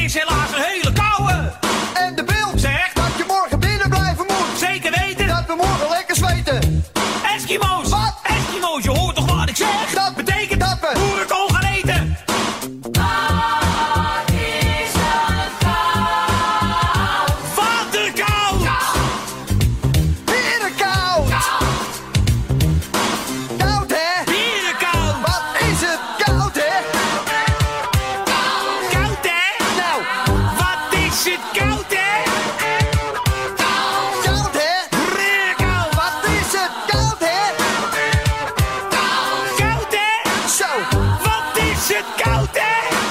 is helaas een hele koude. En de beeld Zegt dat je morgen binnen blijven moet. zeker weten. Dat we morgen lekker zweten. Eskimo's. Wat? Eskimo's, je hoort toch wat ik zeg? Dat betekent dat we Boerenkool gaan eten. Wat is het koud? Waterkoud. Berenkoud. Koud hè? Bierenkoud. Wat is het koud hè? Koud hè? Nou, Wat is het koud hè? koud hè? Bierenkoud. Wat is het koud hè? Koud hè? Zo, Wat is het koud hè?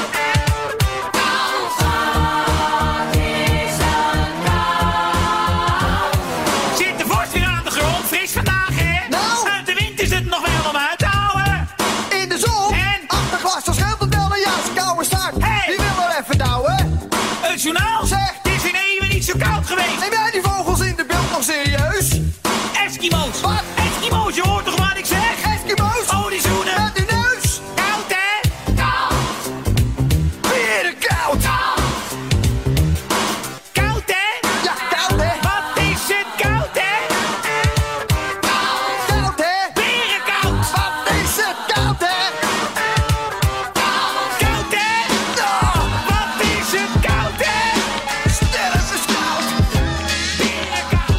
Zit de vorst weer aan de grond, fris vandaag hè? Nou. Uit de wind is het nog wel om uit te houden. in de zon. En? Achter glas, dan scheelt het wel een jas. Koude start. Hey. Die wil er even douwen. Het journaal? Zeg. Het is in even niet zo koud geweest. Neem jij die vogels in de beeld nog serieus? Eskimo's. Wat? Eskimo's, je hoort toch wat ik zeg? Eskimo's? Oh, die zoenen. Met die neus. Koud hè? Berenkoud. Koud hè? Ja, koud hè? Wat is het koud hè? Koud hè? Berenkoud. Wat is het koud hè? Koud hè? Nou, Wat is het koud hè? sterf is koud. Berenkoud.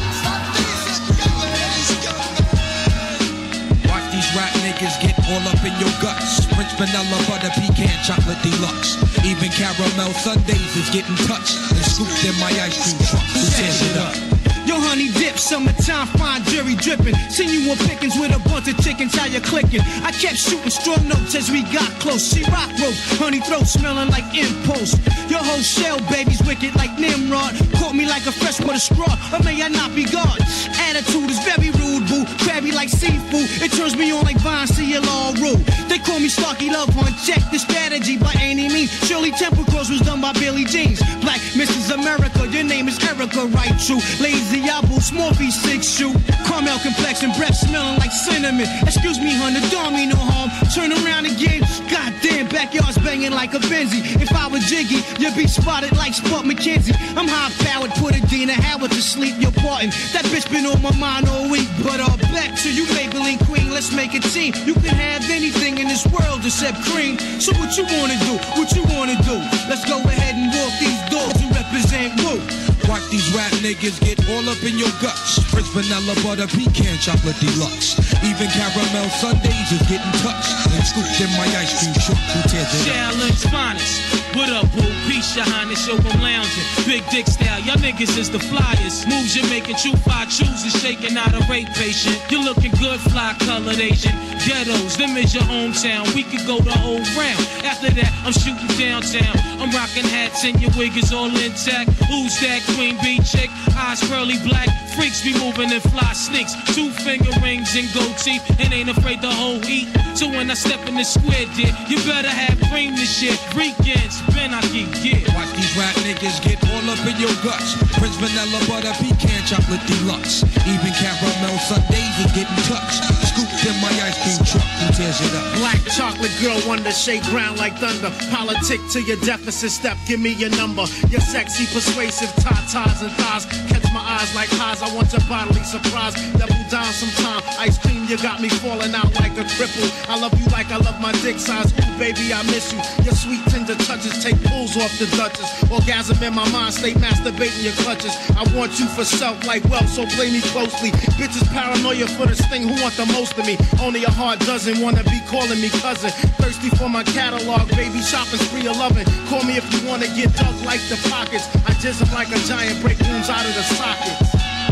Watch these rap niggas get all up in your guts. French vanilla butter pecan chocolate deluxe. Even caramel sundaes is getting touched and scooped in my ice cream truck. Who tears it up? Yo, honey dip, summertime, fine jury dripping. Seen you on pickings with a bunch of chickens, how you clicking? I kept shooting strong notes as we got close. She rock rope, honey throat smelling like impulse. Your whole shell, baby's wicked like Nimrod. Caught me like a fresh with a straw, or may I not be God? Attitude is very rude, boo. Crabby like seafood, it turns me on like Vine, see you all rude. They call me Starkey Love Hunt, check the strategy by any means. Shirley Temple Cross was done by Billy Jeans. Black Mrs. America, your name is Erica, right? True. Lazy Apple, small V6 shoe. Caramel complexion, breath smelling like cinnamon. Excuse me, hun, the don't mean no harm. Turn around again. Goddamn, backyard's banging like a Benzie. If I were Jiggy, you'd be spotted like Spud McKenzie. I'm high powered, put a Dina Howard to sleep. You're parting. That bitch been on my mind all week. But back to you, Maybelline Queen. Let's make a team. You can have anything in this world except cream. So what you wanna do? What you wanna do? Let's go ahead and walk these dogs and represent Woo. Watch these rap niggas get all up in your guts. French vanilla butter pecan chocolate deluxe. Even caramel sundaes is getting touched and scooped in my ice cream truck. Who tears it up? Challenge finest. What up, boo? Peace, your highness, yo, I'm lounging. Big dick style, y'all niggas is the flyers. Moves you're making, true fire chooses, shaking out a rape patient. You're looking good, fly colored Asian. Ghettos, them is your hometown. We could go the whole round. After that, I'm shooting downtown. I'm rocking hats and your wig is all intact. Who's that queen bee chick? Eyes pearly black. Freaks be moving in fly sneaks. 2 finger rings and gold teeth. And ain't afraid the whole heat. So when I step in the square, dear, you better have cream this shit. Weekends, Ben, I keep get. Watch these rap niggas get all up in your guts. French vanilla butter pecan chocolate deluxe. Even caramel sundaes is getting touched. Scooped in my ice cream truck. Who tears it up? Black chocolate girl, wonder, shake ground like thunder. Politic to your deficit step, give me your number. Your sexy, persuasive tatas and thighs. Catch my eyes like highs, I want your bodily surprise. Double down sometime, ice cream, you got me falling out like a cripple. I love you like I love my dick size. Ooh, baby, I miss you. Your sweet tender touches take pulls off the Duchess. Orgasm in my mind, stay masturbating your clutches. I want you for self like wealth, so play me closely. Bitches paranoia for the sting, who want the most of me? Only a hard dozen wanna be calling me cousin. Thirsty for my catalog, baby, shopping spree of loving. Call me if you wanna get dug like the pockets. I jizz up like a giant, break rooms out of the sockets.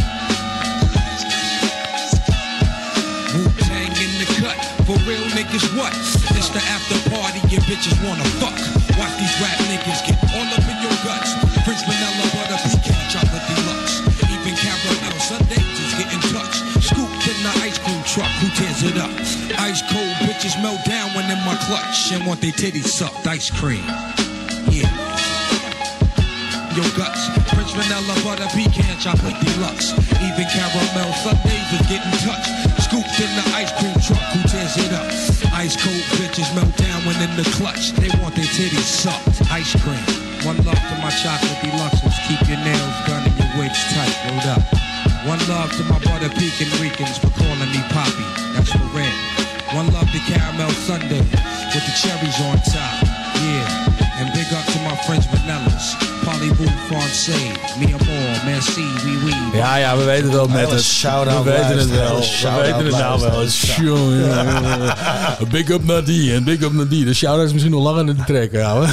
Wu-Tang in the cut, for real niggas what? It's the after party, your bitches wanna fuck. Watch these rap niggas get all up in your guts. French vanilla butter pecan chocolate deluxe. Even caramel sundaes is getting touched. Scooped in the ice cream truck, who tears it up? Ice cold bitches melt down when in my clutch and want their titties sucked. Ice cream, yeah. Your guts, French vanilla butter pecan chocolate deluxe. Even caramel sundaes is getting touched. Scooped in the ice cream truck, who tears it up? Ice cold bitches melt down when in the clutch. They want their titties sucked. Ice cream, one love to my chocolate deluxes. Keep your nails done and your wigs tight. Rolled up. One love to my brother Pekin Ricans for calling me Poppy. That's for red. One love to Caramel Sunday with the cherries on top. Yeah. And big up to my friends Vanellas. Parlez-vous français. Mi amor, merci, oui, oui. Ja, we weten het wel met het. Shout-out We weten het wel. luisteraars. We weten het nou wel. Jongen. Big up naar die en big up naar die. De shout-out is misschien nog langer in de trekken, ouwe.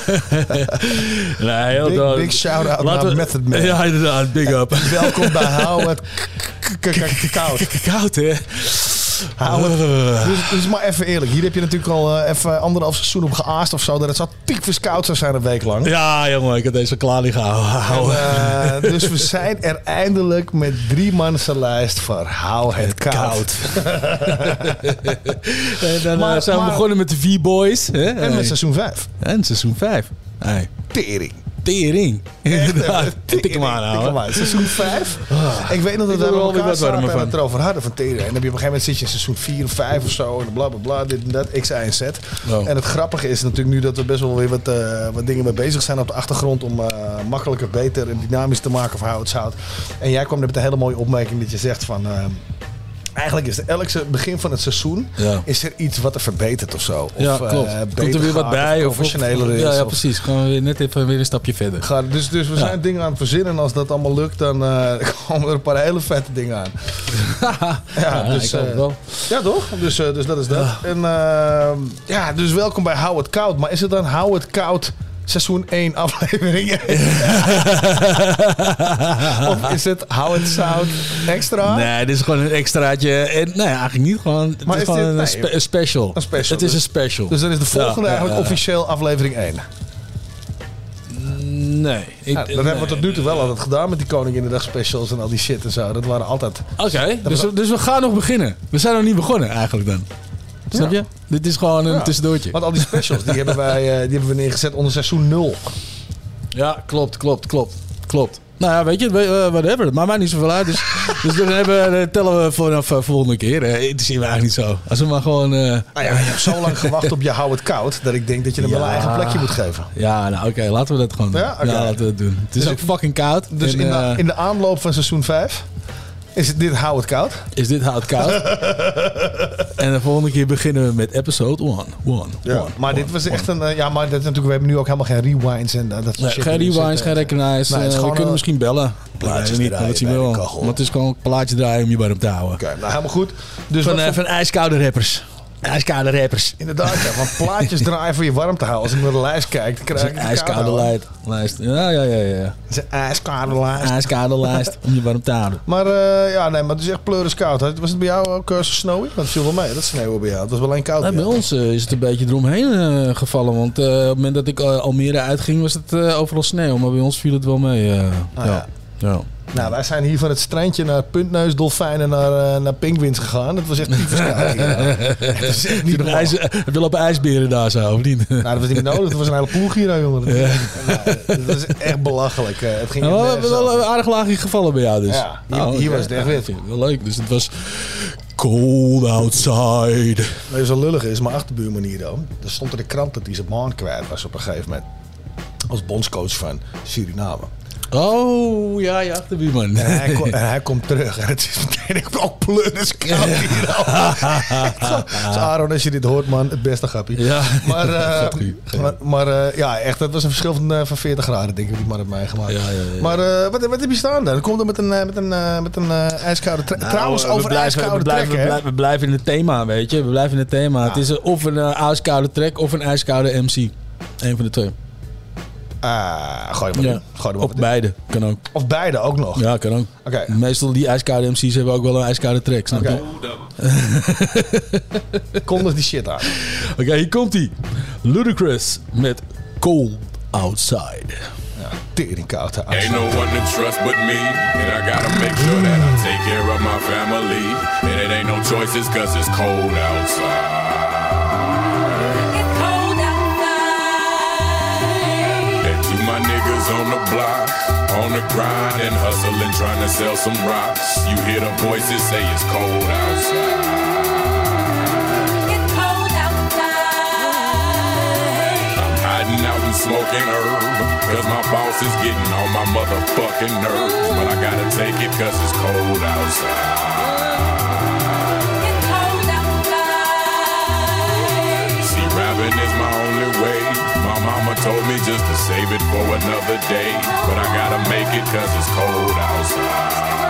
Nee, heel dood. Big shout-out naar Method Man. Ja, inderdaad. Big up. Welkom bij Howard Koud. Koud, hè? Dus maar even eerlijk. Hier heb je natuurlijk al even 1,5 seizoen op geaast of zo. Dat het zo tyfus koud zou zijn een week lang. Ja, jongen. Ik heb deze klaar niet gehouden. Dus we zijn er eindelijk met 3 lijst voor Hou het Koud. En dan zijn we begonnen met de 4 boys. Hè? En met seizoen 5. En seizoen 5. Hey. Tering. Inderdaad. Tik hem aan, ouwe. Seizoen 5. Ik weet nog dat we elkaar zaten en het erover hadden van tering. En dan heb je op een gegeven moment zit je in seizoen 4 of 5 of zo. En bla bla bla, dit en dat, X, Y en Z. Oh. En het grappige is natuurlijk nu dat we best wel weer wat dingen mee bezig zijn op de achtergrond. Om makkelijker, beter en dynamisch te maken voor Hou het Zout. En jij kwam met een hele mooie opmerking dat je zegt van... Eigenlijk is elk begin van het seizoen is er iets wat er verbetert of zo. Of, ja, klopt. Komt er weer wat bij. Of professioneler is. Ja, precies. Gewoon weer net even weer een stapje verder. Dus we zijn dingen aan het verzinnen. En als dat allemaal lukt, dan komen er een paar hele vette dingen aan. Dus, wel. Ja, toch? Dus dat is dat. En dus welkom bij Hou het Koud. Maar is het dan Hou het Koud... Seizoen 1, aflevering 1. Of is het Hou het Zout extra? Nee, dit is gewoon een extraatje. En, nee, eigenlijk niet. Gewoon, het is gewoon een special. Een special. Het is een special. Dus dan is de volgende eigenlijk officieel aflevering 1. Nee. Dat hebben we tot nu toe wel altijd gedaan met die Koninginnedag specials en al die shit en zo. Dat waren altijd... Oké, dus we gaan nog beginnen. We zijn nog niet begonnen eigenlijk dan. Snap je? Dit is gewoon een tussendoortje. Want al die specials, die hebben we neergezet onder seizoen 0. Ja, klopt. Nou ja, weet je, whatever. Het maakt mij niet zoveel uit. Dus dan tellen we vanaf volgende keer. Het is eigenlijk niet zo. Als we maar gewoon... je hebt zo lang gewacht op je Hou het Koud... dat ik denk dat je hem wel een eigen plekje moet geven. Ja, nou oké, laten we dat gewoon doen. Ja, laten we dat doen. Het is ook fucking koud. Dus in de aanloop van seizoen 5... Is dit Hou het Koud? Is dit Hou het Koud? En de volgende keer beginnen we met episode 1. Maar dit was echt een... maar dat natuurlijk, we hebben nu ook helemaal geen rewinds en dat soort shit. Geen rewinds, geen recognize. We kunnen misschien bellen. Plaatjes niet, draaien dat zien we wel. Maar het is gewoon een plaatje draaien om je warm te houden. Oké, nou helemaal goed. Dus van ijskoude rappers. IJskoude rappers. Inderdaad, ja. Want plaatjes draaien voor je warm te houden. Als ik naar de lijst kijk, dan krijg ik een ijskoude lijst. Ja. Het is een ijskoude lijst. IJskoude lijst om je warm te houden. Maar maar het is echt pleurenskoud. Was het bij jou ook zo snowy? Want het viel wel mee, dat sneeuwen bij jou. Het was wel alleen koud. Bij ons is het een beetje eromheen gevallen. Want op het moment dat ik Almere uitging, was het overal sneeuw. Maar bij ons viel het wel mee. Ja. Nou, wij zijn hier van het strandje naar puntneus, dolfijnen, naar pinguïns gegaan. Het was echt tyfus koud. Het is echt niet heb je lopen ijsberen daar zo, of niet? Nou, dat was niet nodig. Dat was een hele ploeg hier, jongen. Ja. Dat was echt belachelijk. Het ging we hebben wel een aardig laagje gevallen bij jou dus. Ja, hier was het echt wit. Wel leuk, dus het was cold outside. Wat zo lullig is, mijn achterbuurman hier dan. Er stond in de krant dat hij zijn baan kwijt was op een gegeven moment. Als bondscoach van Suriname. Oh, ja, je achterbuurman. En hij komt terug. En het is meteen ook pleurenskoud hier al. Dus Aaron, als je dit hoort, man, het beste grappie. Ja. Maar echt, dat was een verschil van 40 graden, denk ik, die man heeft meegemaakt. Ja. Maar wat heb je staan dan? Komt er met een ijskoude trek. Trouwens, over ijskoude trekken. We blijven in het thema, weet je. We blijven in het thema. Ja. Het is of een ijskoude trek of een ijskoude MC. Eén van de twee. Gooi hem maar in. Of beide, kan ook. Of beide ook nog? Ja, kan ook. Okay. Meestal die ijskoude MC's hebben ook wel een ijskoude track, snap je? Kondig die shit aan. Oké, hier komt hij. Ludacris met Cold Outside. Ja, tering koud. Ain't no one to trust but me. And I gotta make sure that I take care of my family. And it ain't no choices cause it's cold outside. My niggas on the block, on the grind and hustling, trying to sell some rocks. You hear the voices say it's cold outside. It's cold outside. I'm hiding Hiding out and smoking herb, cause my boss is getting on my motherfucking nerves. But I gotta take it cause it's cold outside. See, rapping is my only way. My mama told me just to save it for another day. But I gotta make it cause it's cold outside.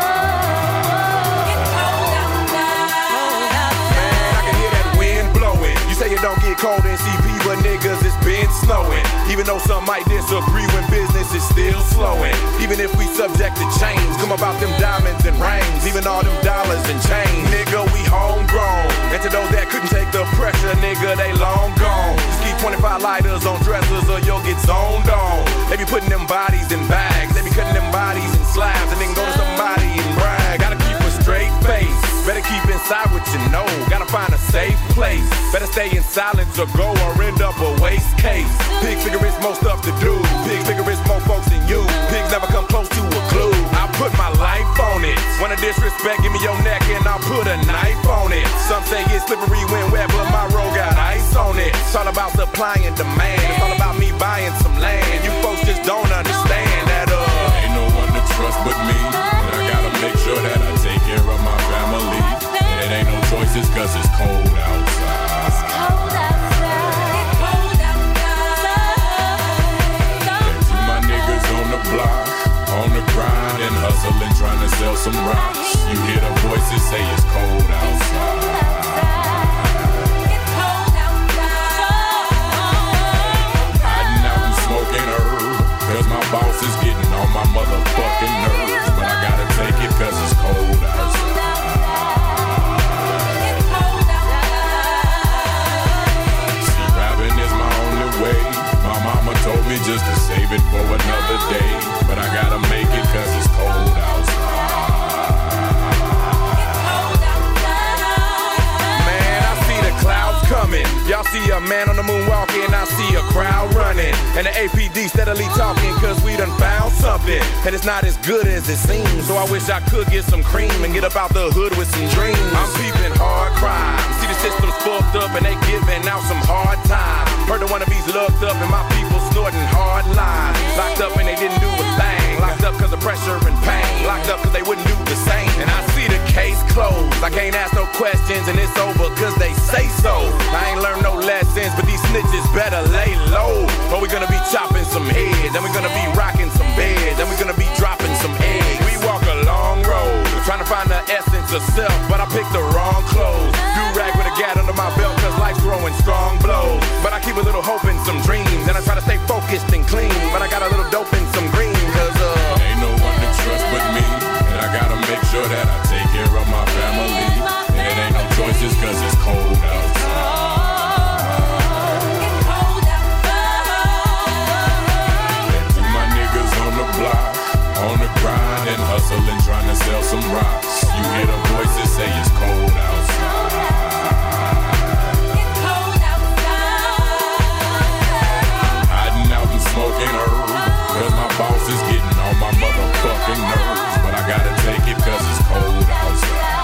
You say it don't get cold in CP, but niggas, it's been snowing. Even though some might disagree when business is still slowing. Even if we subject to change, come about them diamonds and rings. Even all them dollars and change. Nigga, we homegrown. And to those that couldn't take the pressure, nigga, they long gone. Just keep 25 lighters on dressers or you'll get zoned on. They be putting them bodies in bags. They be cutting them bodies in slabs and then go to somebody and brag. Gotta keep a straight face. Better keep inside what you know. Gotta find a safe place. Better stay in silence or go or end up a waste case. Pig figure it's more stuff to do. Pig figure it's more folks than you. Pigs never come close to a clue. I put my life on it. Wanna disrespect, give me your neck and I'll put a knife on it. Some say it's slippery when wet, but my road got ice on it. It's all about supply and demand. It's all about me buying some land. You folks just don't understand that ain't no one to trust but me. And I gotta make sure that I take care of my family. And it ain't no choices cause it's cold outside. Block, on the grind and hustling, trying to sell some rocks. You hear the voices say it's cold outside. Hiding out and smoking herb, cause my boss is getting on my motherfucking nerves. But I gotta take it cause it's cold outside. See, rapping is my only way. My mama told me just to save it for another day. But I gotta make it cause it's cold outside. Man, I see the clouds coming. Y'all see a man on the moon walking, I see a crowd running. And the APD steadily talking cause we done found something. And it's not as good as it seems. So I wish I could get some cream and get up out the hood with some dreams. I'm peeping hard crime. See the system's fucked up and they giving out some hard time. Heard the wannabes looked up and my people snorting hard lines. Locked up and they didn't do a thing. Locked up cause of pressure and pain. Locked up cause they wouldn't do the same. And I see the case closed. I can't ask no questions and it's over cause they say so. I ain't learned no lessons, but these snitches better lay low. Or we gonna be chopping some heads, and we gonna be rocking some beds, and we gonna be dropping some eggs. We walk a long road, trying to find the essence of self, but I picked the wrong clothes. Do-rag with a gat under my belt cause life's throwing strong blows. But I keep a little hope and some dreams, and I try to stay focused and clean. But I got a little dope and some green, cause ain't no one to trust but me. And I gotta make sure that I take care of my family. And it ain't no choices cause it's cold outside. And to my niggas on the block, on the grind and hustling, trying to sell some rocks. You hear the voices say it's cold outside. Smoking herb, cause my boss is getting on my motherfucking nerves. But I gotta take it cause it's cold outside.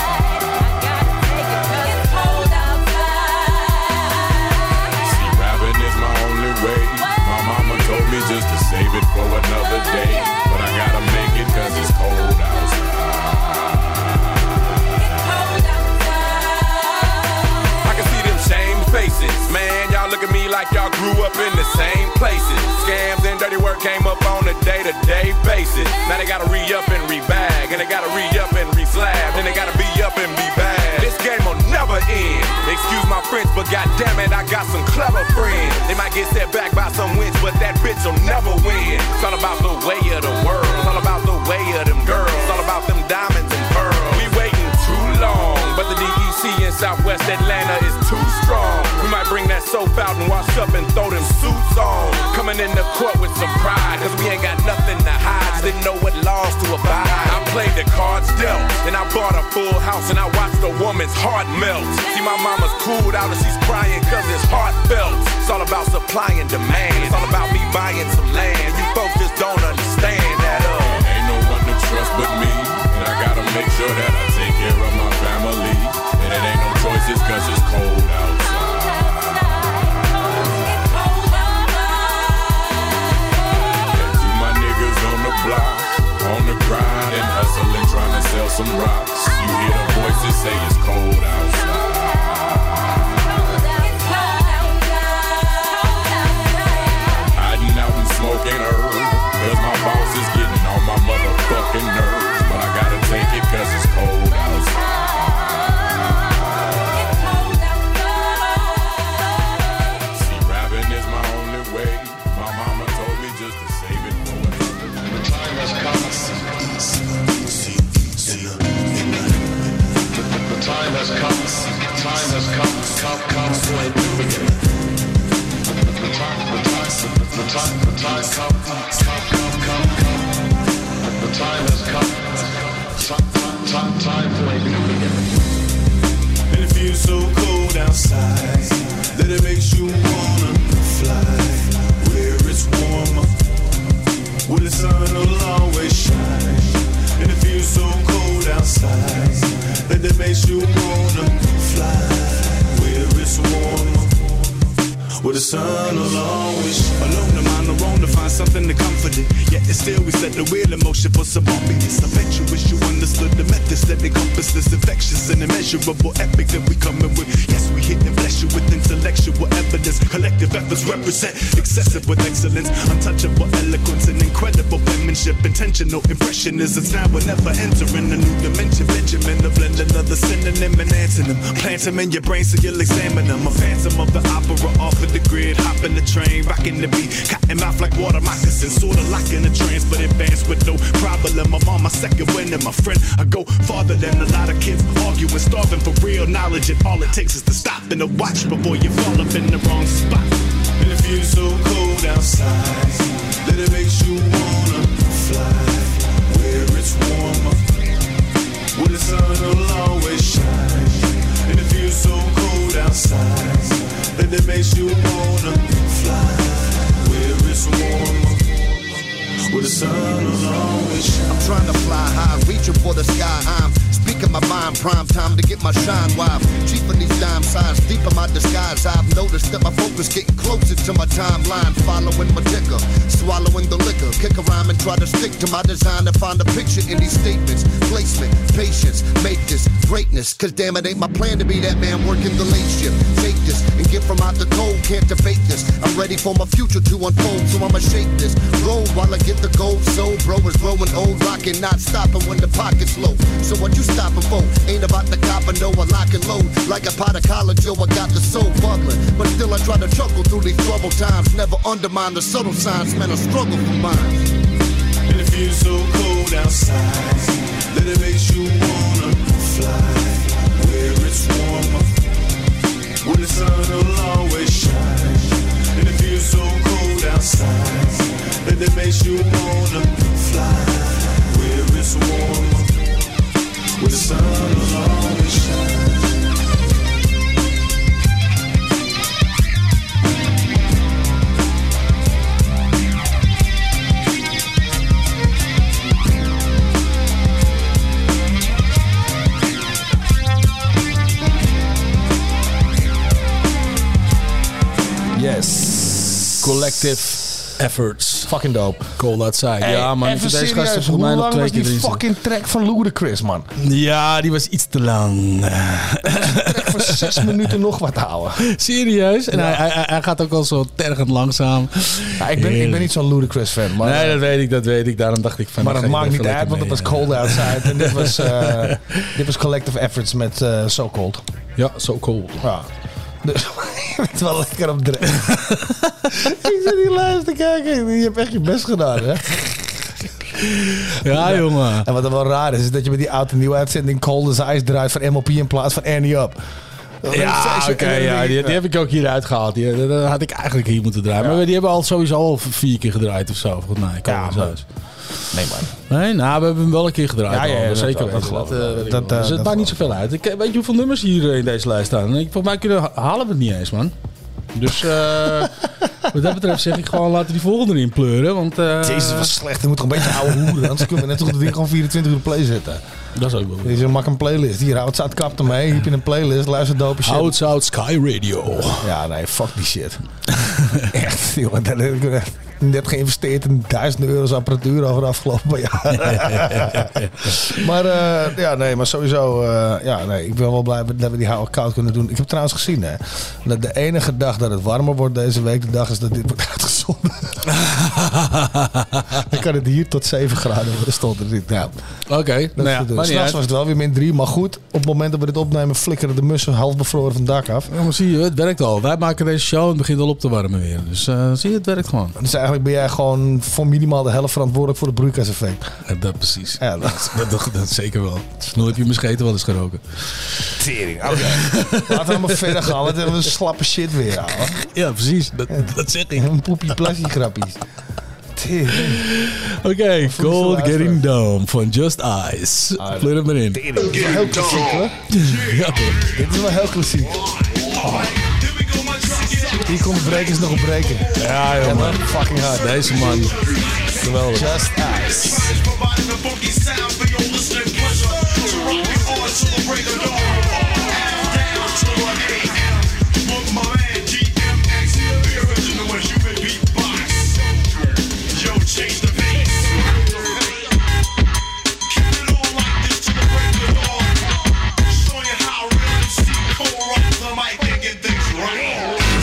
See, rapping is my only way. My mama told me just to save it for another day. But I gotta make it cause it's cold outside. I can see them shamed faces. Man, y'all look at me like y'all grew up in the same places. Scams and dirty work came up on a day-to-day basis. Now they gotta re-up and re-bag, and they gotta re-up and re-slab, then they gotta be up and be bad. This game will never end. Excuse my French, but goddammit, I got some clever friends. They might get set back by some wins, but that bitch will never win. It's all about the way of the world. It's all about the way of them girls. It's all about them diamonds and pearls. We waiting too long, but the DEC in Southwest Atlanta is too strong. We might bring that soap out and wash up and throw them suits on. Coming in the court with some pride, cause we ain't got nothing to hide. Just didn't know what laws to abide. I played the cards dealt, and I bought a full house, and I watched a woman's heart melt. See, my mama's cooled out and she's crying cause it's heartfelt. It's all about supply and demand. It's all about me buying some land. You folks just don't understand that. Ain't no one to trust but me, and I gotta make sure that I take care of my family. And it ain't no choices cause it's cold outside. say it's cold outside. Hiding out and smoking herb, cause my boss is getting on my motherfucking nerves. But I gotta take it cause it's cold outside. See, rapping is my only way. My mama told me just to save it for another day. The time has come. The time has come. Time has come for a new beginning. The time come. The time has come. Time for a new beginning. And it feels so cold outside that it makes you wanna fly where it's warmer, where the sun will always shine. And it feels so cold outside that it makes you wanna fly where it's warmer, where the sun will always shine. Alone, the mind alone to find something to comfort it. Yet it's still we set the wheel in motion for some bumpiness. I bet you wish you understood the methods that encompass this infectious and immeasurable epic that we coming with. Yes, we hit and bless you with intellectual evidence. Collective efforts represent excessive with excellence, untouchable eloquence and incredible penmanship. Intentional impressionism. Now we're never entering a new dimension. Benjamin, the blending of the synonym and antonym. Plant them in your brain so you'll examine them. A phantom of the opera off of the grid, hopping the train, rocking the beat, cotton mouth like water moccasins, sorta locking the trance, but advance with no problem. I'm on my second win, and my friend, I go farther than a lot of kids arguing, starving for real knowledge, and all it takes is to stop and to watch before you fall up in the wrong spot. And it feels so cold outside that it makes you wanna fly where it's warmer, where the sun will always shine. And it feels so cold outside that it makes you wanna fly where it's warmer, where the sun will always shine. I'm trying to fly high, reaching for the sky. I'm speaking my mind, prime time to get my shine wild. Cheaping these dime signs, deep in my disguise. I've noticed that my focus getting closer to my timeline. Following my ticker, swallowing the liquor. Kick a rhyme and try to stick to my design to find a picture in these statements. Placement, patience, make this greatness. Cause damn it ain't my plan to be that man working the late shift. Take this and get from out the cold, can't debate this. I'm ready for my future to unfold, so I'ma shake this. Roll while I get the gold, so bro is growing old, rocking, not stopping when the pocket's low. So what you stopping for? Ain't about the copper, no, I lock and load. Like a pot of college, yo, I got the soul bubbling. But still I try to chuckle through these troubled times. Never undermine the subtle signs, man, I struggle for mine. And it feels so cold outside that it makes you wanna fly where it's warmer, where the sun will always shine. And it feels so cold outside that it makes you wanna fly where it's warmer, where the sun will always shine. Yes. Collective efforts. Fucking dope. Cold outside. Hey, ja, man. even Deze serieus, gasten hoe voor mij nog lang 2 was keer die erin fucking track van Ludacris, man? Ja, die was iets te lang. Track voor 6 minuten nog wat houden. Serieus? En Ja. hij gaat ook al zo tergend langzaam. Ja, ik ben niet zo'n Ludacris fan. Maar, Nee, dat weet ik. Daarom dacht ik van... maar dan dat ga je maakt er niet even uit, want lekker het was mee. cold outside. En dit was Collective Efforts met So Cold. Ja, So Cold. Ja. Dus je bent wel lekker op dreef. Ik zit hier luisteren te kijken. Je hebt echt je best gedaan, hè? Ja, jongen. En wat er wel raar is dat je met die oude nieuwe uitzending Cold as Ice draait van MLP in plaats van Ernie Up. Ja, oké, ja, die heb ik ook hieruit gehaald. Dat had ik eigenlijk hier moeten draaien. Ja. Maar die hebben al sowieso al 4 keer gedraaid of zo. Volgens mij. Ja, maar... Nee, man. Nee, nou, we hebben hem wel een keer gedraaid. Ja, al, dat zeker dat weten. geloof ik. weet ik Dat, wel. Dus het dat maakt niet zoveel uit. Weet je hoeveel nummers hier in deze lijst staan? Volgens mij halen we het niet eens, man. Dus wat dat betreft zeg ik gewoon, laten we die volgende erin pleuren. Want, Jezus, was slecht. Je moet toch een beetje ouwe hoeren. Anders kunnen we net toch het ding gewoon 24 uur op play zetten. Dat is ook wel goed. Dus maak een playlist. Hier, Hout Zout kapt ermee. Hier heb je een playlist. Luister dope shit. Hout Zout Sky Radio. Ja, nee, fuck die shit. Echt, jongen. Dat heb ik net geïnvesteerd in €1000 apparatuur over de afgelopen jaar. Maar maar sowieso, ik ben wel blij dat we die houden koud kunnen doen. Ik heb trouwens gezien, hè, dat de enige dag dat het warmer wordt deze week, de dag is dat dit wordt uitgezonden. Dan kan het hier tot 7 graden worden, stond er niet. Ja. Oké. S'nachts was het wel weer -3, maar goed, op het moment dat we dit opnemen flikkeren de mussen half bevroren van het dak af. Ja, maar zie je, het werkt al. Wij maken deze show en het begint al op te warmen weer. Dus zie je, het werkt gewoon. Dus eigenlijk ben jij gewoon voor minimaal de helft verantwoordelijk voor het broeikaseffect. Dat precies. Ja, dat zeker wel. Snoel heb je mijn scheten wel eens geroken. Tering. Oké. Laten we maar verder gaan. Want we hebben een slappe shit weer. Ouwe. Ja, precies. Dat zeg ik. Een poepie plassie grappies. Oké, Cold Getting Down van Just Ice. Pleur hem erin. Dit is wel heel klassiek, hoor. Ja, dit is wel heel klassiek. Hier komt de brekers nog op breken. Ja, joh, man. Fucking hard. Deze man. Geweldig. Just Ice. Change the pace. Keep it on like this to the break of dawn. Show you how real MC Cole rocks the mic and get things right.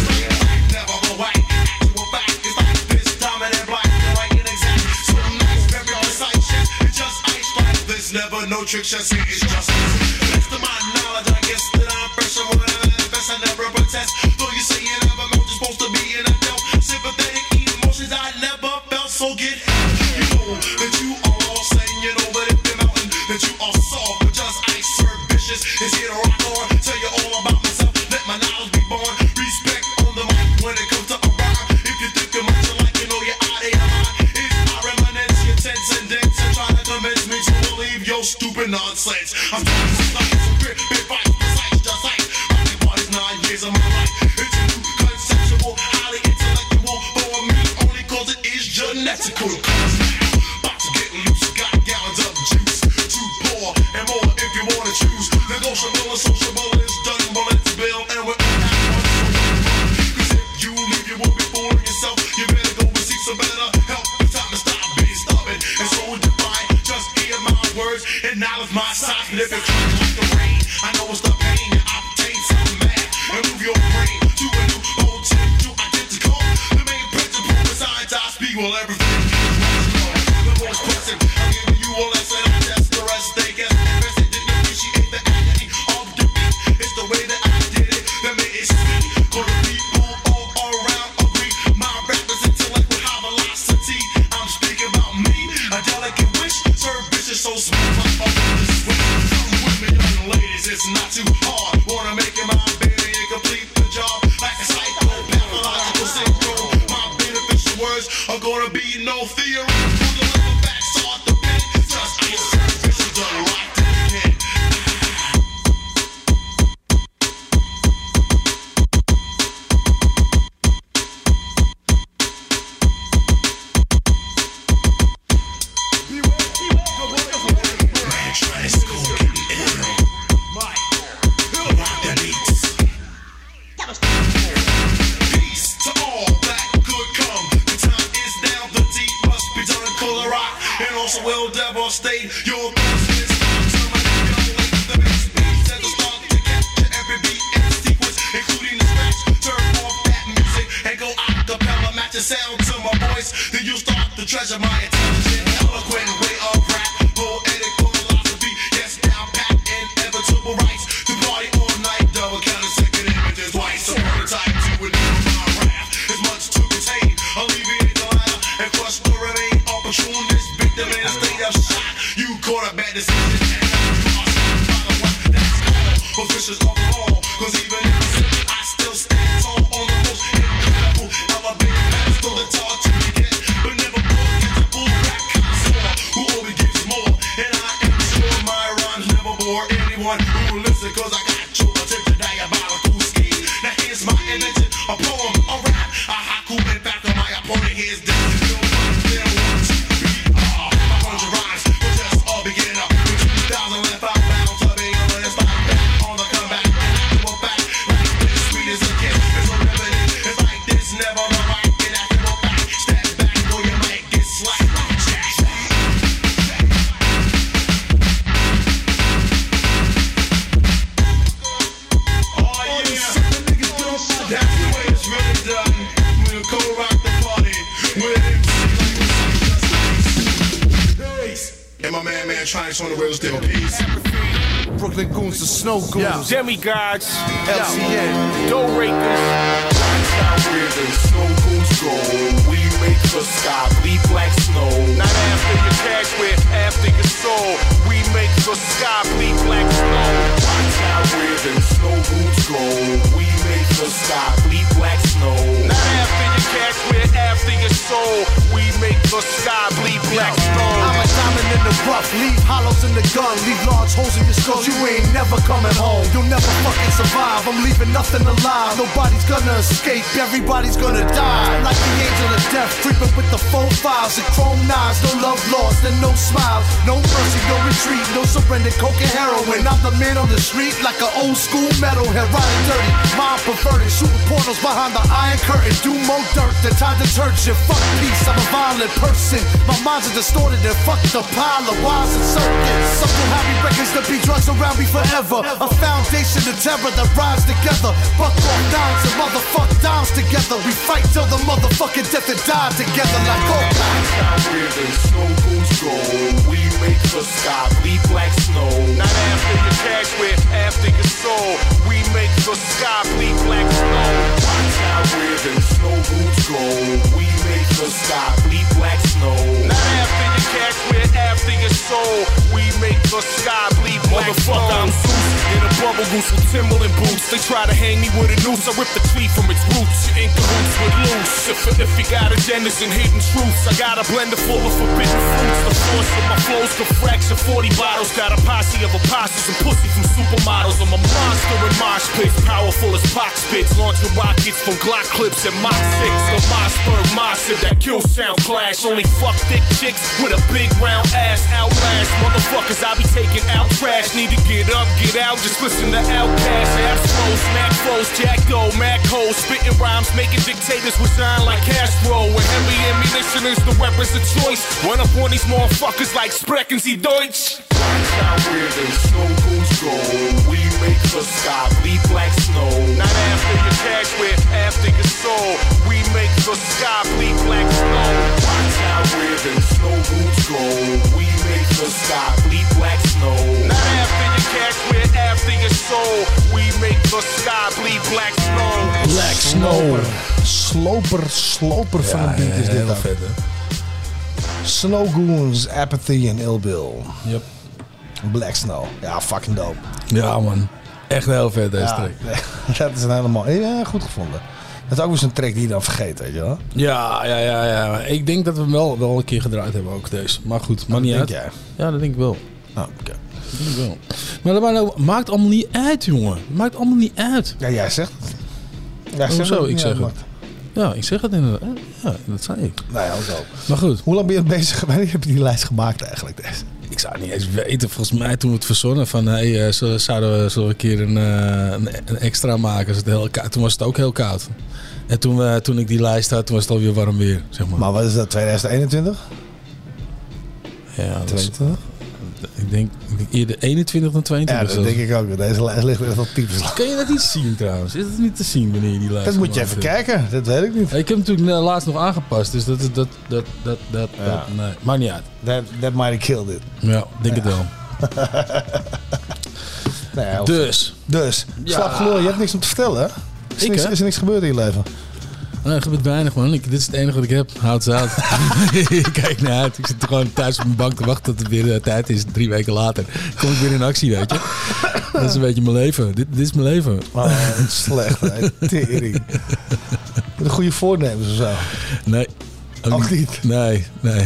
Never the white. Actual fact is like this, dominant black, like an exact. So nice, very precise shit. It's just ice like this. Never no tricks, just it is just. Next to my knowledge, I guess that I'm fresh and when I manifest, I never protest. Though you say you never know, you're supposed to be in a belt. Sympathetic emotions I never felt. So get you know that you are all saying you know that if the mountain that you are soft but just ice serve vicious is here to rock on. Tell you all about myself, let my knowledge be born. Respect on the mic when it comes to a rhyme. If you think of much like you know you're out of your mind. If I reminisce your tense and dense and try to convince me to believe your stupid nonsense. I'm trying to like some bit fight, precise, just like rocking parties 9 years of my life. It's a new conceptual, highly intellectual for me only cause it is genetical. About to get loose, got gallons of juice to pour and more if you wanna choose. Negotiable and sociable is done, but let's build and we're all at once. Cause if you leave, you will be fooling yourself. You better go and seek some better help. It's time to stop being stubborn and so defiant. Just hear my words and knowledge my size. And if it's like the rain, I know it's the pain. I obtain some mad and move your brain to a new potential identical. The main principle is science, I speak well everything. The most pressing, I'm giving you a lesson. I test the rest, they guess. Best they didn't appreciate the agony of defeat. It's the way that I did it that made it sweet. Cause the people all around agree. My rap is intellect with high velocity. I'm speaking about me, a delicate wish. Serve vicious, so smooth, my this switch. Come with me, young ladies, it's not too hard. Wanna make it my baby and complete the job. Like a psycho, pathological syndrome. My beneficial words are gonna be no theory. For the little facts are the pen. Just ice serve vicious, done right to the head. Peace to all that could come. The time is now, the deed must be done. Color rock and also will devastate your business. The bass beats at the start to capture every beat and sequence, including the scratch. Turn off that music and go acapella. Match the sound to my voice, then you start to treasure my intelligent, eloquent way of rap. Poetic philosophy, yes, down pat, inevitable rights. To party all night, double counting second images twice. So prototype to a new my rap. There's much to contain, alleviate the latter and crush the remain opportunist victim in a state of shock. You caught a bad decision and now you are stopped by the one that's all officials of the law. Cause even if I still stand tall on the most incredible elevated pedestal that's hard to get, but never forget the full rap connoisseur who always gives more. And I am sure my rhymes never bore anyone who will listen, cause I got your attention diabolical scheme. Now here's my invention, a poem, a rap, a haiku. In fact, my opponent here's this. Never mind. electronics on the wheels, still peace. Brooklyn Goons, the Snow Goons. Demigods, LCN, Dough Rakers. Watch out where the snow goons go. We make the sky bleed black snow. Not after your cash, we're after your soul. We make the sky bleed black snow. Watch out where the snow goons go. We make the sky bleed black snow. Not after your cash, we're after your soul. We make the sky bleed black snow. I'm a diamond in the rough, leave hollows in the gun, leave large holes in your skull. You ain't never coming home. You'll never fucking survive. I'm leaving nothing alive. Nobody's gonna escape. Everybody's gonna die. Like the angel of death, creeping with the 4-5s and chrome knives. No love lost and no smiles. No mercy, no retreat, no surrender. Coke and heroin. I'm the man on the street like an old school metalhead, riding dirty, mind perverted, shooting portals behind the iron curtain. Do more dirt than time detergent. Fuck peace. I'm a violent person. My mind's distorted and fuck the pile of wires and circuits. Something happy records to be drugs around me forever. A foundation of terror that rise together. Buck off dimes and motherfuck dimes together. We fight till the motherfucking death and die together like all Watch out where the snow goons go. We make the sky bleed black snow. Not after your cash, we're after your soul. We make the sky bleed black snow. Watch out where the snow goons go. We make the sky bleed black snow. Not after your cash, we're after your soul. We make the sky bleed black snow. Motherfucker, I'm Zeus in a bubble goose with Timberland boots. They try to hang me with a noose. I rip the tree from its roots. You ain't cahoots with loose. If you got agendas and hidden truths, I got a blender full of forbidden fruits. The force of my flows could fracture 40 bottles. Got a posse of apostles and pussy from supermodels. I'm a monster in mosh pits, powerful as box spits. Launching rockets from Glock clips and Mach 6. The Mossberg Mossad that kill sound clash. Only fuck thick chicks with a big round ass. Outlast motherfuckers, I be taking out trash. Need to get up, get out, just listen to Outkast. Ass flows, smack flows, Jack Doe, Mac hoes. Spitting rhymes, making dictators resign like Castro. And heavy ammunition is the weapons of choice. Run up on these motherfuckers like Sprechen Sie Deutsch. Watch out where the snow goons go. We make the sky bleed black snow. Not after your cash, we're after your soul. We make the sky bleed black snow. Watch out where the snow goons go. We make the sky bleed black snow. Not after your cash, we're after your soul. We make the sky bleed black snow. Black Snow. Sloper van een beat is dit heel dan. vet, hè? Snow Goons, Apathy en Ill Bill. Yep. Black Snow. Ja, fucking dope. Ja, man. Echt heel vet, deze Ja, track. dat is een helemaal goed gevonden. Dat is ook weer zo'n track die je dan vergeet, weet je wel. Ja. Ik denk dat we hem wel een keer gedraaid hebben ook, deze. Maar goed, maakt niet uit. Denk jij? Ja, dat denk ik wel. Nou, oké. Dat denk ik wel. Maar dat maakt allemaal niet uit, jongen. Maakt allemaal niet uit. Ja, jij zegt het. Jij zegt Hoezo? dat het Ik niet zeg het. uitmaakt. Ja, ik zeg het inderdaad. Ja, dat zei ik. Nou ja, ook. Maar goed. Hoe lang ben je bezig? Wanneer heb je die lijst gemaakt eigenlijk? Deze? Ik zou het niet eens weten. Volgens mij toen we het verzonnen van... Hey, zullen we een keer een extra maken? Als het heel koud. Toen was het ook heel koud. En toen ik die lijst had, toen was het alweer warm weer. Zeg maar. Maar wat is dat? 2021? Ja, 22? Ik denk eerder 21 dan 22. Ja, dat denk ik ook. Deze lijst ligt echt op types. Kan je dat niet zien trouwens? Is het niet te zien wanneer je die lijst Dat moet je even gemaakt hebt? kijken. Dat weet ik niet. Ik heb hem natuurlijk laatst nog aangepast. Dus dat nee, maakt niet uit. That might have killed it. Ja, denk het wel. Nee, Dus. Ja. Slaap gelul, je hebt niks om te vertellen, hè? Is er niks gebeurd in je leven? Nee, er gebeurt weinig, man. Dit is het enige wat ik heb. Houd ze uit. Ik kijk naar uit. Ik zit gewoon thuis op mijn bank te wachten tot het weer tijd is. 3 weken later kom ik weer in actie, weet je. Dat is een beetje mijn leven. Dit is mijn leven. Oh, slecht, hè? Tering. Met een goede voornemens of zo? Nee. Ook niet? Nee.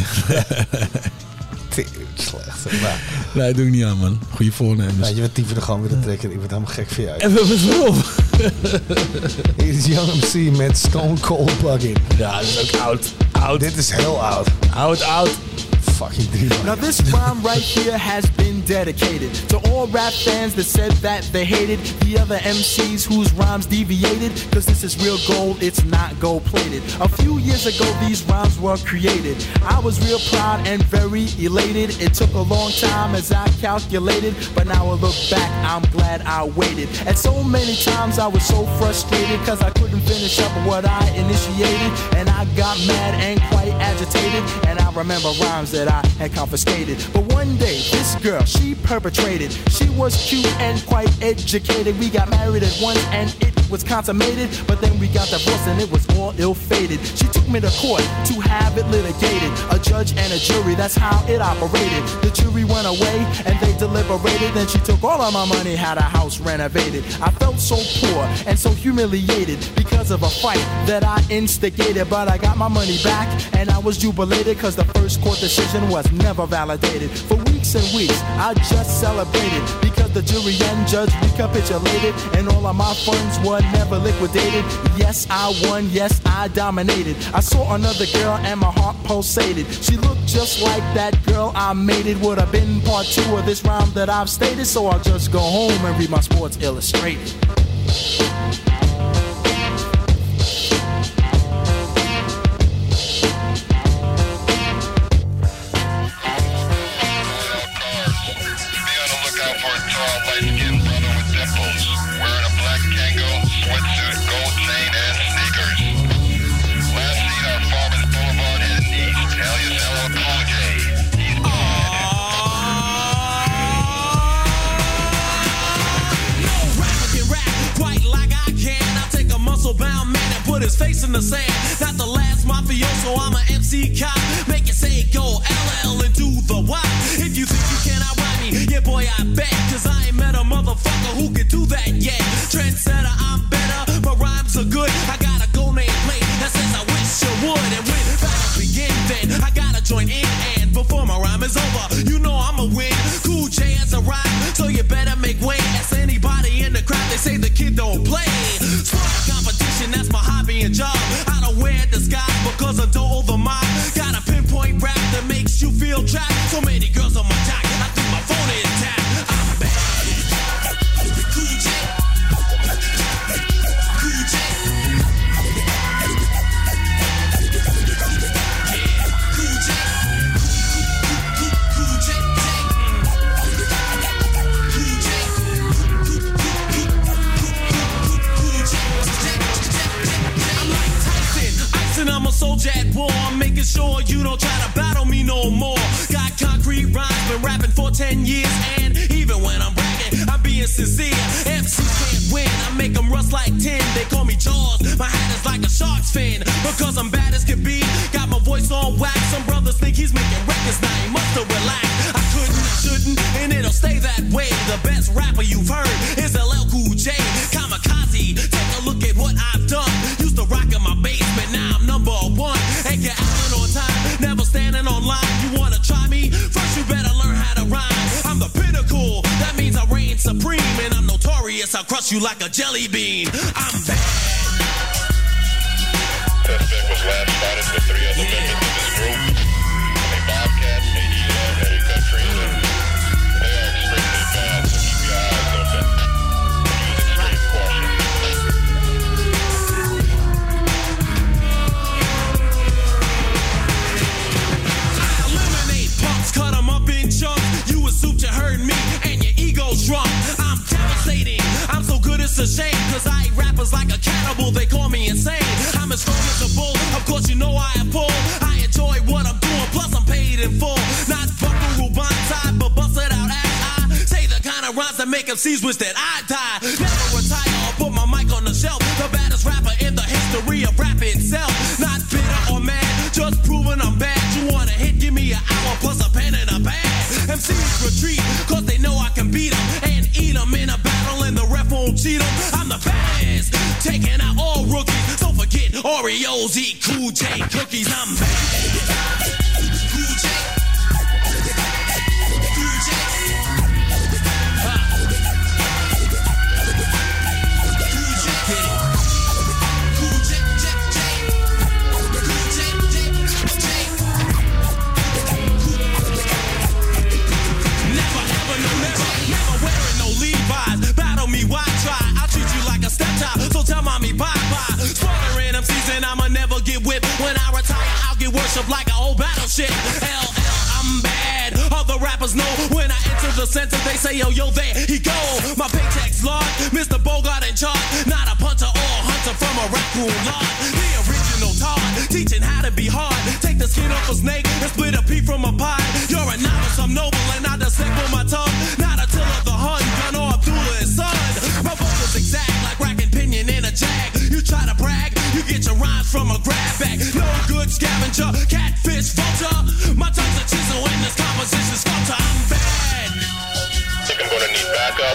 Tering, slecht. Nee, doe ik niet aan, man. Goede voornemens. Nou, je bent typen er gewoon weer te trekken. Ik word helemaal gek voor jou. En waarom? Hier is Young MC met Stone Cold Plug-in. Ja, dat is ook oud. Dit is heel oud. Oud. Fucking 3 man. Now this rhyme right here has been dedicated to all rap fans that said that they hated the other MCs whose rhymes deviated, cause this is real gold, it's not gold plated. A few years ago these rhymes were created. I was real proud and very elated. It took a long time as I calculated, but now I look back, I'm glad I waited. And so many times I was so frustrated cause I couldn't finish up what I initiated, and I got mad and quite agitated, and I remember rhymes that I had confiscated. But one day, this girl, she perpetrated. She was cute and quite educated. We got married at once and it was consummated. But then we got divorced and it was all ill-fated. She took me to court to have it litigated. A judge and a jury, that's how it operated. The jury went away and they deliberated. Then she took all of my money, had a house renovated. I felt so poor and so humiliated because of a fight that I instigated. But I got my money back and I was jubilated because the first court decision was never validated. For weeks and weeks I just celebrated because the jury and judge recapitulated and all of my funds were never liquidated. Yes, I won, yes, I dominated. I saw another girl and my heart pulsated. She looked just like that girl I mated. Would have been part 2 of this rhyme that I've stated. So I'll just go home and read my Sports Illustrated. His face in the sand, not the last mafioso, I'm a MC cop. Make it say go LL and do the Y. If you think you cannot ride me, yeah boy I bet, cause I ain't met a motherfucker who can do that yet. Trendsetter, I'm better, my rhymes are good. I got a gold name plate that says I wish you would. And when battles begin then, I gotta join in. And before my rhyme is over, you know I'ma win. Cool J has arrived, so you better make way. Ask anybody in the crowd, they say the kid don't play. Sport competition, that's my hobby and job. I don't wear disguise because I don't hold the mob. Got a pinpoint rap that makes you feel trapped. So many girls on my jock, I think my phone is tapped. I'm bad. Cool J. Cool J. Yeah, Cool J. Cool J. Cool J. I'm a soldier at war, I'm making sure you don't try to battle me no more. Got concrete rhymes, been rapping for 10 years. And even when I'm bragging, I'm being sincere. MC can't win, I make them rust like tin. They call me Jaws, my hat is like a shark's fin. Because I'm bad as can be, got my voice on wax. Some brothers think he's making records, now he must have relaxed. I couldn't, I shouldn't, and it'll stay that way. The best rapper you've heard is LL Cool J. Kamikaze, take a look at what I've done. Used to rock in my basement, now I'm number 1. And get out on time, never standing on line. You wanna try me? First you better learn how to rhyme. I'm the pinnacle, that means I reign supreme. And I'm notorious, I'll crush you like a jelly bean. I'm bad. Suspect was last spotted with 3 other members of his group. A Bobcat, ADL, Eddie Country. They are extremely bad, so keep your eyes open. Use extreme caution. Cut them up in chunks. You assumed you heard me and your ego's drunk. I'm devastating, I'm so good it's a shame. Cause I eat rappers like a cannibal, they call me insane. I'm as strong as a bull, of course you know I am full. I enjoy what I'm doing, plus I'm paid in full. Not buckaroo bonsai, but bust it out as I say the kind of rhymes that make MCs wish that I die. Never retire or put my mic on the shelf. The baddest rapper in the history of rap itself. Not bitter or mad, just proving I'm bad. You want a hit, give me an hour plus a pen and a bag. MCs retreat, cause they know I can beat them and eat them in a battle and the ref won't cheat them. I'm the baddest, taking out all rookies. Don't forget Oreos, eat Cool J cookies. I'm bad. Cool J. Cool J. So tell mommy bye-bye. Slaughtering MCs and I'ma never get whipped. When I retire, I'll get worshipped like an old battleship. LL, I'm bad. Other rappers know when I enter the center, they say, yo, there he go. My paycheck's large, Mr. Bogart in charge. Not a punter or a hunter from a raccoon lot. The original Todd, teaching how to be hard. Take the skin off a snake and split a pea from a pie. from a grab bag. No good scavenger, catfish vulture. My tongue's a chisel when this composition's falter. I'm bad. Think I'm gonna need backup.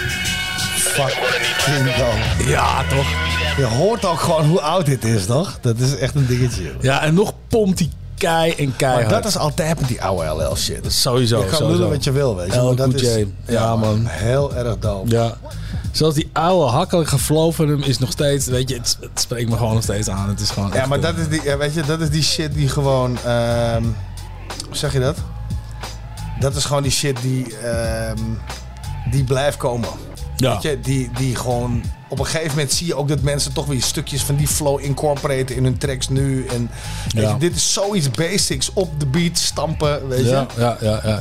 Ja, toch? Je hoort ook gewoon hoe oud dit is, toch? Dat is echt een dingetje. Ja, en nog pompt die keihard. Maar dat is altijd met die oude LL shit. Dat is sowieso. Je kan lullen wat je wil, weet je. LL Maar dat Cool is J. Ja, man. heel erg dope. Ja. Zelfs die oude hakkelige flow van hem is nog steeds, weet je, het spreekt me gewoon nog steeds aan. Het is gewoon Ja, maar dat is die, weet je, dat is die shit die gewoon, hoe zeg je dat? Dat is gewoon die shit die blijft komen. Ja. Weet je, die gewoon... Op een gegeven moment zie je ook dat mensen toch weer stukjes van die flow incorporaten in hun tracks nu. En weet je, dit is zoiets basics op de beat stampen, weet je. Ja.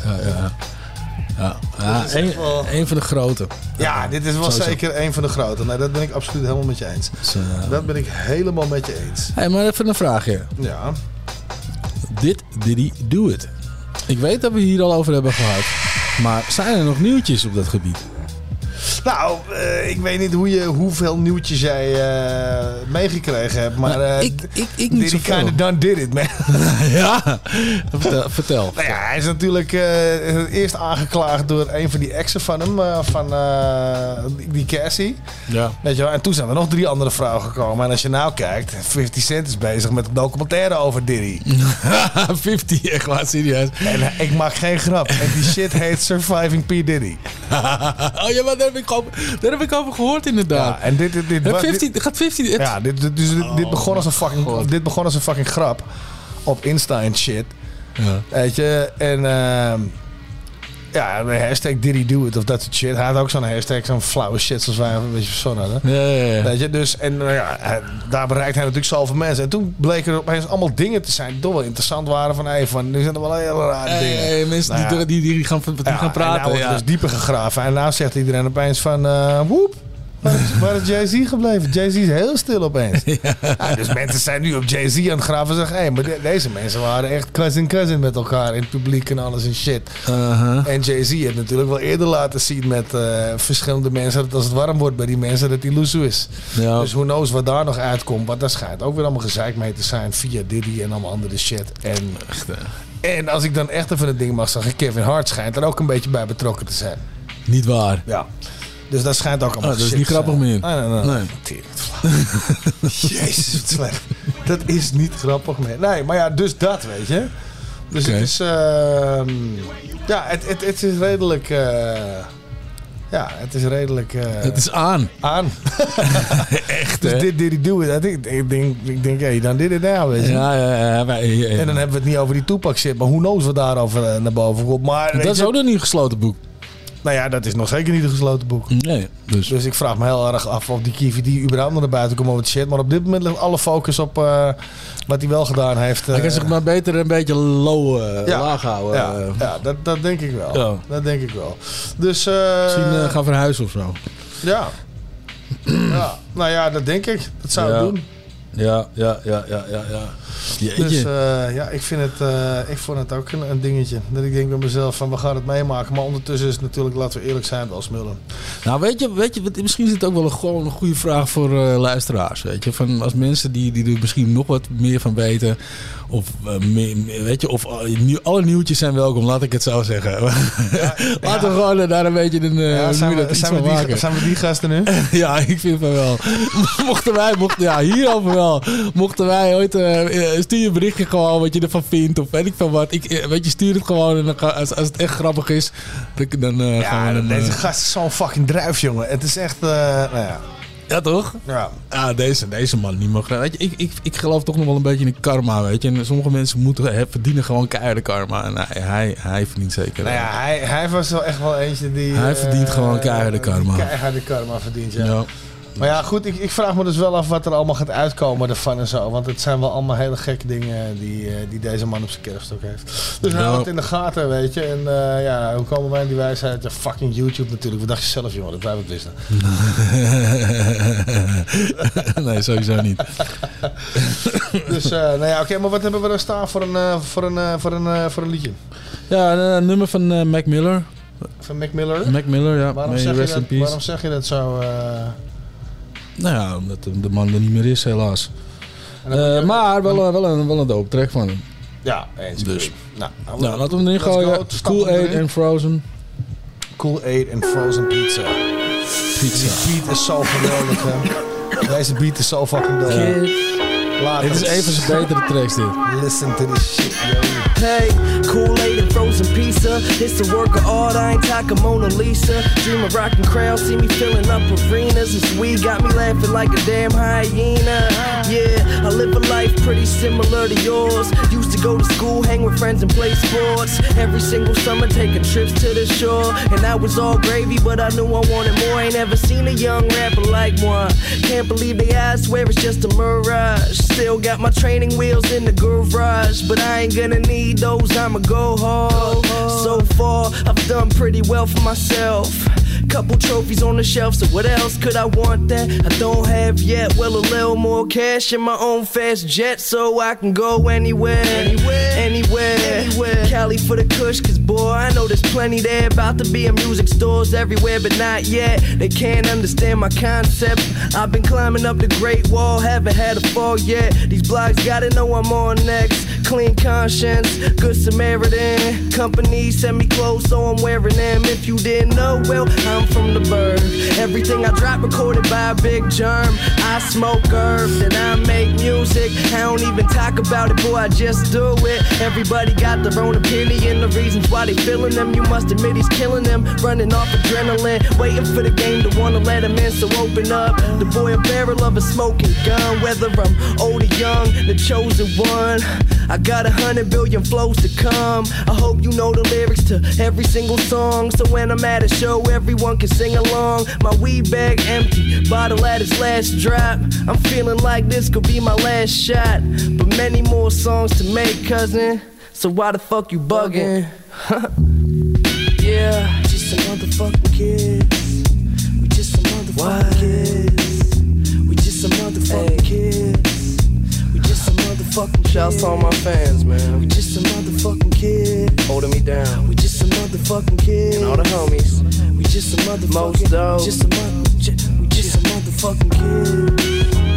Een van de grote. Ja, dit is wel Sowieso. zeker een van de grote. Nou, dat ben ik absoluut helemaal met je eens. Dus, dat ben ik helemaal met je eens. Hey, maar even een vraagje. Ja. Did he do it? Ik weet dat we hier al over hebben gehad. Maar zijn er nog nieuwtjes op dat gebied? Nou, ik weet niet hoeveel nieuwtjes jij meegekregen hebt, maar ik niet did he zoveel. kinda done did it, man. Ja, vertel. Nou ja, hij is natuurlijk eerst aangeklaagd door een van die exen van hem, van die Cassie. Ja. Weet je wel? En toen zijn er nog 3 andere vrouwen gekomen. En als je nou kijkt, 50 Cent is bezig met een documentaire over Diddy. 50, echt waar, serieus. En ik maak geen grap. En die shit heet Surviving P. Diddy. Oh ja, maar daar heb ik over gehoord inderdaad. Ja, en dit gaat 50... Ja, dit begon als een fucking grap. Op Insta en shit. Ja. Weet je, en ja, de hashtag Did he do it of dat soort shit. Hij had ook zo'n hashtag, zo'n flauwe shit zoals wij een beetje verzonnen hadden. Ja. Weet je, dus, en daar bereikt hij natuurlijk zoveel mensen. En toen bleken er opeens allemaal dingen te zijn die toch wel interessant waren. Van, nu zijn er wel hele rare dingen. Mensen Nou ja. die gaan praten. En nou wordt er dus dieper gegraven. En nou zegt iedereen opeens van, woep. Waar is Jay-Z gebleven? Jay-Z is heel stil opeens. Ja, dus mensen zijn nu op Jay-Z aan het graven en zeggen... Hé, maar deze mensen waren echt cousin met elkaar in het publiek en alles en shit. En Jay-Z heeft natuurlijk wel eerder laten zien met verschillende mensen... dat als het warm wordt bij die mensen, dat die loesoe is. Ja. Dus who knows wat daar nog uitkomt. Want daar schijnt ook weer allemaal gezeik mee te zijn via Diddy en allemaal andere shit. En als ik dan echt even het ding mag zeggen... Kevin Hart schijnt er ook een beetje bij betrokken te zijn. Niet waar. Ja. Dus dat schijnt ook allemaal dat is niet grappig meer. Nee. Jezus, wat slecht. Dat is niet grappig meer. Nee, maar ja, dus dat, weet je. Dus het is... ja, het is redelijk... ja, het is redelijk... het is aan. Echt, dus hè? dit did he do it. Ik denk, hey, dan did it now, weet je. Ja. En dan hebben we het niet over die Tupac shit. Maar who knows wat daarover naar boven komt. Maar, dat is ook nog niet een gesloten boek. Nou ja, dat is nog zeker niet een gesloten boek. Nee. Dus ik vraag me heel erg af of die KVD überhaupt nog naar buiten komt over het shit. Maar op dit moment ligt alle focus op wat hij wel gedaan heeft. Hij kan zich maar beter een beetje laag houden. Ja, dat denk ik wel. Ja. Dat denk ik wel. Dus, misschien gaan verhuizen of zo. Ja. Nou ja, dat denk ik. Dat zou ik doen. Ja. Jeetje. Dus ja, ik vond het ook een dingetje. Dat ik denk bij mezelf van, we gaan het meemaken. Maar ondertussen is het natuurlijk, laten we eerlijk zijn, wel smullen. Nou, weet je, misschien is het ook wel gewoon een goede vraag voor luisteraars. Weet je, van als mensen die er misschien nog wat meer van weten. Of weet je, of alle nieuwtjes zijn welkom, laat ik het zo zeggen. Laten we gewoon daar een beetje zijn we die gasten nu? Ja, ik vind van wel. Hierover wel. Mochten wij ooit stuur je een berichtje gewoon wat je ervan vindt of weet ik van wat. Weet je, stuur het gewoon en dan als het echt grappig is, dan gaan we... Deze gast is zo'n fucking druif, jongen. Het is echt, nou ja. Ja, toch? Ja. Deze man niet mag. Weet je, ik geloof toch nog wel een beetje in karma, weet je. En sommige mensen verdienen gewoon keiharde karma. En hij verdient zeker. Nou ja, hij was wel echt wel eentje die... Hij verdient gewoon keiharde karma. Keiharde karma verdient, ja. Maar ja, goed, ik vraag me dus wel af wat er allemaal gaat uitkomen ervan en zo. Want het zijn wel allemaal hele gekke dingen die deze man op zijn kerfstok heeft. Dus hou het in de gaten, weet je. En ja, hoe komen wij in die wijsheid? Ja, fucking YouTube natuurlijk. Wat dacht je zelf, jongen, dat wij het wisten? Nee, sowieso niet. Dus, nou ja, oké, maar wat hebben we er staan voor een liedje? Ja, een nummer van Mac Miller. Van Mac Miller? Mac Miller, ja. Waarom zeg je dat zo... Nou ja, omdat de man er niet meer is, helaas. Maar wel een dope track van hem. Ja, eens. Dus. Nou, laten we hem erin gooien. Cool Aid en Frozen. Cool Aid en Frozen Pizza. Die beat is zo geweldig, hè. Deze beat is zo fucking dope. Dit is een van zijn betere tracks, dit. Listen to this shit, yo. Hey, Kool-Aid and frozen pizza. It's a work of art, I ain't talking Mona Lisa. Dream of rocking crowds, see me filling up arenas. This weed got me laughing like a damn hyena. Yeah, I live a life pretty similar to yours. Used to go to school, hang with friends and play sports. Every single summer taking trips to the shore. And that was all gravy, but I knew I wanted more. Ain't ever seen a young rapper like one. Can't believe they eyes, swear it's just a mirage. Still got my training wheels in the garage, but I ain't gonna need those, I'ma go hard. So far, I've done pretty well for myself. Couple trophies on the shelf, so what else could I want that I don't have yet? Well, a little more cash in my own fast jet, so I can go anywhere. Cali for the kush, cause boy, I know there's plenty there. About to be in music stores everywhere, but not yet. They can't understand my concept. I've been climbing up the Great Wall, haven't had a fall yet. These blogs gotta know I'm on next. Clean conscience, good Samaritan. Company send me clothes, so I'm wearing them. If you didn't know, well, I'm from the bird. Everything I drop recorded by a big germ. I smoke herbs and I make music. I don't even talk about it, boy, I just do it. Everybody got their own opinion, the reasons why they feeling them. You must admit he's killing them, running off adrenaline, waiting for the game to wanna let him in. So open up, the boy a barrel of a smoking gun. Whether I'm old or young, the chosen one. I got 100 billion flows to come. I hope you know the lyrics to every single song, so when I'm at a show, everyone can sing along. My weed bag empty, bottle at its last drop. I'm feeling like this could be my last shot, but many more songs to make, cousin. So why the fuck you bugging? Yeah, just some motherfucking kids. We just some motherfucking kids. We just some motherfucking kids. We just some motherfucking kids. Shouts to all my fans, man. We just some motherfucking kids. Holding me down. We just some motherfucking kids. And all the homies. We just some motherfucking kids. We just some motherfucking kids.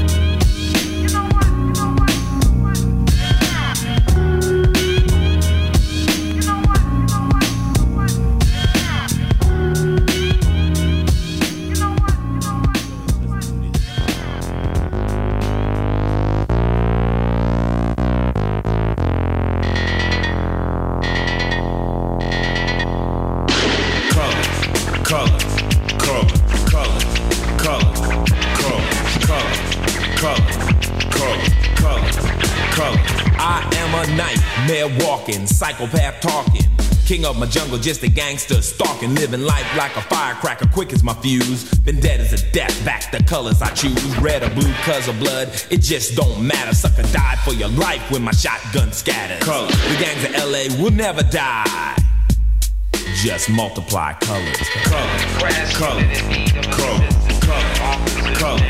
Walking, psychopath talking, king of my jungle, just a gangster stalking, living life like a firecracker, quick as my fuse. Been dead as a death, back the colors I choose, red or blue, cause of blood, it just don't matter. Sucker died for your life when my shotgun scatters. Colors. The gangs of LA will never die. Just multiply colors. Colors, colors, colors, colors, colors,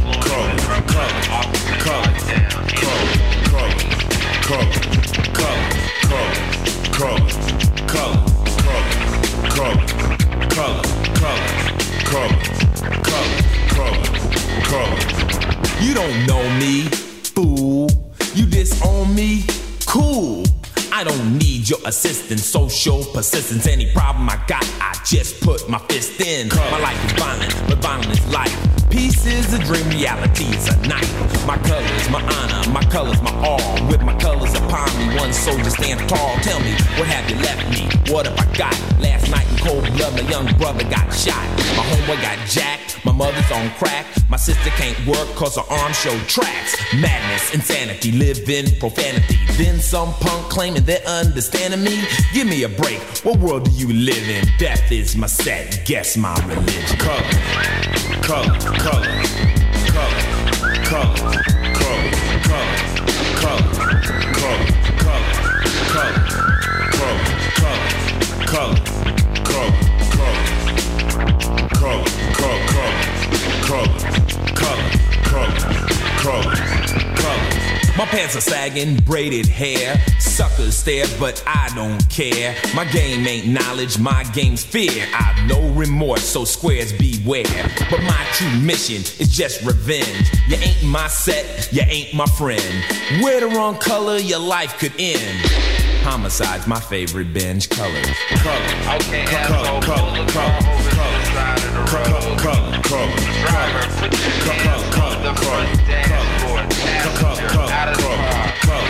You don't know me, fool. You disown me, cool. I don't need your assistance, social persistence. Any problem I got, I just put my fist in. My life is violent, but violent is life. Peace is a dream, reality is a knife. My colors, my honor, my colors, my all. With my colors upon me, one soldier stands tall. Tell me, what have you left me? What have I got? Last night in cold blood, my young brother got shot. My homeboy got jacked, my mother's on crack. My sister can't work cause her arms show tracks. Madness, insanity, live in profanity. Then some punk claiming they're understanding me. Give me a break, what world do you live in? Death is my set, guess my religion. Color, color, color, color, color, color, color, color, color, color, color, color, my pants are sagging, braided hair. Suckers stare, but I don't care. My game ain't knowledge, my game's fear. I've no remorse, so squares beware. But my true mission is just revenge. You ain't my set, you ain't my friend. Wear the wrong color, your life could end. Homicide's my favorite binge. Colors. Okay, asshole, pull the car over to the side of the road. Driver, put your hands on the front dashboard. Passenger, out of the car.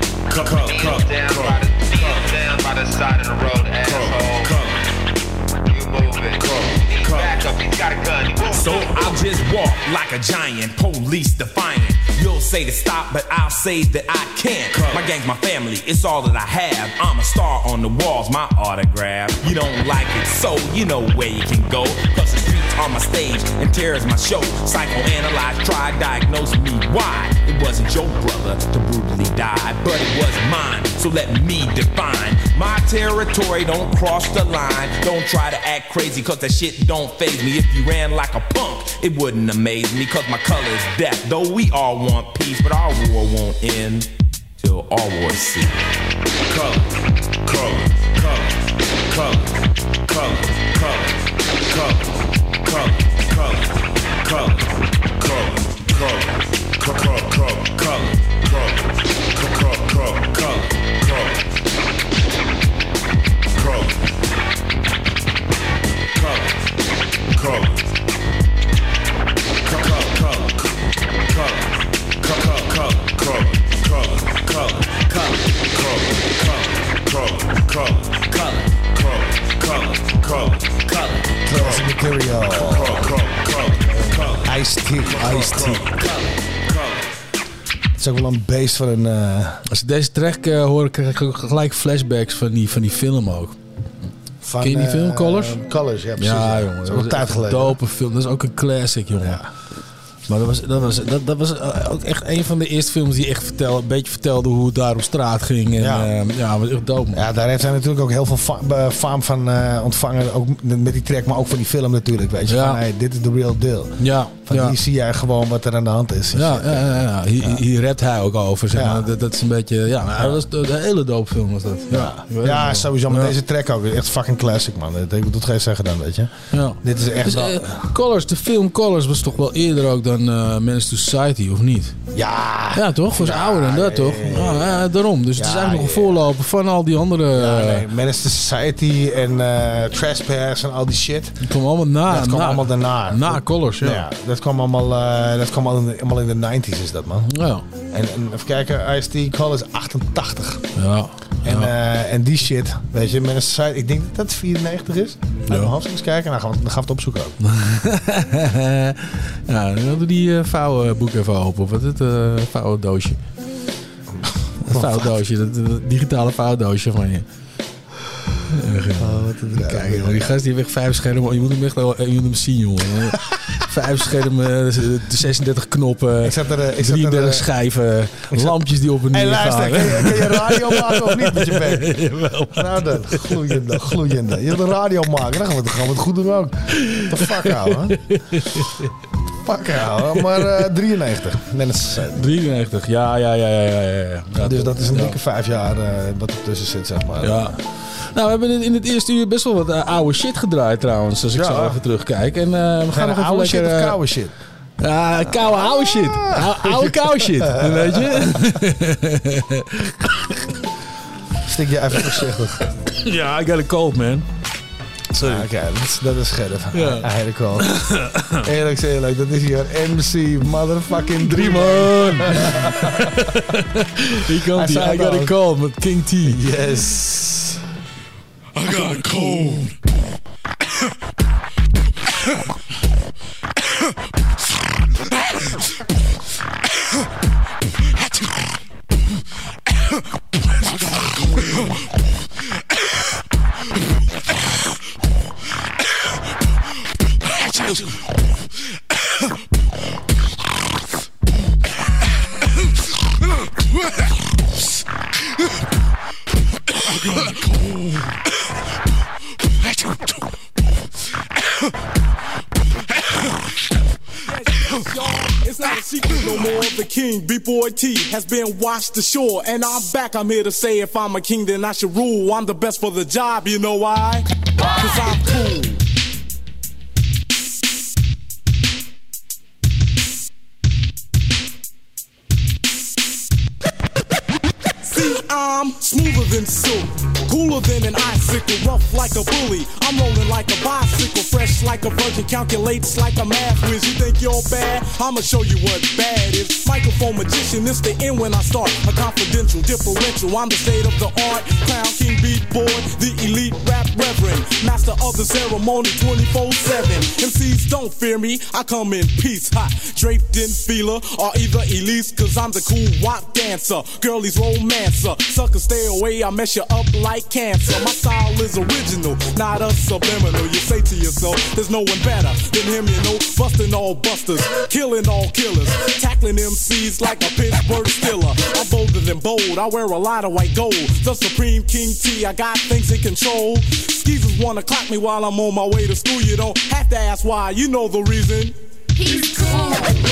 Knees down by the side of the road, asshole. You move it. He's back up, he's got a gun. You move So I'll just walk like a giant, police defiant. You'll say to stop, but I'll say that I can't. My gang's my family, it's all that I have. I'm a star on the walls, my autograph. You don't like it, so you know where you can go. Plus the streets are my stage, and terror's my show. Psychoanalyze, try, diagnose me why. It wasn't your brother to brutally die, but it was mine, so let me define. My territory, don't cross the line. Don't try to act crazy, cause that shit don't faze me. If you ran like a punk, it wouldn't amaze me, cause my color's death. Though we all want peace, but our war won't end till all wars cease. Color, color, color, color, color, color, color, color, color, color, color, Classic material. Ice-T. Het is ook wel een beest van een... Als ik deze track hoor, krijg ik gelijk flashbacks van die film ook. Ken je die film, Colors? Colors, ja precies. Ja, jongen. Dat is ook een tijd geleden. Dope film. Dat is ook een classic, jongen. Ja. Maar dat was ook echt een van de eerste films die echt een beetje vertelde hoe het daar op straat ging. En, ja, was echt dope, man. Ja, daar heeft hij natuurlijk ook heel veel faam van ontvangen. Ook met die track, maar ook van die film natuurlijk. Weet je, van, hey, dit is the real deal. Ja. Van hier zie jij gewoon wat er aan de hand is. Ja. Hier rapt hij ook over. Zeg maar. Dat is een beetje... Ja, dat was een hele dope film was dat. Ja, sowieso. Maar deze track ook. Echt fucking classic, man. Dat doet geen zeggen dan, weet je. Ja. Dit is echt dus, wel... Colors, de film Colors was toch wel eerder ook dan Menace to Society, of niet? Ja, toch? Was ouder dan dat, toch? Daarom. Dus het is eigenlijk nog een voorloper van al die andere... Menace to Society en Trespass en al die shit. Dat kwam allemaal Dat kwam allemaal daarna. Na Colors, ja. Dat kwam allemaal in de 90s is dat, man. Ja. En even kijken, Ice-T Colors 88. Ja. En die shit, weet je, Menace to Society, ik denk dat het 94 is. Ja. Gaan we eens kijken en dan gaan we het opzoeken ook. Ja, dan doe die vouwboek even open. Of wat is het? Vouwdoosje. Het vouwdoosje, dat digitale vouwdoosje van je. Kijk, die gast die heeft echt 5 schermen. Je moet hem echt je moet hem zien, jongen. 5 schermen, 36 knoppen, 33 schijven, lampjes die op en neer gaan. Hey, luister, kan je radio maken of niet met je bek? Jawel. Nou dan, gloeiende. Je wilt een radio maken, dan gaan we het goed doen ook. What the fuck, ouwe. Maar 93. 93, ja. Dus dat is een dikke 5 jaar wat er tussen zit, zeg maar. Ja. Nou, we hebben in het eerste uur best wel wat oude shit gedraaid trouwens, als ik zo even terugkijk. En we gaan nog even oude lekker... shit of koude shit? Ja, oude shit. Oude koude shit, weet je? Stik je even voorzichtig. Ja, I got a cold, man. Sorry. Oké, dat is scherp. Ja. Eigenlijk wel. Eerlijk, dat is hier MC motherfucking Dreamon. Hier komt hij. I got a cold met King T. Yes. I got a cold. It's not a secret no more. The king, B-Boy T, has been washed ashore. And I'm back, I'm here to say if I'm a king, then I should rule. I'm the best for the job, you know why? 'Cause I'm cool. I'm smoother than silk, cooler than an icicle, rough like a bully. I'm rolling like a bicycle, fresh like a virgin, calculates like a math whiz. You think you're bad? I'ma show you what bad is. Microphone magician, it's the end when I start. A confidential, differential, I'm the state of the art. Crown King Beat Boy, the elite rap reverend, master of the ceremony 24/7. MCs don't fear me, I come in peace, hot, draped in feeler, or either Elise, cause I'm the cool walk dancer, girlies romancer. Sucker, stay away, I mess you up like cancer. My style is original, not a subliminal. You say to yourself, there's no one better than him, you know. Busting all busters, killing all killers, tackling MCs like a Pittsburgh Steeler. I'm bolder than bold, I wear a lot of white gold. The Supreme King T, I got things in control. Skeezers wanna clock me while I'm on my way to school. You don't have to ask why, you know the reason. He's cool.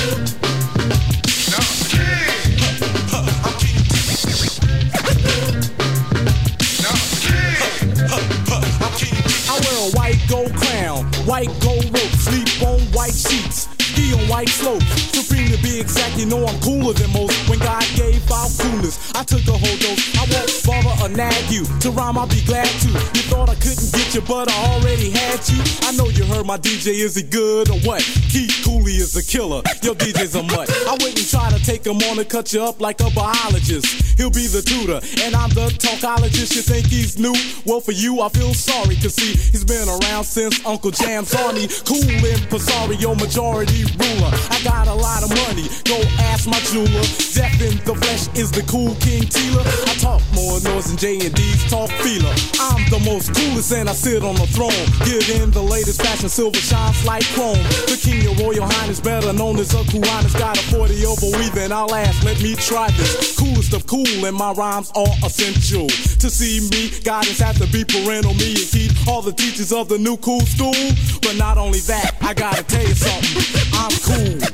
I wear a white gold crown, white gold rope, sleep on white sheets, ski on white slopes. Supreme to be exact, you know I'm cooler than most. When God gave out coolness, I took a whole dose. I won't bother or nag you. To rhyme, I'll be glad to. You thought I couldn't get you, but I already had you. I know you heard my DJ, is he good or what? Keith Cooley is a killer, your DJ's a mutt. I wouldn't try to take him on and cut you up like a biologist. He'll be the tutor, and I'm the talkologist. You think he's new? Well, for you, I feel sorry, cause see, he's been around since Uncle Jam's Army. Cool in Pizarro, majority ruler. I got a lot of money, go ask my jeweler. Death in the flesh is the cool King Teela. I talk more noise than J&D's talk feeler. I'm the most coolest and I sit on the throne. Get in the latest fashion, silver shines like chrome. The King, your Royal Highness, better known as a Kuwanis. Got a 40 over weaving, I'll ask, let me try this. Coolest of cool, and my rhymes are essential. To see me, guidance has to be parental. Me and Keith, all the teachers of the new cool school. But not only that, I gotta tell you something, I'm cool.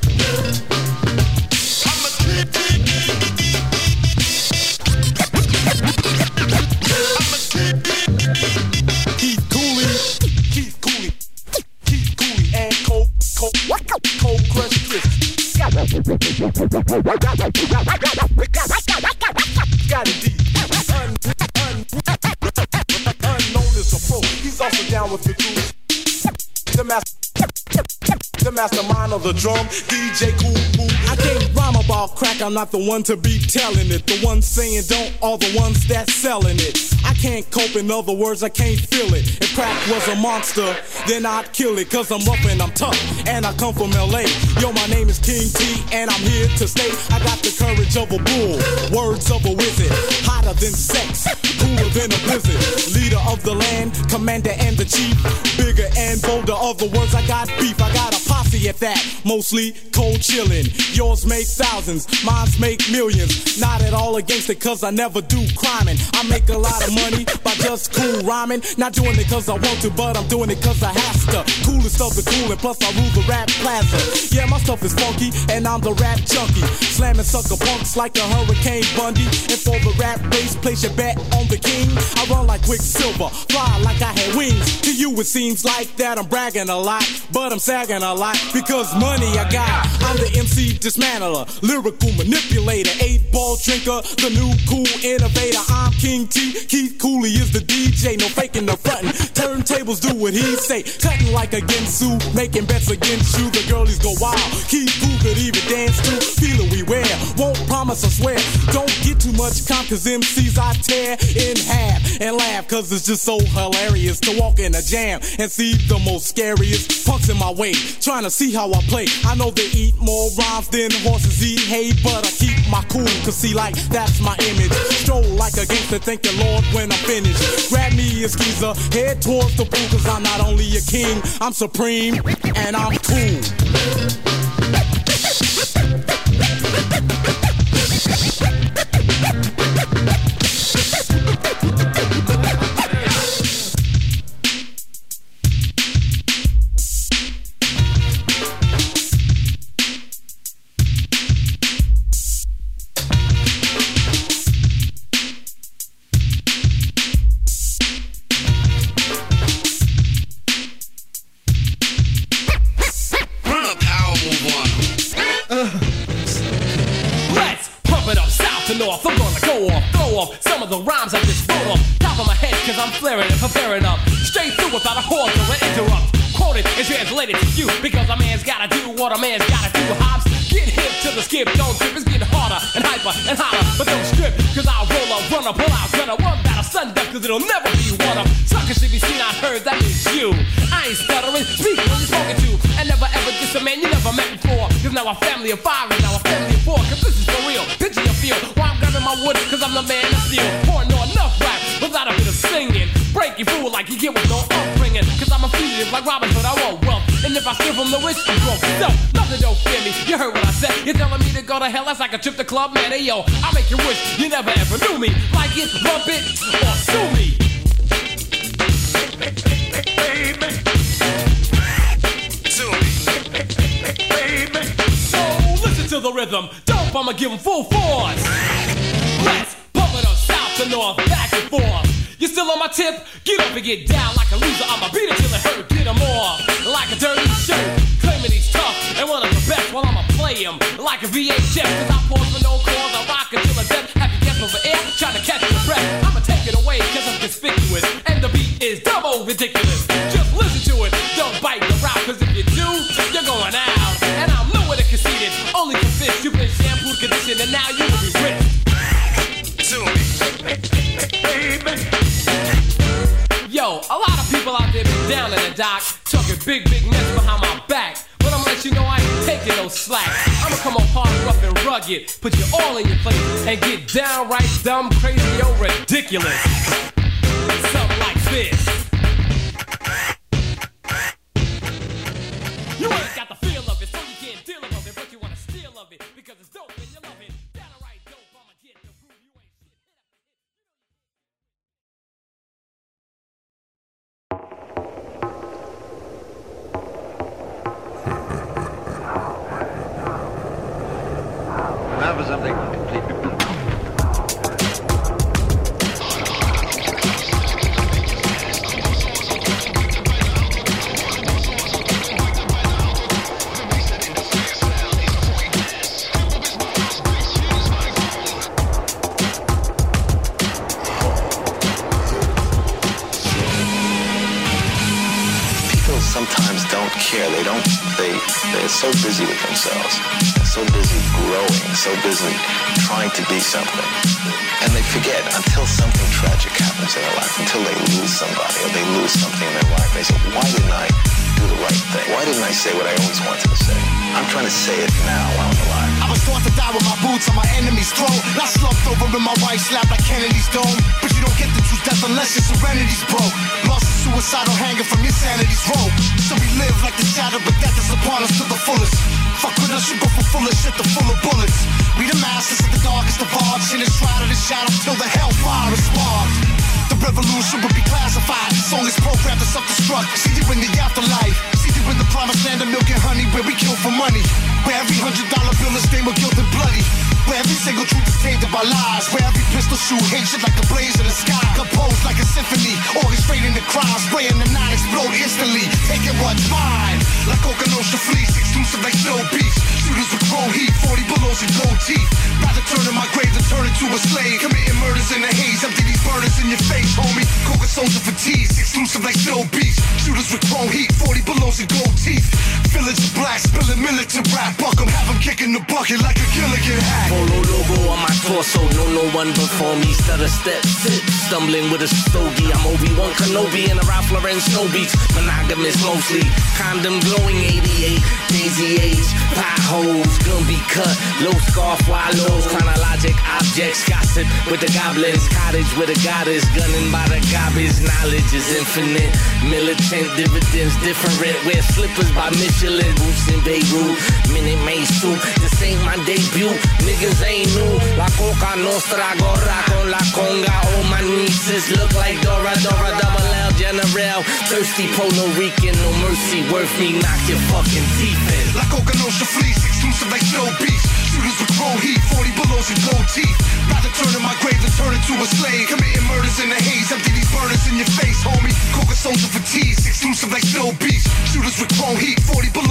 And cold crush Chris. Got it deep. Unknown as a pro. He's also down with the crew. The mastermind of the drum, DJ Cool Cool. I can't rhyme about crack, I'm not the one to be telling it. The ones saying don't are the ones that's selling it. I can't cope, in other words, I can't feel it. If crack was a monster, then I'd kill it. Cause I'm rough and I'm tough, and I come from LA. Yo, my name is King T, and I'm here to stay. I got the courage of a bull, words of a wizard. Hotter than sex, cooler than a blizzard. Leader of the land, commander and the chief. Bigger and bolder, other words, I got beef. I got a posse at that, mostly cold chillin'. Yours make thousands, mine's make millions. Not at all against it, cause I never do criming. I make a lot of money by just cool rhyming. Not doing it cause I want to, but I'm doing it cause I have to. Coolest of the cool, and plus I rule the rap plaza. Yeah, my stuff is funky, and I'm the rap junkie. Slamming sucker punks like a Hurricane Bundy. And for the rap race, place your bet on the king. I run like Quicksilver, fly like I had wings. To you it seems like that I'm bragging a lot, but I'm sagging a lot because money I got. I'm the MC dismantler, lyrical manipulator, 8-ball drinker, the new cool innovator. I'm King T, Keith Cooley is the DJ, no faking, no frontin'. Turntables do what he say, cutting like a Ginsu, making bets against you. The girlies go wild, Keith Cool could even dance to feel it we wear. Won't promise, I swear, don't get too much calm cause MCs I tear in half and laugh cause it's just so hilarious to walk in a jam and see the most scariest punks in my way, trying to see how I play. I know they eat more rhymes than horses eat hay, but I keep my cool cause see like that's my image. Stroll like a gangster, thank the Lord when I'm finished. Grab me a skeezer, head towards the pool cause I'm not only a king, I'm supreme and I'm cool. I'm gonna go off, throw off some of the rhymes I just wrote off top of my head, cause I'm flaring and preparing up straight through without a pause or an interrupt. Quoted and translated to you, because a man's gotta do what a man's gotta do. Hops, get hip to the skip, don't trip, it's getting harder and hyper and hotter, but don't strip, cause I'll roll up, run up, pull out, gonna one battle sundown, cause it'll never be one up. Suckers should be seen, I heard, that means you. I ain't stuttering, speak when you're spoken to, and never ever diss a man you never met before, cause now a family of five and now a family of four, cause this is for real, picture your feel, while I'm grabbing my wood, cause I'm the man of steel, pouring no enough rap without a bit of singing, break your fool like you get with no upbringing, cause I'm a fugitive like Robin Hood, I want wealth, and if I steal from the rich, I'm broke. No, nothing don't fear me, you heard what I said, you're telling me to go to hell, that's like a trip to Club Man, hey yo, I'll make you wish you never ever knew me, like it, bump it, or sue me. Baby, sue me, baby. So listen to the rhythm, dope, I'ma give 'em full force. Let's pump it up south to north, back and forth. You still on my tip? Get up and get down like a loser. I'ma beat it till it hurt. Get 'em off like a dirty shirt. Claiming he's tough and one of the best. While I'ma play him like a VHS. Cause I pause for no cause. I rock until the death. Have you guessed over air? Trying to catch your breath. I'ma take it away cause I'm conspicuous. And the beat is double ridiculous. Just listen to it. Don't bite the route. Cause if you do, you're going out. And I'm nowhere to concede it. Only for this. You've been shampooed, conditioned, and now you will be rich. To me, baby. Yo, a lot of people out there been down in the dock, talking big mess behind my back. But I'ma let you know I ain't taking no slack. I'ma come on hard, rough and rugged, put you all in your place, and get downright dumb, crazy, or ridiculous. Something like this. You ain't got the feel of it, so you can't deal with it, but you wanna steal of it, because it's dope and you love it. Downright dope, I'ma get the groove, you ain't shit. Now for something completely sometimes don't care. They're so busy with themselves, so busy growing, so busy trying to be something. And they forget until something tragic happens in their life, until they lose somebody or they lose something in their life. They say, why didn't I do the right thing? Why didn't I say what I always wanted to say? I'm trying to say it now while I'm alive. I was taught to die with my boots on my enemy's throat. Not slumped over in my wife's lap like Kennedy's dome. But you don't get to choose death unless your serenity's broke. Lost and suicidal hanging from your sanity's rope. So we live like the shadow, but death is upon us to the fullest. Fuck with us, you go for full of shit to full of bullets. We the masters of the darkest of arts. In the shroud of the shadow till the hellfire is sparked. The revolution would be classified. Song is programmed to self-destruct. See you in the afterlife. See you in the promised land of milk and honey, where we kill for money. Where every $100 bill is stained with guilt and bloody. Where every single truth is tainted by lies. Where every pistol shoot hatred like a blaze in the sky. Composed like a symphony, orchestrating the crime. Spraying the night, explode instantly. Taking what's mine. Like Okanoshi fleece, exclusive like Snow Beach. Shooters with chrome heat, 40 belows and gold teeth. Rather turn in my grave than turn into a slave. Committing murders in the haze, empty these burners in your face, homie. Coca soldier for tease, exclusive like Snow Beach. Shooters with chrome heat, 40 belows and gold teeth. Village of black, spilling militant rap. Buck 'em, have 'em kicking the bucket like a Gilligan hat. Polo logo on my torso, no one before me. Stutter step, sit, stumbling with a stogie. I'm Obi-Wan Kenobi in a Ralph Lauren Snow Beach. Monogamous mostly, condom glowing 88. Daisy age, potholes, gonna be cut. Low scarf, wallows, chronologic objects. Gossip with the goblins, cottage with a goddess. Gunning by the garbage, knowledge is infinite. Militant dividends different. Wear slippers by Michelin, boots in Beirut. Minute Maid suit, this ain't my debut. Niggas ain't new. La Coca Nostra, gorra con la conga. All my nieces look like Dora, double L, General. Thirsty Puerto Rican, no mercy, worth me, knock your fucking teeth in. La Coca Nostra fleece, exclusive like Snow Beach. Shooters with chrome heat, 40 belows and gold teeth. Rather turn in my grave than turn into a slave. Committing murders in the haze, empty these burners in your face, homie. Coca soldier for tease, exclusive like Snow Beach. Shooters with chrome heat, 40 belows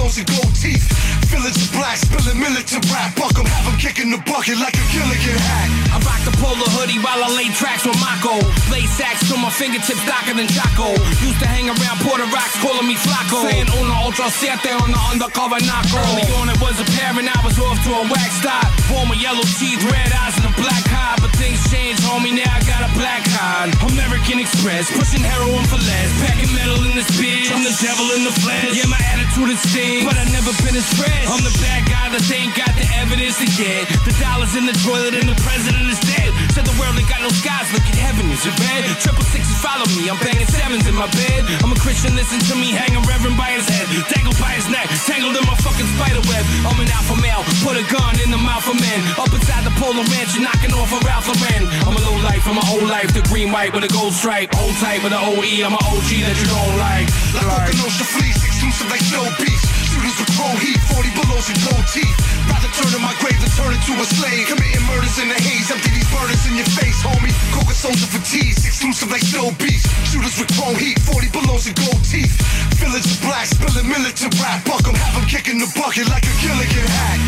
balloons and gold teeth. Village of black, spilling militant rap. Buck 'em, have 'em kicking the bucket like a Gilligan hat. I rock the polar hoodie while I lay tracks with Mako. Blade sacks to my fingertips darker than Chaco. Used to hang around Puerto Rocks calling me Flaco. Saying Una Ultra Siete on the undercover knocko. Early on it was apparent I was off to a wax stop. Born with yellow teeth, red eyes and a black eye. But things changed, homie, now I got a black card. American Express, pushing heroin for less. Packing metal in the speed, I'm the devil in the flesh. Yeah, my attitude is stings, but I never been as fresh. I'm the bad guy that they ain't got the evidence to get. The dollars in the toilet and the president is dead. Said the world ain't got no skies, look at heaven, is it red? 666 follow me, I'm banging sevens in my bed. I'm a Christian, listen to me, hang a reverend by his head. Tangled by his neck, tangled in my fucking spider web. I'm an alpha male, put a gun in the mouth of men. Up inside the polar ranch, you're knocking off a Ralph Lauren. I'm a low life, I'm a old life, the green white with a gold stripe. Old type with an OE, I'm an OG that you don't like. Like Okanosa fleece, exclusive like snow beast. Shooters with chrome heat, 40 belows and gold teeth. Rather turn in my grave than turn into a slave. Committing murders in the haze, empty these burners in your face, homie. Coca soldier for tease, exclusive like snow beast. Shooters with chrome heat, 40 belows and gold teeth. Village of black, spilling militant rap. Buck 'em, have 'em kicking the bucket like a Gilligan hat.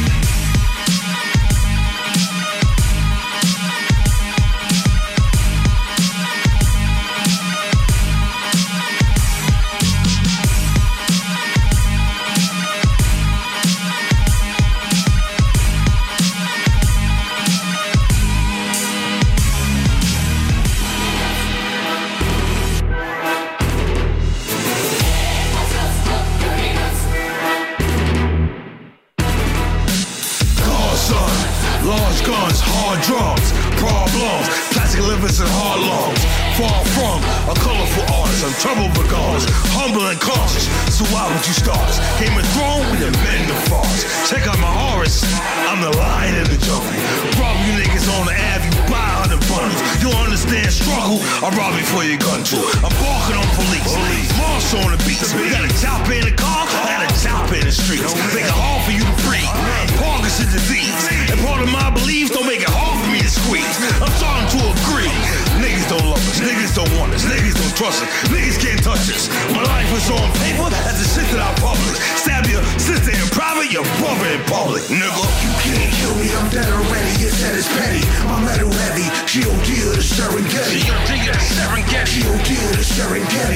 Guns, hard drums, problems, plastic livers and hard lungs. Far from a colorful artist, I'm trouble regardless, humble and cautious. So why would you start us? Game of Thrones, we the men the farce. Check out my Horus, I'm the lion in the jungle. Rob you niggas on the Ave, you buy 100 bundles. You don't understand struggle, I'll rob you for your gun too. I'm barking on police, Marsh on the beats. We got a chopper in the car, I got a chopper in the streets. Make it hard for you to breathe. Parkinson's disease, and part of my beliefs don't make it hard for me to squeeze. I'm starting to agree. Niggas don't love us, niggas don't want us, niggas don't trust us, niggas can't touch us. My life is on paper, that's the shit that I publish. Stab your sister in private, your brother in public, nigga. You can't kill me, I'm dead already, it's that it's petty. My metal heavy, G.O.D. of the Serengeti. G.O.D. of the Serengeti. G.O.D. of the Serengeti.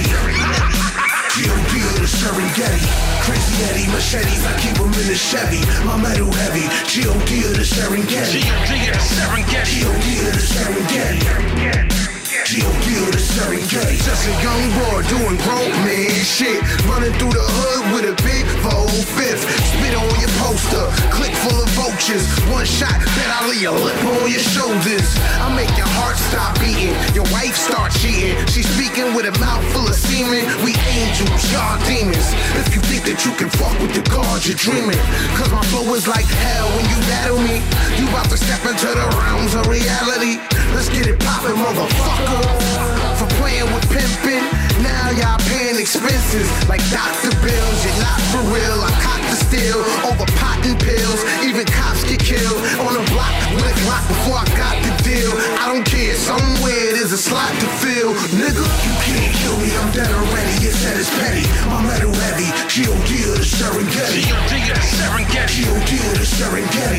G.O.D. of the Serengeti. Crazy Eddie, machetes, I keep them in the Chevy. My metal heavy, G.O.D. of the Serengeti. G.O.D. of the Serengeti. G.O.D. of the Serengeti. G.O.D. of the Serengeti. Just a young boy doing grown man shit. Running through the hood with a big 4-5. Spit on your poster, click full of vultures. One shot, bet I leave your lip on your shoulders. I make your heart stop beating, your wife start cheating. She's speaking with a mouth full of semen. We angels, y'all demons. If you think that you can fuck with the gods, you're dreaming. Cause my flow is like hell when you battle me. You about to step into the realms of reality. Let's get it poppin', motherfucker. For playing with pimpin', now y'all paying expenses like Dr. Bills. You're not for real, I caught the steal over pot and pills. Even cops get killed on a block with a Glock before I got the deal. I don't care, somewhere there's a slot to fill. Nigga, you can't kill me, I'm dead already. It's that it's petty, my metal heavy. G.O.D. of the Serengeti. G.O.D. of the Serengeti. G.O.D. of the Serengeti.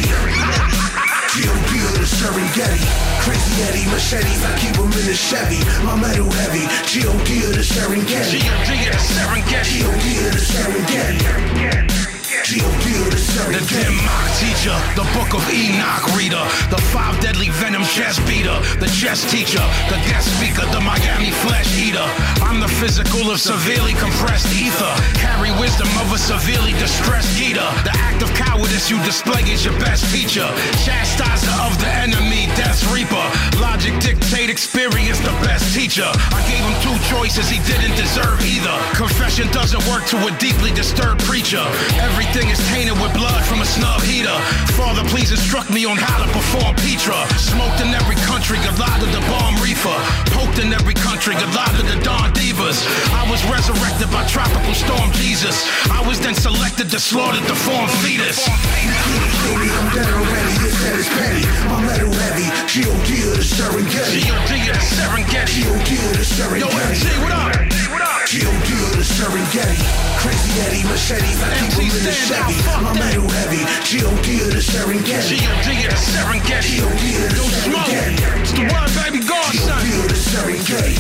G.O.D. of the Serengeti. Crazy Eddie, machetes, I keep them in the Chevy. My metal heavy, G.O.D. of the Serengeti. G.O.D. of the Serengeti. G.O.D. of the Serengeti. G.O.D. of the Serengeti. The dim mock teacher, the book of Enoch reader, the 5 deadly venom chess beater, the chess teacher, the guest speaker, the Miami flesh eater. I'm the physical of severely compressed ether, carry wisdom of a severely distressed eater. The act of cowardice you display is your best teacher, chastiser of the enemy, death's reaper. Logic dictate experience, the best teacher. I gave him 2 choices, he didn't deserve either. Confession doesn't work to a deeply disturbed preacher. Everything is tainted with blood from a snub heater. Father, please instruct me on how to perform Petra. Smoked in every country, Goliath the bomb reefer. Poked in every country, Goliath the Dawn Divas. I was resurrected by tropical storm Jesus. I was then selected to slaughter the form fetus. Baby, I'm dead already, it's that it's petty. My metal heavy, G.O.D. of the Serengeti. G.O.D. of the Serengeti. G.O.D. of the Serengeti. Yo, MC, what up? G.O.D. of the Serengeti. Crazy Eddie, machetes, I keep them in the Chevy. My metal heavy, G.O.D. of the Serengeti. G.O.D. of the Serengeti. G.O.D. of the Serengeti. It's the one, baby, godson. G.O.D. of the Serengeti.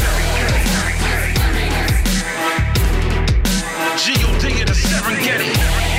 G.O.D. of the Serengeti.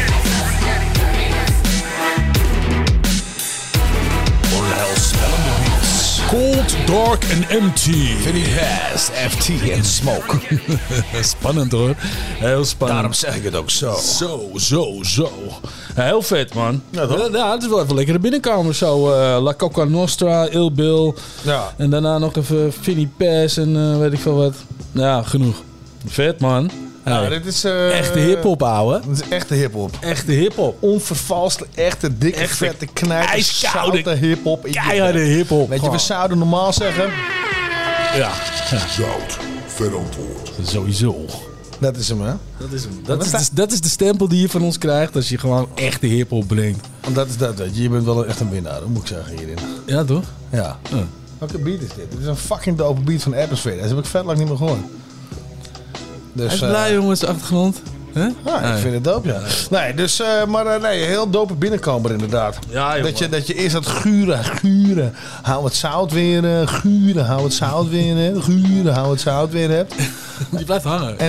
Onheilspellende beats. Cold, dark and empty. Vinnie Paz, FT en Smoke. Spannend hoor. Heel spannend. Daarom zeg ik het ook zo. Zo. Ja, heel vet man. Ja, het is wel even lekker er binnenkomen zo. La Coca Nostra, Il Bill. Ja. En daarna nog even Vinnie Paz en weet ik veel wat. Ja, genoeg. Vet man. Ja, dit is echte hiphop, ouwe. Dit is echte hiphop. Echte hiphop. Onvervalste, echte, dikke, vette, knijter, ijskoude, zoute hiphop. Keiharde hiphop. Weet je, we zouden normaal zeggen... Ja. Zout, vet antwoord. Sowieso. Dat is hem, hè? Dat is hem. Dat is de stempel die je van ons krijgt als je gewoon echte hiphop brengt. Want dat is dat, weet je. Je bent wel echt een winnaar, dat moet ik zeggen hierin. Ja, toch? Ja. Welke beat is dit? Dit is een fucking dope beat van Atmosphere. Dat heb ik vet lang niet meer gehoord. Dus, hij is blij, jongens, de achtergrond. Huh? Ja, ik vind het dope, ja. Nee, dus, nee, heel dope binnenkomer inderdaad. Ja, dat je eerst dat guren. Hou het zout weer, guren. Hou het zout weer, guren. Hou het zout weer hebt. Die blijft hangen.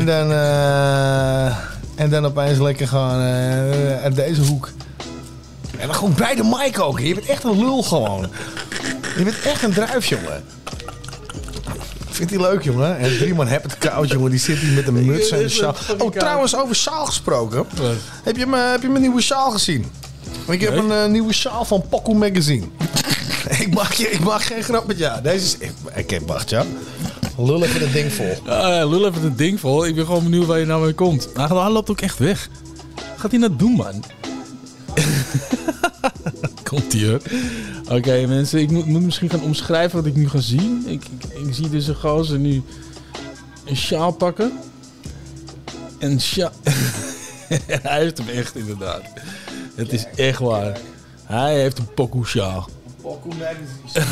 En dan opeens lekker gewoon uit deze hoek. En dan gewoon bij de mic ook. Je bent echt een lul gewoon. Je bent echt een druif, jongen. Vindt hij leuk, jongen? En Drieman heb het koud, jongen. Die zit hier met een muts en een sjaal. Oh, trouwens, over sjaal gesproken. Heb je mijn nieuwe sjaal gezien? Ik heb een nieuwe sjaal van Poco Magazine. ik mag geen grap met jou. Deze is... Ik wacht, ja. Lul even het ding vol. Lul even het ding vol. Ik ben gewoon benieuwd waar je nou mee komt. Hij loopt ook echt weg. Wat gaat hij nou doen, man? Komt ie, hoor. Oké, mensen. Ik moet misschien gaan omschrijven wat ik nu ga zien. Ik zie dus een gozer nu een sjaal pakken. En sjaal... Hij heeft hem echt, inderdaad. Het is echt waar. Hij heeft een pokoe sjaal. Poco Magazine.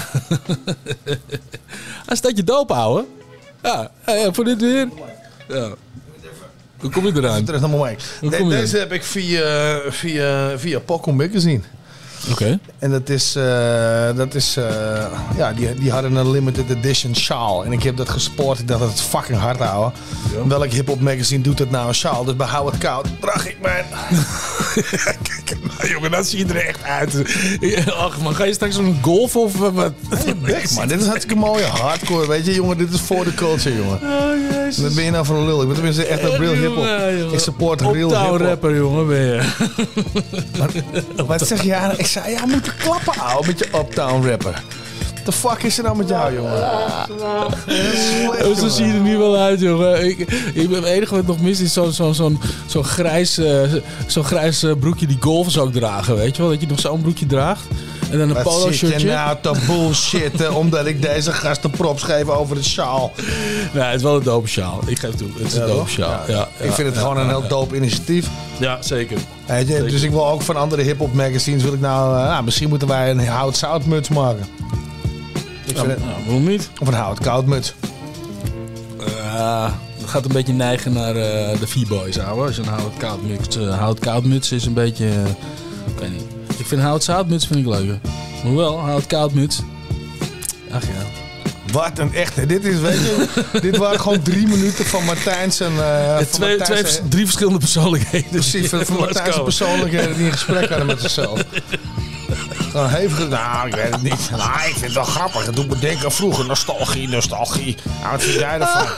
Hij staat je doop, ouwe. Ja, voor dit weer. Ja. Hoe kom je eraan? Terug naar mijn mic. Deze heb ik via Poco Magazine. Oké. En dat is ja, die hadden een limited edition sjaal. En ik heb dat gesport. Ik dacht dat het fucking hard houden. Ja. Welk hip-hop magazine doet het nou een sjaal? Dus bij Hou het Koud draag ik mijn... Kijk, nou jongen, dat zie je er echt uit. Ach man, ga je straks zo'n golf of wat? Man, dit is hartstikke mooie hardcore, weet je jongen. Dit is voor de culture, jongen. Oh, jezus. Wat ben je nou voor een lul? Ik ben tenminste echt een real hip-hop. Ik support real hip-hop. Uptown rapper, jongen, ben je. Wat zeg je? Ik zei, ja, moet je klappen, ouwe, met je Uptown rapper. What the fuck is er nou met jou, jongen? Zo zie je er nu wel uit, jongen. Het enige wat nog mis is zo'n grijs broekje die golfers ook dragen, weet je wel? Dat je nog zo'n broekje draagt. En dan een polo shirtje. Wat zit je nou te bullshitten omdat ik deze gasten props geef over het sjaal? Nou, het is wel een dope sjaal. Ik geef toe. Het is een dope sjaal. Ja, ik vind het gewoon een heel dope initiatief. Ja, zeker. Dus ik wil ook van andere hip-hop magazines. Wil ik misschien moeten wij een hout zout muts maken. Waarom niet? Of een hout koud muts. Dat gaat een beetje neigen naar de V-boys, ouwe. Als je een hout koud muts is een beetje... ik weet niet. Ik vind hout zout muts vind ik leuker. Hoewel, hout koud muts. Ach ja. Wat een echte. Dit is, weet je, dit waren gewoon 3 minuten van Martijn's en... Drie verschillende persoonlijkheden. Precies, van Martijn's persoonlijkheden die in gesprek hadden met zichzelf. Gewoon hevig. Nou, ik weet het niet. Nou, ik vind het wel grappig. Het doet me denken aan vroeger. Nostalgie. Nou, wat vind jij ervan?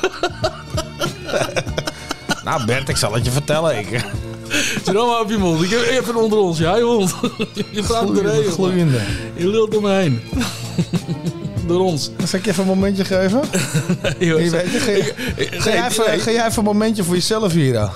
Nou, Bert, ik zal het je vertellen. Zit allemaal op je mond. Ik heb even onder ons. Ja, je hond. Je praat erheen. Gloeiende. Je lult om me heen. Door ons. Zal ik je even een momentje geven? Nee, joh, ga jij even een momentje voor jezelf hier dan?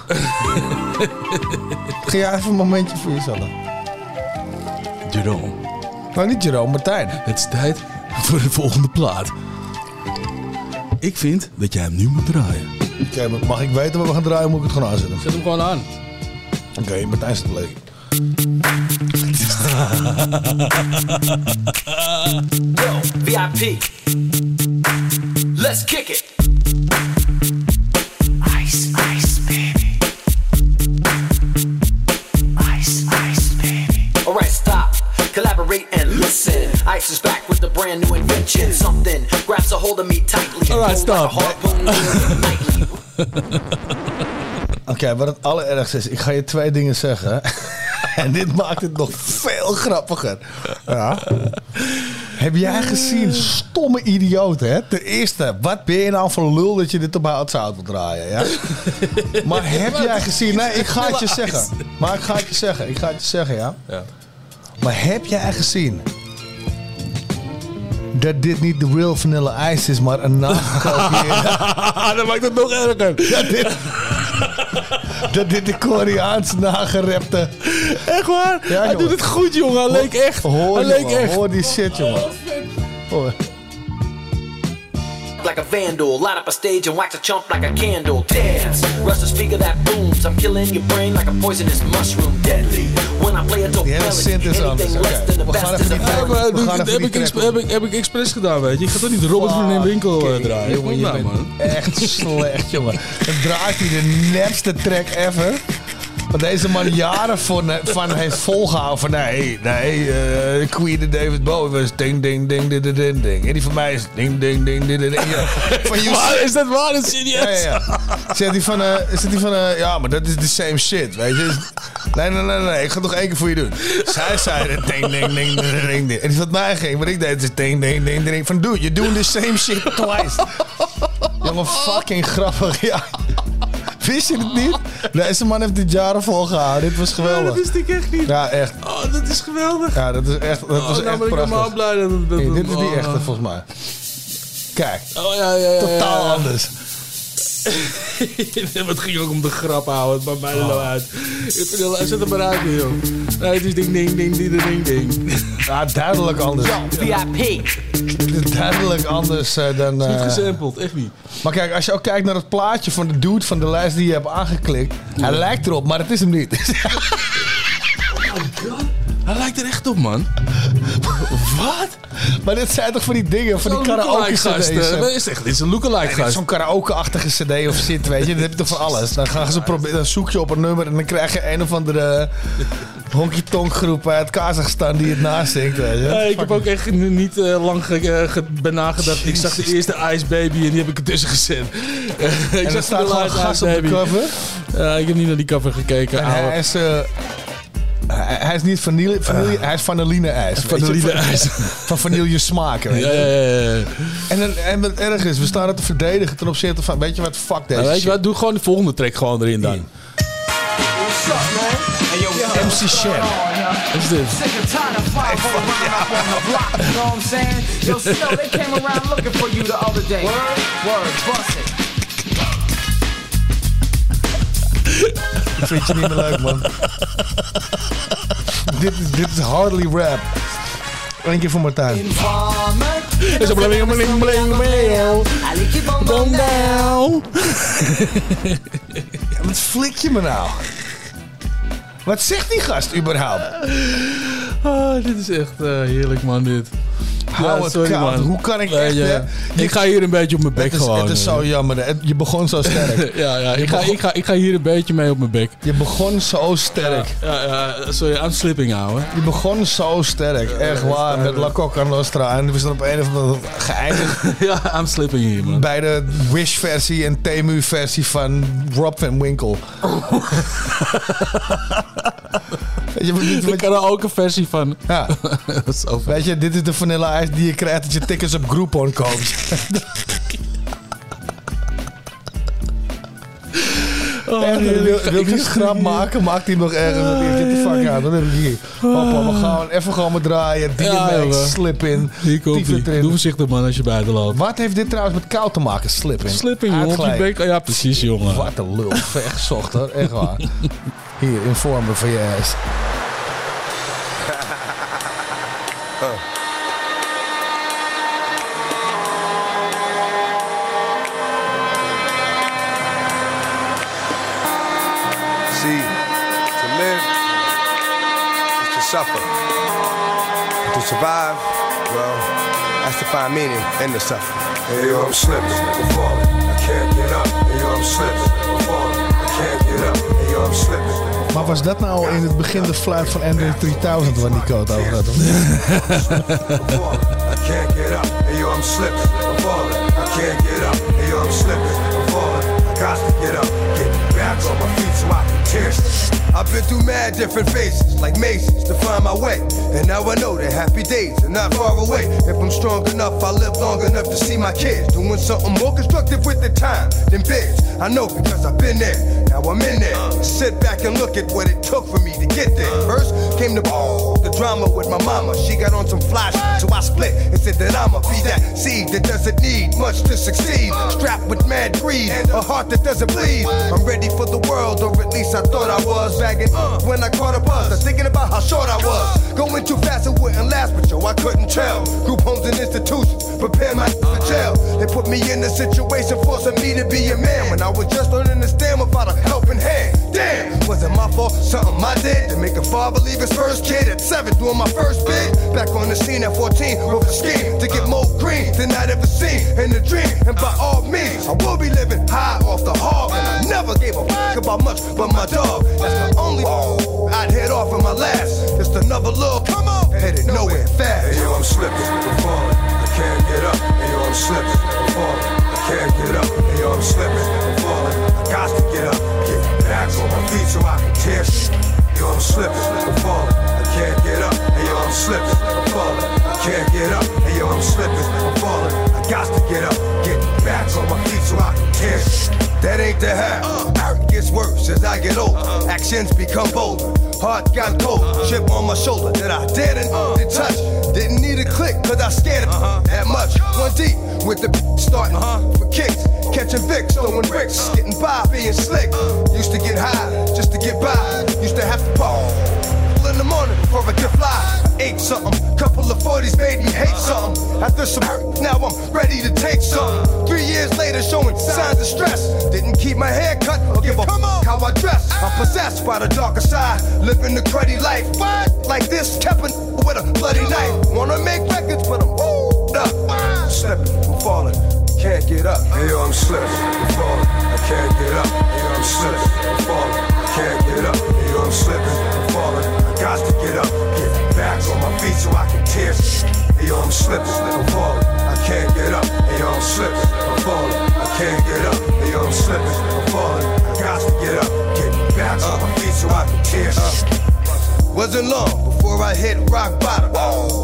Ga jij even een momentje voor jezelf? Jerome. Nou, niet Jerome, Martijn. Het is tijd voor de volgende plaat. Ik vind dat jij hem nu moet draaien. Oké, mag ik weten wat we gaan draaien? Moet ik het gewoon aanzetten? Zet hem gewoon aan. Oké, Martijn zit leuk. Yo, VIP. Let's kick it. Ice, baby. your chin. Something grabs a hold of me tightly. Alright, stop. Oké, wat het allerergste is, ik ga je 2 dingen zeggen. En dit maakt het nog veel grappiger. Ja. Heb jij gezien, stomme idioot, hè? Ten eerste, wat ben je nou voor lul dat je dit op houtzout wil draaien, ja? Maar heb jij gezien... Nee, ik ga het je zeggen. Maar ik ga het je zeggen, ja? Ja. Maar heb jij gezien... dat dit niet de real Vanilla Ice is, maar een nagekopieerde... Dat maakt het nog erger. Dat dit de Koreaanse nagerepte... Echt waar? Ja, hij doet het goed, jongen. Hij leek echt. Hoor die shit, jongen. Hoor. Like a vandal, light up a stage and wax a chump like a candle. Dance, rush the speaker that booms. I'm killing your brain like a poisonous mushroom. Deadly. When I play it to anything less than the best is a Heb ik expres gedaan, weet je. Ik ga toch niet Robert van den Winkel draaien. Jongen, je bent echt slecht, jongen. Dan draait hij de nepste track ever. Wat deze man jaren van heeft volgehouden. Van nee, Queen en David Bowie was ding, ding, ding, ding, ding, ding. En die van mij is ding, ding, ding, ding, ding. Is dat waar? Dat is serieus? Ja. Zegt hij van, ja, maar dat is the same shit, weet je. Nee, ik ga het nog 1 keer voor je doen. Zij zei ding, ding, ding, ding, ding. En die van mij ging, wat ik deed is ding, ding, ding, ding. Van dude, you're doing the same shit twice. Jongen, fucking grappig, ja. Wist je het niet? Deze man heeft dit jaren volgehouden. Dit was geweldig. Dat wist ik echt niet. Ja, echt. Oh, dat is geweldig. Ja, dat is echt. Dat was echt ben ik helemaal blij dat dit is die echte, volgens mij. Kijk. Oh ja. Totaal anders. Het ging ook om de grap houden. Het maakt mij er nou uit. Zet hem maar uit, joh. Nee, het is ding, ding, ding, ding, ding, ding. Ja, duidelijk anders. VIP. Het is duidelijk anders dan... Het is niet gesampled, echt niet. Maar kijk, als je ook kijkt naar het plaatje van de dude van de lijst die je hebt aangeklikt. Ja. Hij lijkt erop, maar het is hem niet. Oh god. Hij lijkt er echt op, man. Wat? Maar dit zijn toch van die dingen, van die karaoke-cd's? Dit is een lookalike gast. Zo'n karaoke-achtige cd of shit, weet je. Dat heb je toch van alles. Dan gaan ze proberen, dan zoek je op een nummer en dan krijg je een of andere honky-tonk groep uit Kazachstan die het nazingt, weet je. Ja, ik heb ook echt niet lang bij nagedacht. Ik zag de eerste Ice Baby en die heb ik ertussen gezet. En er staat gewoon gast op de cover? Ik heb niet naar die cover gekeken. En hij is niet vanille, hij is vanilline-ijs. Vanilline-ijs. Van vanille smaken. Ja. En wat erg is, we staan het te verdedigen ten opzichte van, weet je wat, fuck deze weet je wat, doe gewoon de volgende track gewoon erin dan. What's up, man? Hey, yo, MC Shen. Wat is dit? Sick and tired of five up on the block, you know what I'm saying? Yo, Snow, they came around looking for you the other day. Word, bust it. Ik vind je niet meer leuk, man. dit is hardly rap. Eén keer voor Martijn. Is een bling bling bling bling. Go down. Ja, wat flik je me nou? Wat zegt die gast überhaupt? Oh, dit is echt heerlijk, man, dit. Hou het koud. Hoe kan ik echt... Ik ga hier een beetje op mijn bek gewoon. Het is zo jammer. Je begon zo sterk. Ik ga hier een beetje mee op mijn bek. Je begon zo sterk. Sorry, I'm slipping, ouwe. Je begon zo sterk. Echt waar. Met La Coca Nostra. En we zijn op een of andere geëindigd. Ja, I'm slipping hier, man. Bij de Wish-versie en Temu-versie van Rob van Winkle. Weet je, ik kan er ook een versie van. Ja. Weet je, dit is de Vanilla Ice die je krijgt als je tickets op Groupon koopt. Wil je een grap maken? Maakt hij nog ergens. Get the fuck out. Dat heb ik hier. Hoppa, we gaan even gewoon draaien. DMX, slip in. Hier komt ie. Doe voorzichtig, man, als je buiten loopt. Wat heeft dit trouwens met koud te maken? Slip in. Slip in, jongen. Op je bek. Ja, precies, jongen. Wat een lul. Vergezocht, hoor. Echt waar. Hier, inform me van je ass. See, to live is to suffer. To survive, well, that's to find meaning in the suffering. Hey, yo, I'm slipping, I'm falling, I can't get up. Hey, yo, I'm slipping, I'm falling, I can't get up. Hey, yo, I'm slipping. Maar was dat nou in het begin de fluit van Android 3000 waar Nico het over had? can't get up. Hey yo, I'm slipping, I'm falling. I can't get up. Hey yo, I'm slipping, I'm falling. I got to get up, get back on my feet so I can tear shit. I've been through mad different phases, like mazes, to find my way. And now I know that happy days are not far away. If I'm strong enough, I'll live long enough to see my kids doing something more constructive with their time than bids. I know because I've been there, now I'm in there. Sit back and look at what it took for me to get there. First came the drama with my mama. She got on some flash, so I split and said that I'ma be that seed that doesn't need much to succeed. Strapped with mad greed, a heart that doesn't bleed. I'm ready for the world, or at least I thought I was. Bagging when I caught a buzz, I'm thinking about how short I was. Going too fast, it wouldn't last, but yo, I couldn't tell. Group homes and institutions, prepare my for jail. They put me in a situation forcing me to be a man when I was just learning to stand without a helping hand. Damn, was it my fault? Something I did to make a father leave his first kid at 7 doing my first bid. Back on the scene at 14 with a scheme to get more green than I'd ever seen in a dream. And by all means, I will be living high off the hog. And I never gave a fuck about much but my dog. That's the only I'd head off in my last. Just another little come on, headed nowhere fast. Hey yo, I'm slipping, I'm falling. I can't get up. Hey yo, I'm slipping, I'm falling. I can't get up. Hey yo, I'm slipping, I'm falling. I got to get up, get back on my feet so I can tear shit. Yo, I'm slipping, I'm falling. I can't get up. Hey yo, I'm slipping, I'm falling. I can't get up. Hey yo, I'm slipping, I'm falling. I got to get up, get back on my feet so I can tear shit. That ain't the half. It gets worse as I get older. Actions become bolder. Heart got cold. Chip on my shoulder that I didn't touch. Didn't need a click cause I scared it that much. One deep with the starting for kicks. Catching Vicks, throwing bricks. Getting by, being slick. Used to get high just to get by. Used to have to ball in the morning before I could fly. I ate something, couple of 40s made me hate something. After some hurt, now I'm ready to take something. 3 years later, showing signs of stress. Didn't keep my hair cut or give a how I dress. I'm possessed by the darker side, living the cruddy life. Like this, kept with a bloody knife. Wanna make records, but I'm up. Slipping, I'm falling, can't get up. Hey yo, I'm slipping, I'm falling, I can't get up. Hey yo, I'm slipping, I'm falling, I can't get up. Hey yo, I'm slipping, I'm falling, I got to get up, get back on my feet so I can tear shit. Hey yo, I'm slipping, I'm falling, I can't get up. Hey yo, I'm slipping, I'm falling, I can't get up. Hey yo, I'm slipping, I'm falling, I got to get up, get back on my feet so I can tear shit. Wasn't long before I hit rock bottom.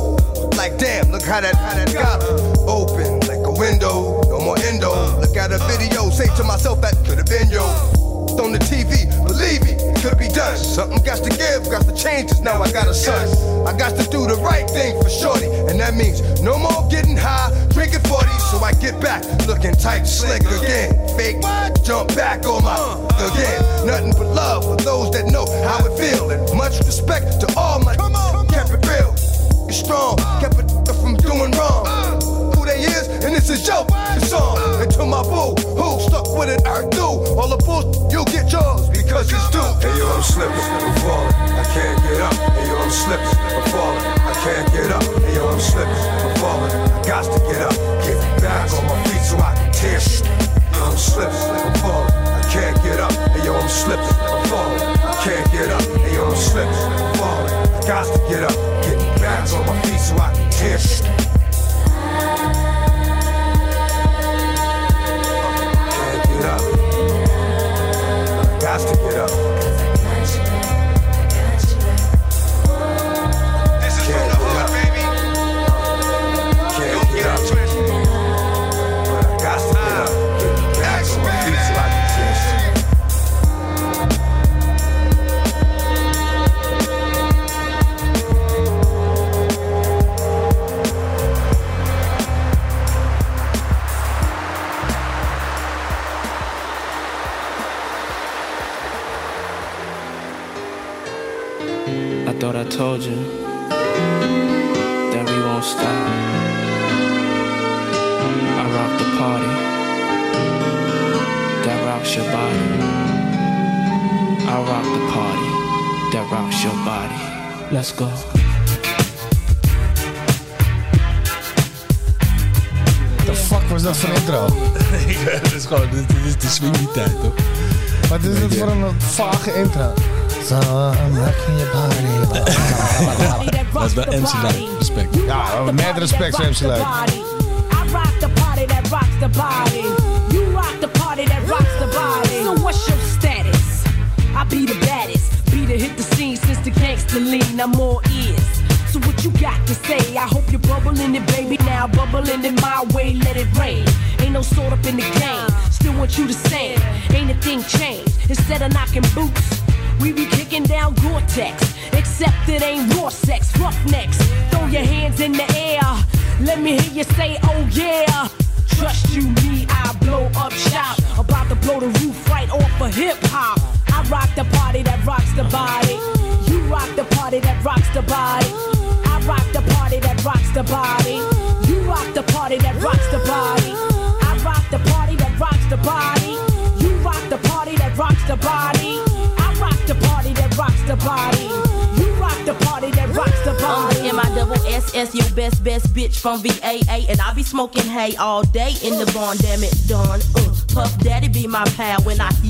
Like damn, look how that got open like a window, no more endo. Look at a video, say to myself that could have been yo. On the TV, believe me, it could be done. Something got to give, got to change, cause now I got a son. I got to do the right thing for shorty, and that means no more getting high, drinking 40, so I get back, looking tight, slick again. Fake, jump back on my again. Nothing but love for those that know how it feel, and much respect to all my kept it real. Strong, kept it from doing wrong. Who they is, and this is your song. And to my boo, who stuck with it, I do. All the bull, you'll get yours because it's due. Hey yo, I'm slipping, I'm falling, I can't get up. Hey yo, I'm slipping, I'm falling, I can't get up. Hey yo, I'm slipping, I'm falling, I got to get up, get back on my feet so I can tear shit. Hey yo, I'm slipping, I'm falling, I can't get up. Hey yo, I'm slipping, I'm falling, I can't get up. Hey yo, I'm slipping, I'm falling, I got to get up, get back on my feet so I can tear shit. Can't get up. Got to get up. This is from the hood, baby. Can't get up. But I got to get up. Get back on my feet so I can tear shit. I thought I told you that we won't stop. I rock the party that rocks your body. I rock the party that rocks your body. Let's go. The fuck was dat voor een intro? Het is gewoon, dit is de swingy tijd, toch? Wat is dit voor een vage intro? So I'm rocking your party. Dat is wel MC Light. Respect. Ja, met respect voor MC Light. I rock the party that rocks the body. You rock the party that rocks the body. So what's your status? I be the baddest. Be the hit the scene since the gangster lean. I'm all ears. So what you got to say? I hope you're bubbling it, baby. Now bubbling it my way, let it rain. Ain't no sort up in the game. Still want you the same. Ain't a thing changed. Instead of knocking boots, we be kicking down Gore-Tex. Except it ain't raw sex, roughnecks. Throw your hands in the air. Let me hear you say, oh yeah. Trust you me, I blow up shop. About to blow the roof right off of hip-hop. I rock the party that rocks the body. You rock the party that rocks the body. I rock the party that rocks the body. You rock the party that rocks the body. I rock the party that rocks the body. You rock the party that rocks the body. I rock the party that rocks the body. You rock the party that rocks the body. M-I-double-S-S, your best bitch from VAA. And I be smoking hay all day in the barn, damn it, done. Puff Daddy be my pal when I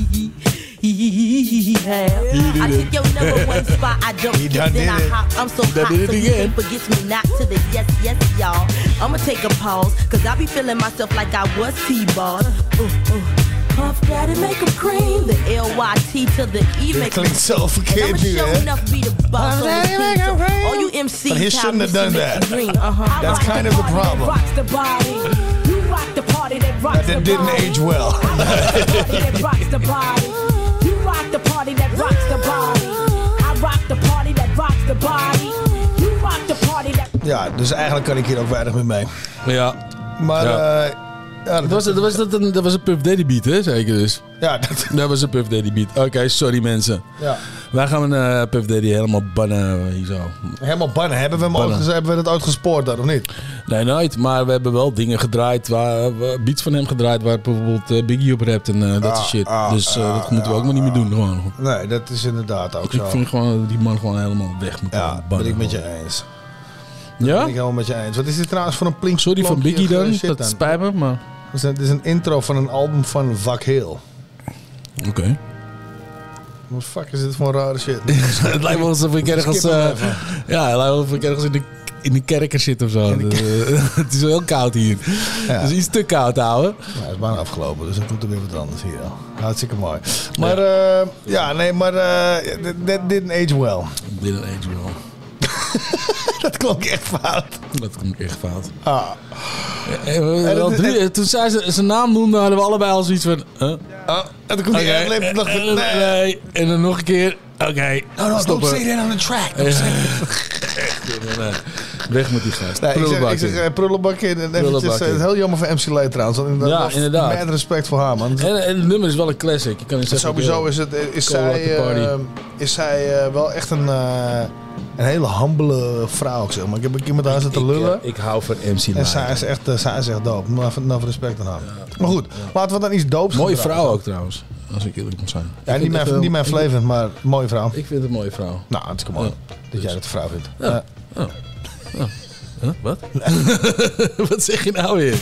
I took your number one spot, I don't get, then I hop. I'm so hot, so you can't forget me not to the yes, y'all. I'ma take a pause, cause I be feeling myself like I was T-ball. Puff Daddy make him cream. The L-Y-T to the E make him so verkeerd. And I'ma show enough be the boss on the team. So all you MCs, but he shouldn't have done that. That's kind of the problem. That didn't age well. That rocks the body. You rock the party that rocks the body. I rock the party that rocks the body. You rock the party that... Ja, dus eigenlijk kan ik hier ook weinig meer mee. Ja. Maar... Ja, dat was een Puff Daddy beat, hè? Zeker dus. Ja, dat was een Puff Daddy beat. Oké, sorry mensen. Ja. Wij gaan Puff Daddy helemaal bannen hier zo. Helemaal bannen? Hebben we dat ooit gespoord dan, of niet? Nee, nooit. Maar we hebben wel dingen gedraaid, beats van hem gedraaid, waar bijvoorbeeld Biggie op rapt en dat soort shit. Dus dat moeten we ook maar niet meer doen. Gewoon. Nee, dat is inderdaad ook zo. Ik vind gewoon die man gewoon helemaal weg moet bannen. Ja, ben ik met je eens. Ja? Dat ben ik helemaal met je eens. Wat is dit trouwens voor een plink? Sorry van Biggie dan, dat spijt me, maar... Het is een intro van een album van Vak Hill. Oké. Wat fuck is dit voor een rare shit? Het lijkt wel alsof ik ergens... ja, het lijkt wel alsof ik ergens in de kerker zit of zo. Het is wel heel koud hier. Ja. Het is iets te koud, ouwe. Ja, het is bijna afgelopen, dus dan komt er weer wat anders hier. Hartstikke mooi. Maar that didn't age well. Didn't age well. Dat klonk echt fout. Dat klonk echt fout. Toen zij zijn naam noemde, hadden we allebei al zoiets van... en dan komt hij nog... Nee. En dan nog een keer... Oké. No, don't say that on the track. Nee. Weg met die gast. Nee, ik zeg prullenbak in. En eventjes, heel jammer voor MC Light trouwens. Ja, inderdaad. Met respect voor haar, man. En het nummer is wel een classic. Je kan niet zeggen, sowieso is zij wel echt een hele humbele vrouw, zeg maar. Ik heb een keer met haar zitten lullen. Ik hou van MC Light. En zij is echt dope. Maar respect aan haar. Ja. Maar goed, laten we dan iets doops mooie vrouw ook trouwens. Als ik eerlijk moet zijn. Ja, niet mijn Flavent, maar mooie vrouw. Ik vind het een mooie vrouw. Nou, het is mooi dat jij dat een vrouw vindt. Ja. Huh? Wat? Wat zeg je nou weer?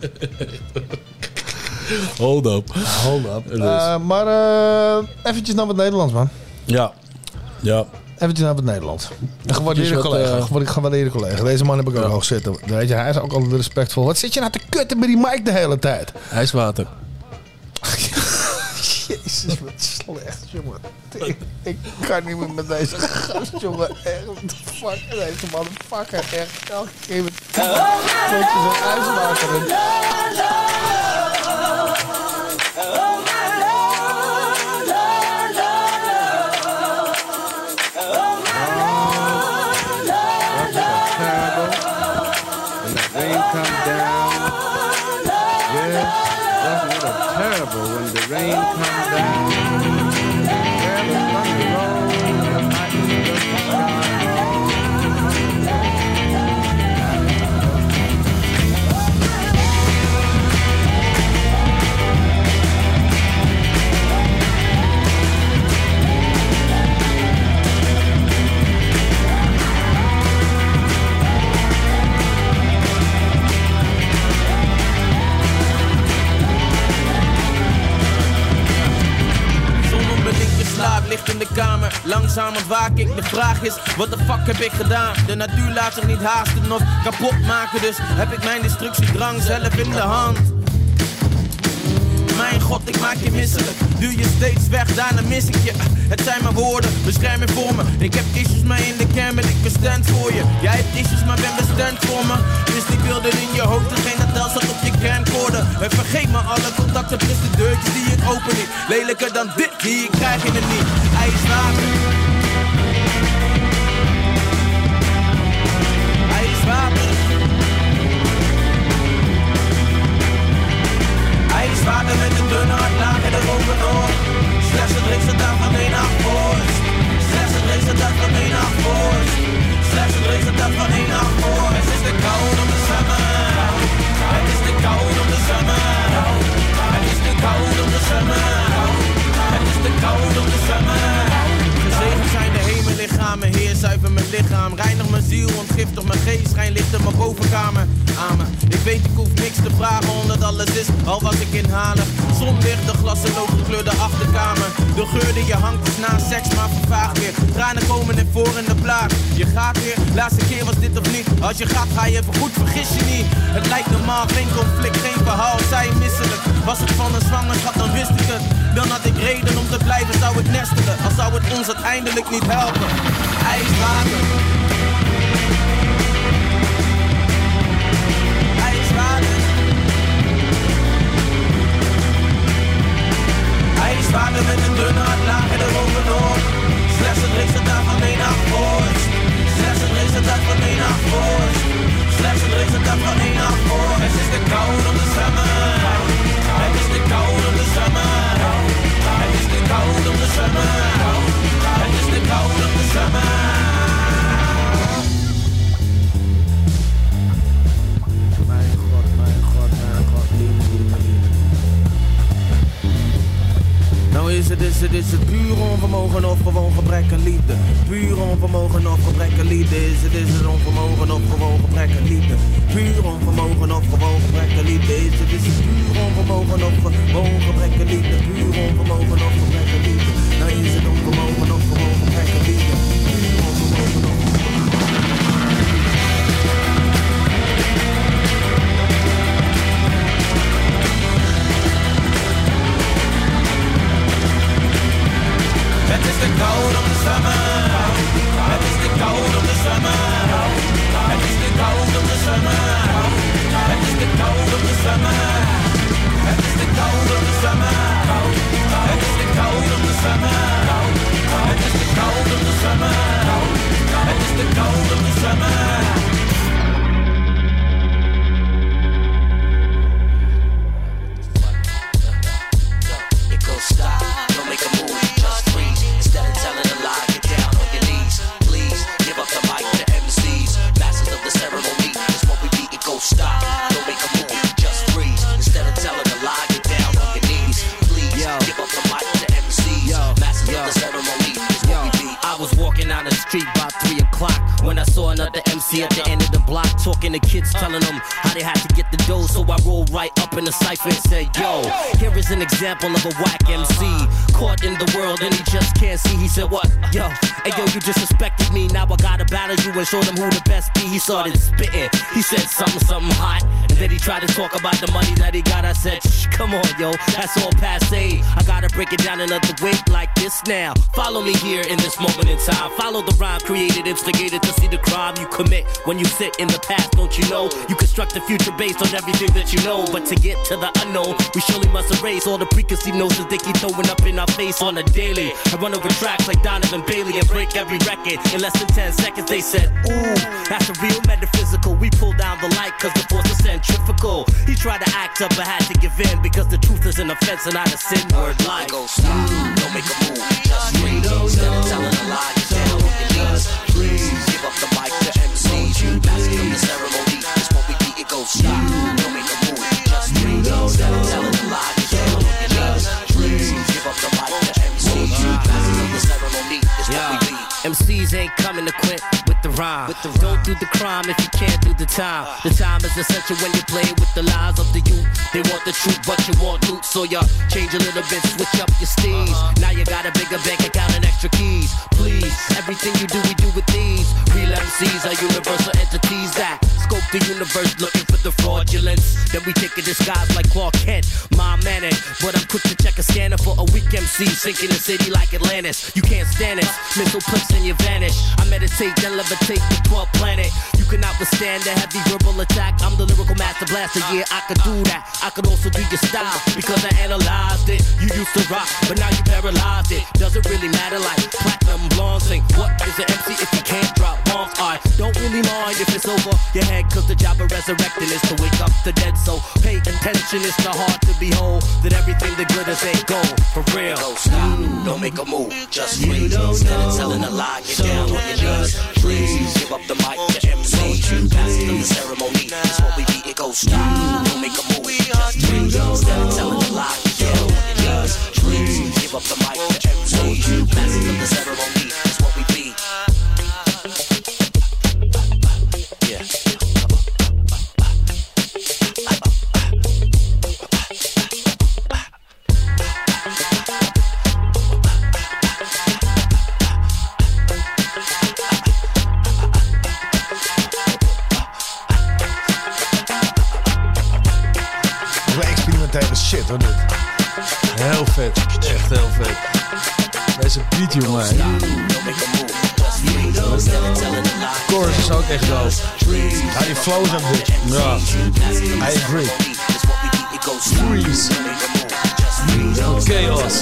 Hold up. Maar eventjes naar wat Nederlands, man. Ja. Eventjes naar het Nederlands. Een gewaardeerde collega. Deze man heb ik ook hoog zitten. Weet je, hij is ook altijd respectvol. Wat zit je nou te kutten bij die mic de hele tijd? IJswater. Jezus, wat slecht, jongen. Ik kan niet meer met deze gast, jongen. Echt, what the fuck? Deze motherfucker, echt. Elke keer met klontjes en ijswater. Terrible when the rain comes down. Where the thunder rolls, the lightning does the sky. Licht in de de kamer, langzaam ontwaak ik. De vraag is, wat de fuck heb ik gedaan? De natuur laat zich niet haasten of kapot maken, dus heb ik mijn destructiedrang zelf in de hand. Mijn god, ik maak je misselijk. Duw je steeds weg, daarna mis ik je. Het zijn mijn woorden, bescherm je voor me. Ik heb issues, maar in de kern ben ik bestand voor je. Jij hebt issues, maar ben bestand voor me. Dus die beelden in je hoofd, degene dat tel zat op je camcorder. En vergeet me alle contacten plus de deurtjes die ik open niet. Lelijker dan dit, die ik krijg je het niet. IJswater. IJswater. IJswater met een dunne hardlaken eroverdoor. Slechts het resultaat van één nacht vorst. Slechts het resultaat van één nacht vorst. Slechts het resultaat van één nacht vorst. Het is de kou om de summer. Het is de kou om de summer. Het is de kou om de summer. Het is de kou om de summer. Gezegend zijn de hemellichamen, Heer zuiver mijn lichaam. Reinig mijn ziel, ontgiftig mijn geest, schijn licht in mijn bovenkamer. Amen. Ik weet ik hoef niks te vragen omdat alles is, al was ik inhalig. Zonlicht, de glassenloos gekleurde achterkamer. De geur die je hangt is na seks maar vervaagt weer. Tranen komen er voor in de plaat. Je gaat weer, laatste keer was dit of niet. Als je gaat ga je even goed, vergis je niet. Het lijkt normaal, geen conflict, geen verhaal, zij misselijk. Was het van een zwangerschap dan wist ik het. Dan had ik reden om te blijven, zou ik nestelen. Al zou het ons uiteindelijk niet helpen. IJswater. IJswater. IJswater met een dunne hardlaken eroverdoor. Slechts het resultaat van één nacht vorst. Slechts het resultaat van één nacht vorst. Slechts het resultaat van één nacht vorst. Het is de kou om de summer. Het is de kou om de summer. Het is de kou om de summer. Het is de kou om de summer. Mijn god, mijn god, mijn god, liefde. Nou is het puur onvermogen of gewoon gebrek aan liefde. Puur onvermogen of gebrek aan liefde. Is het onvermogen of gewoon gebrek aan liefde. Puur onvermogen of gewoon gebrek aan liefde. Is het puur onvermogen of gewoon gebrek aan liefde. Puur onvermogen of gebrek aan liefde. Nou is het onvermogen of gewoon gebrek aan liefde. Puur onvermogen of het is de kou om de summer. Het is de kou om de summer. Het is de kou om de summer. Het is de kou om de summer. Het is de kou om de summer. Het is de kou om de summer. Het is de kou om de summer. Het is de kou om de summer. It goes stop, don't make a move, just freeze. Instead of telling a lie, get down on your knees. Please, give up the mic to MCs. Masters of the ceremony, it's what we beat. It goes stop, don't make a move, just freeze. Instead of telling a lie, get down on your knees. Please, give up the mic to MCs. Masters of the ceremony, it's what we beat. I was walking down the street about 3 o'clock when I saw another MC at the end of the block talking to kids, telling them how they had to get the dough. So I rolled right up in the cypher and said, yo, here is an example of a whack MC caught in the world and he just can't see. He said, what? Yo, hey yo, you just suspected me. Now I gotta battle you and show them who the best be. He started spitting. He said something hot. And then he tried to talk about the money that he got. I said, shh, come on, yo, that's all passe. I gotta break it down another way like this now. Follow me here in this moment in time. Follow the rhyme created, instigated to see the crime you commit. When you sit in the past, don't you know? You construct the future based on everything that you know. But to get to the unknown, we surely must erase all the preconceived notions they keep throwing up in our face on a daily. I run over tracks like Donovan Bailey and break every record in less than 10 seconds. They said, ooh, that's a real metaphysical. We pull down the light cause the force is centrifugal. He tried to act up but had to give in because the truth is an offense and not a sin word like. Go stop, don't make a move, just breathe. Instead of telling a lie, get down on your knees. Please give up the mic to MCs. Master of the ceremony, it's what we beat. It goes stop, don't make a move, just breathe. Instead of telling a lie, get down on your knees. Please give up the mic to MCs. Master of the ceremony, it's what we beat. MCs ain't coming to quit with the rhyme. Don't do the crime if you can't do the time. The time is essential when you play with the lies of the youth. They want the truth, but you want loot, so you change a little bit, switch up your steez. Now you got a bigger bank account and extra keys. Please, everything you do, we do with these. Real MCs are universal entities that scope the universe looking for the fraudulence. Then we take a disguise like Clark Kent, my manic. But I'm quick to check a scanner for a weak MC sinking the city like Atlantis. You can't stand it, missile clips and you vanish. I meditate, then levitate the 12th planet. You cannot withstand the heavy verbal attack. I'm the lyrical master blaster, yeah, I could do that. I could also do your style, because I analyzed it. You used to rock, but now you paralyzed it. Doesn't really matter like platinum blonde sing. What is an MC if you can't drop bombs? I don't really mind if it's over your head, cause the job of resurrecting is to wake up the dead. So pay attention, it's the heart to behold that everything that glitters ain't gold, for real. Don't stop, don't make a move, just freeze. Instead of telling a lie, get down on your knees. Please give up the mic to MC. Master the ceremony, it's what we be. It goes stop, don't make a move, just freeze. Instead of telling a lie, get down on your knees. Please give up the mic to MC. Master the ceremony, it's what we be. Yeah. Shit hoor, dit. Heel vet. Echt heel vet. Deze beat, jongen. Chorus is ook echt dope. Ja, die flows ook dit. Ja. I agree. Freeze. Chaos.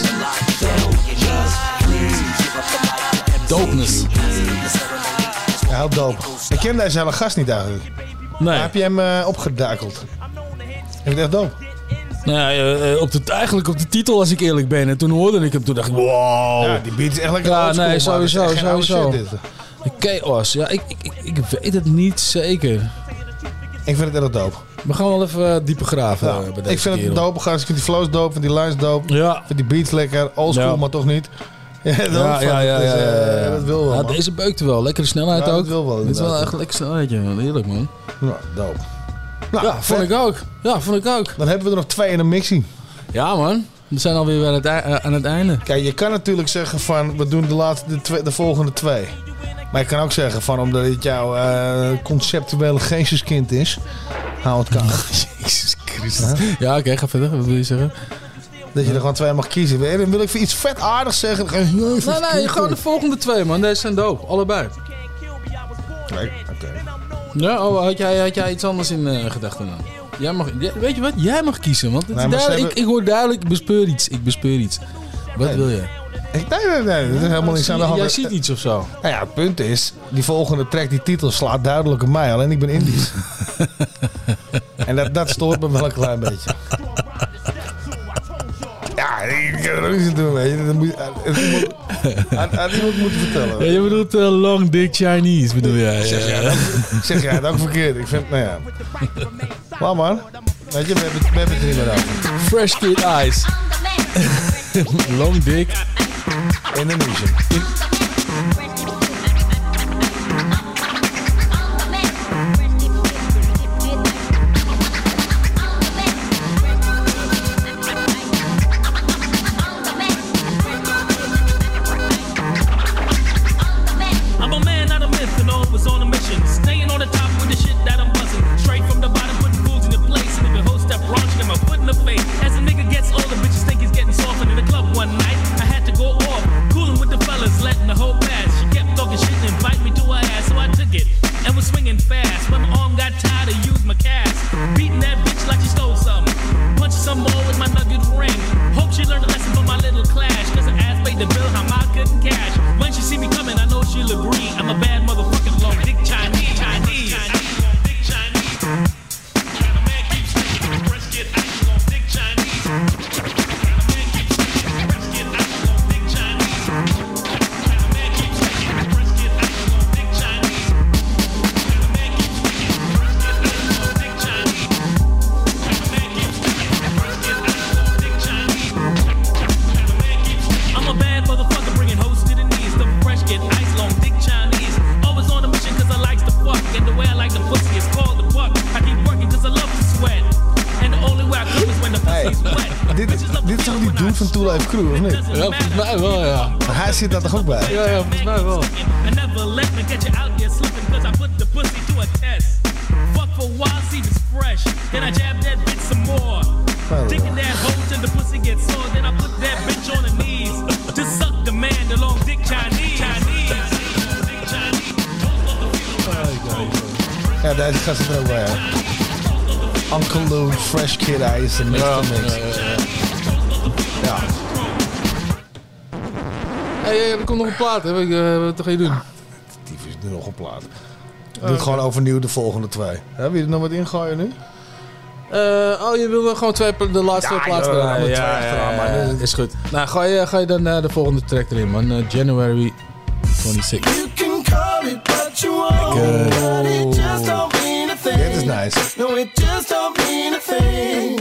Dopeness. Ja, heel dope. Ik ken deze hele gast niet eigenlijk. Nee. Maar heb je hem opgedakeld? Vind je het echt dope? Nou ja, eigenlijk op de titel, als ik eerlijk ben. En toen hoorde ik hem, toen dacht ik, wow. Ja, die beat is echt lekker oldschool. Nee, sowieso. Shit, Chaos, ja, ik weet het niet zeker. Ik vind het erg dope. We gaan wel even dieper graven bij deze ik vind het dope, ik vind die flows dope, vind die lines dope. Ja. Ik vind die beats lekker, oldschool, maar toch niet. Ja, dat wil wel, man. Deze beukte wel, lekkere snelheid ook. Dat wil wel. Dit is wel echt lekker snelheidje, heerlijk man. Ja, dope. Nou, ja, vond ik ook. Dan hebben we er nog 2 in een mixie. Ja man, we zijn alweer aan het einde. Kijk, je kan natuurlijk zeggen van, we doen de volgende 2. Maar je kan ook zeggen van, omdat het jouw conceptuele geesteskind is, hou het koud. Jezus Christus. Ja, oké, ga verder. Wat wil je zeggen? Dat je er gewoon 2 mag kiezen. Dan wil ik voor iets vet aardigs zeggen. Nee, gewoon de volgende 2 man. Deze zijn dope, allebei. Nee, oké. Ja, had jij iets anders in gedachten dan? Weet je wat? Jij mag kiezen. Want het is duidelijk, ik hoor duidelijk, ik bespeur iets. Wat wil je? Nee, er is helemaal niks aan de hand. Jij ziet iets of zo? Nou ja, het punt is, die volgende track, die titel slaat duidelijk op mij. Alleen ik ben Indisch. En dat stoort me wel een klein beetje. Ja, ik kan er ook niet aan doen, weet je. Dat moet aan iemand moeten vertellen. Ja, je bedoelt long dick Chinese, bedoel jij? Zeg jij het ook verkeerd? Ik vind, nou ja. Maar man, weet je, we hebben het er niet meer over. Fresh Kid Eyes. Long dick. Indonesian. Letting the Dit is toch die dude van Two Life Crew, of niet? Ja, volgens mij wel, ja. Maar hij zit daar toch ook bij? Ja, volgens mij wel. Thinking that hoe till the pussy gets sore, then I put that bitch on her knees to suck the man, the long dick Chinese. Ja, deze gast zit er ook bij. Uncle Lou, Fresh Kid Ice en mix to mix. Ja. Hey, er komt nog een plaat, hè? Wat ga je doen? Die is nu nog een plaat. Doe het gewoon overnieuw de volgende 2. Wil je er nog wat ingooien nu? Je wil gewoon de laatste plaats draaien. Ja, is goed. Nou, ga je dan de volgende track erin, man. January 26. You can call it what you want, but it just don't mean a thing. Dit is nice. No, it just don't mean a thing.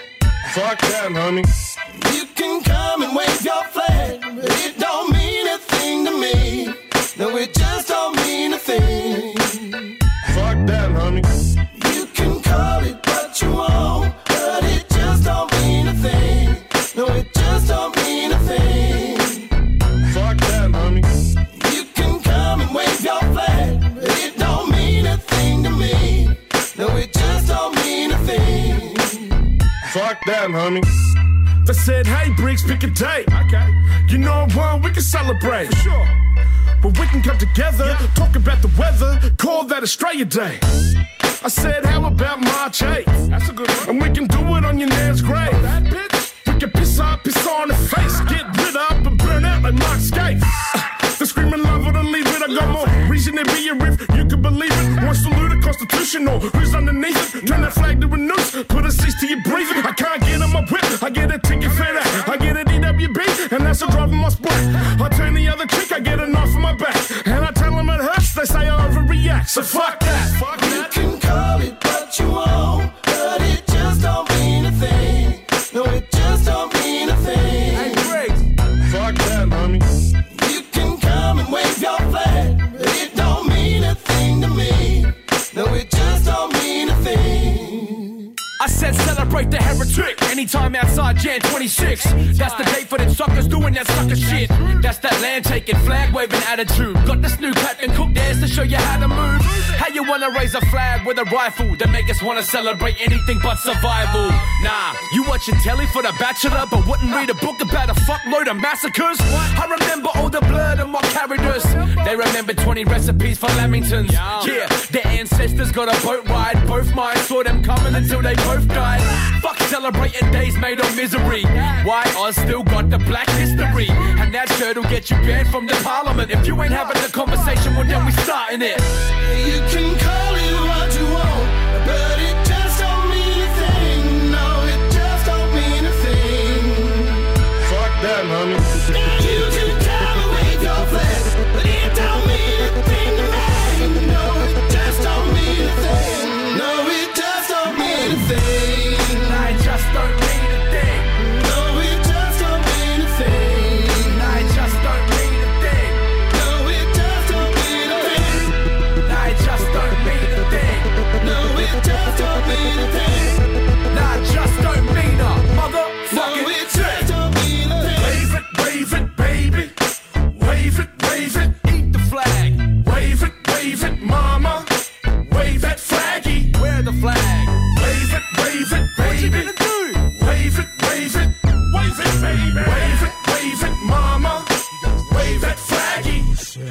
Fuck that, homie. You can come and wave your flag, but it don't mean a thing to me. No, it just don't mean a thing. Fuck that, homie. You can call it what you want, but it just don't mean a thing. No, it just don't mean a thing. Fuck that, homie. You can come and wave your flag, but it don't mean a thing to me. No, it just don't mean a thing. Fuck that, homie. They said, hey, Briggs, pick a date. Okay. You know what? We can celebrate. For sure. But we can come together, talk about the weather, call that Australia Day. I said, how about March 8th? That's a good one. And we can do it on your nan's grave. That bitch. We can piss up, piss on the face, get rid up and burn out like Mark Skate. The screaming love or to leave it. I got more reason to be a riff. You can believe it. One salute a constitutional. Who's underneath it? Turn that flag to a noose. Put a cease to your breathing. I can't get on my whip. I get a ticket for that. I get an EWB, and that's a driving my sport. I turn the other cheek. I get a knife in my back, and I tell them it hurts. They say I overreact. So fuck that. Fuck that. You can call it what you want, but it just don't mean a thing. No, it just don't mean a thing. Hey, Briggs. Fuck that, homie. You can come and wave your flag, but it don't mean a thing to me. No, it just don't mean a thing. I said celebrate the heretic anytime outside Jan 26. That's the date for them suckers doing that sucker shit. That's that land taking, flag waving attitude. Got this new Captain Cook dance to show you how to move. How you wanna raise a flag with a rifle that make us wanna celebrate anything but survival? Nah, you watching telly for The Bachelor, but wouldn't read a book about a fuckload of massacres. I remember all the blood and what carried us. They remember 20 recipes for Lamingtons. Yeah, their ancestors got a boat ride. Both mine saw them coming until they both died. Fuck celebrating days made of misery. Why Oz still got the black history? And that shirt'll get you banned from the parliament. If you ain't having the conversation, well then we starting it. You can call it what you want, but it just don't mean a thing. No, it just don't mean a thing. Fuck that, homie. You can come and wave your flag, but it don't mean a thing to me. No, it just don't mean a thing. No, it just don't mean a thing. I just don't mean a thing. No, it just don't mean a thing. I just don't mean a thing. No, it just don't mean a thing. I just don't mean a thing. No, it just don't mean a thing. I just don't mean a No, motherfucking it just don't mean a thing. Wave it, baby. Wave it, eat the flag. wave it, mama. Wave that flaggy. Wear the flag. Wave it, baby. What you gonna do? Wave it, baby. Wave it, mama. Wave that flaggy.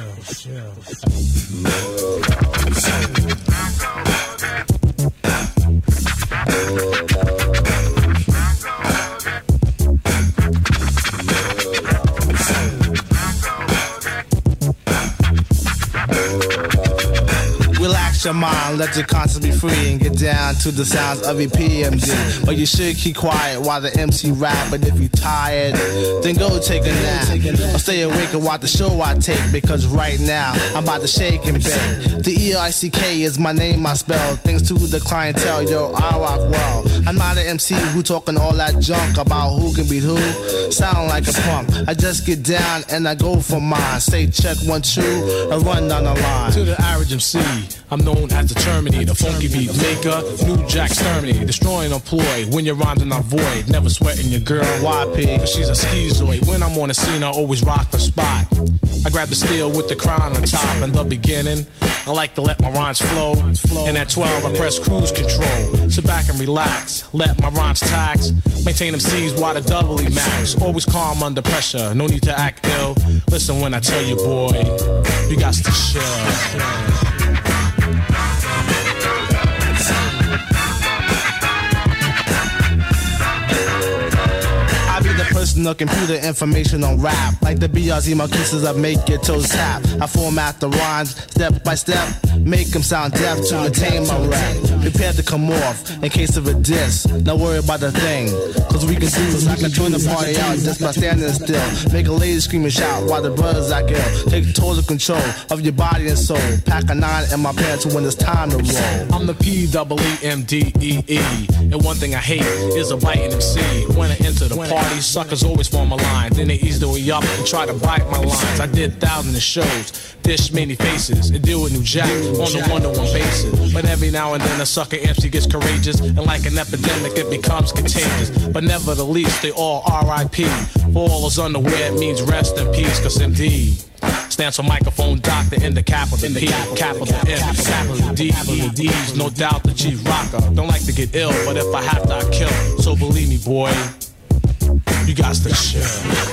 Relax your mind, let your conscience be free and get down to the sounds of your PMD. But you should keep quiet while the MC rap. But if you're tired, then go take a nap. Or stay awake and watch the show I take. Because right now, I'm about to shake and bake. The E-I-C-K is my name, I spell. Thanks to the clientele, yo, I rock well. I'm not an MC who talking all that junk about who can beat who. Sound like a punk. I just get down and I go for mine. Say check 1, 2, and run down the line. To the average MC, I'm no known as the Terminator, funky beat maker, New Jack Exterminator, destroying employ when your rhymes are not void. Never sweating your girl, YP, cause she's a schizoid. When I'm on the scene, I always rock the spot. I grab the steel with the crown on top. In the beginning, I like to let my rhymes flow. And at 12, I press cruise control. Sit back and relax, let my rhymes tax. Maintain them C's while the doubly max. Always calm under pressure, no need to act ill. Listen when I tell you, boy, you got to chill. Personal computer information on rap. Like the BRZ Marquises, I make your toes tap. I format the rhymes step by step, make them sound deaf to attain my rap. Prepare to come off in case of a diss. Don't worry about the thing, cause we can do is I can turn the party out just by standing still. Make a lady scream and shout while the brothers act ill. Take total control of your body and soul. Pack a 9 in my pants when it's time to roll. I'm the PEEMDEE, and one thing I hate is a biting MC. When I enter the party, suckers always form a line. Then they ease their way up and try to bite my lines. I did thousands of shows, dish many faces, and deal with New Jack on a one-to-one basis. But every now and then a sucker MC gets courageous, and like an epidemic it becomes contagious. But never the least, they all R.I.P. For all those unaware, it means rest in peace, cause MD stands for microphone doctor in the capital P, capital M, capital D, D's, no doubt the chief rocker. Don't like to get ill, but if I have to, I kill. So believe me, boy, you got to chill.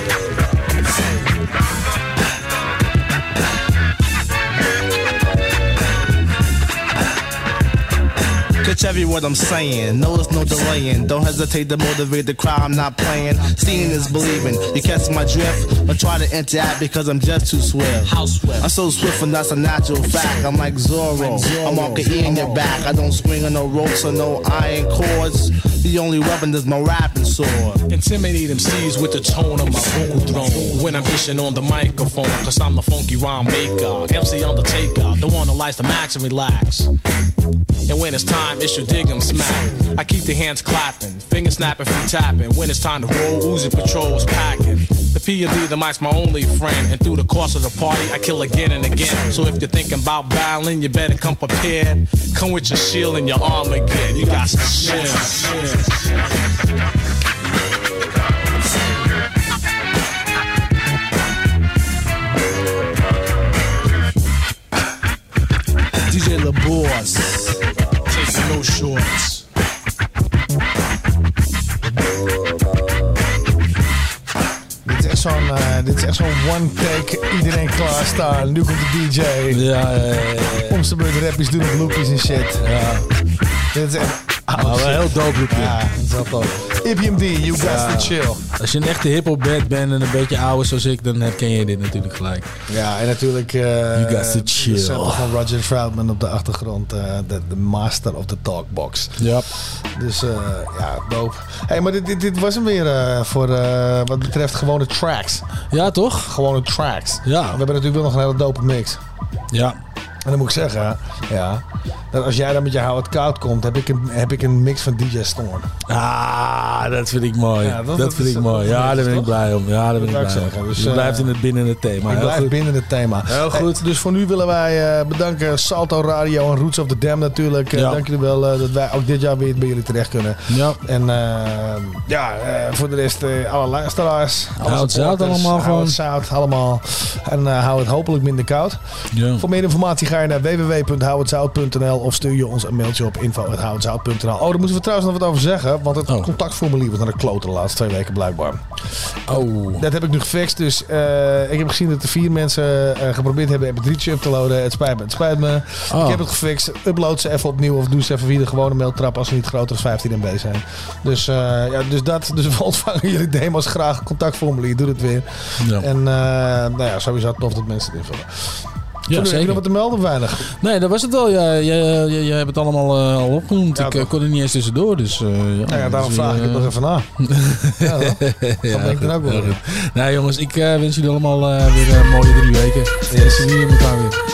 Catch every word I'm saying, no it's no delaying. Don't hesitate to motivate the crowd, I'm not playing. Seeing is believing, you catch my drift. But try to interact because I'm just too swift. How swift? I'm so swift and that's a natural fact. I'm like Zorro, I'm Uncle E in your back. I don't swing on no ropes or no iron cords. The only weapon is my rapping sword. Intimidate MCs with the tone of my vocal throne. When I'm dishing on the microphone, cause I'm the funky rhyme maker. MC Undertaker, the one that likes to max and relax. And when it's time, it's your dig 'em smack. I keep the hands clapping, fingers snapping, feet tapping. When it's time to roll, Uzi Patrol's packing. The P.O.D. the mic's my only friend. And through the course of the party, I kill again and again. So if you're thinking about battling, you better come prepared. Come with your shield and your armor again. You got to chill. DJ La Boss, taking no shorts. Dit is echt zo'n one take, iedereen klaarstaan. Nu komt de DJ. Ja. Om zijn beurt rappies doen op loopjes en shit. Ja. Dit is echt... wel een heel dope loopje. Ja, dat is wel tof. IPMD, you got to chill. Als je een echte hip-hop band bent en een beetje ouder zoals ik, dan herken je dit natuurlijk gelijk. Ja, en natuurlijk you got to chill. De sample van Roger Troutman op de achtergrond. De master of the talkbox. Ja. Dus ja, dope. Hey, maar dit was hem weer voor wat betreft gewone tracks. Ja, toch? Gewone tracks. Ja. We hebben natuurlijk wel nog een hele dope mix. Ja. En dan moet ik zeggen, ja, dat als jij dan met je How It Koud komt, heb ik een mix van DJ Storm. Ah, dat vind ik mooi. Ja, dat vind ik mooi. Ja, daar ben ik blij om. Ja, daar ben ik blij om. Dus, je blijft binnen het thema. Ik blijf binnen het thema. Heel goed. Dus voor nu willen wij bedanken Salto Radio en Roots of the Dam natuurlijk. Dank jullie wel dat wij ook dit jaar weer bij jullie terecht kunnen. Ja. En voor de rest alle luisteraars. Hou het zout allemaal gewoon. Hou het zout allemaal. En hou het hopelijk minder koud. Ja. Voor meer informatie ga je naar www.houhetzout.nl of stuur je ons een mailtje op info@houhetzout.nl. Oh, daar moeten we trouwens nog wat over zeggen. Want het contactformulier was naar de kloten de laatste 2 weken blijkbaar. Oh. Dat heb ik nu gefixt. Dus ik heb gezien dat er 4 mensen geprobeerd hebben MP3'tje up te loaden. Het spijt me. Oh. Ik heb het gefixt. Upload ze even opnieuw of doe ze even via de gewone mailtrap als ze niet groter dan 15 MB zijn. Dus we ontvangen jullie demo's graag. Contactformulier, doe het weer. Ja. En sowieso tof dat mensen het invullen. Ja, heb zeker. je nog wat te melden, weinig? Nee, dat was het wel. Jij hebt het allemaal al opgenoemd. Ja, ik kon er niet eens tussendoor. Dus, daarom vraag ik het nog even na. Ja, dat denk ik dan ook wel. Nee, jongens, ik wens jullie allemaal weer een mooie 3 weken. We zien jullie elkaar weer.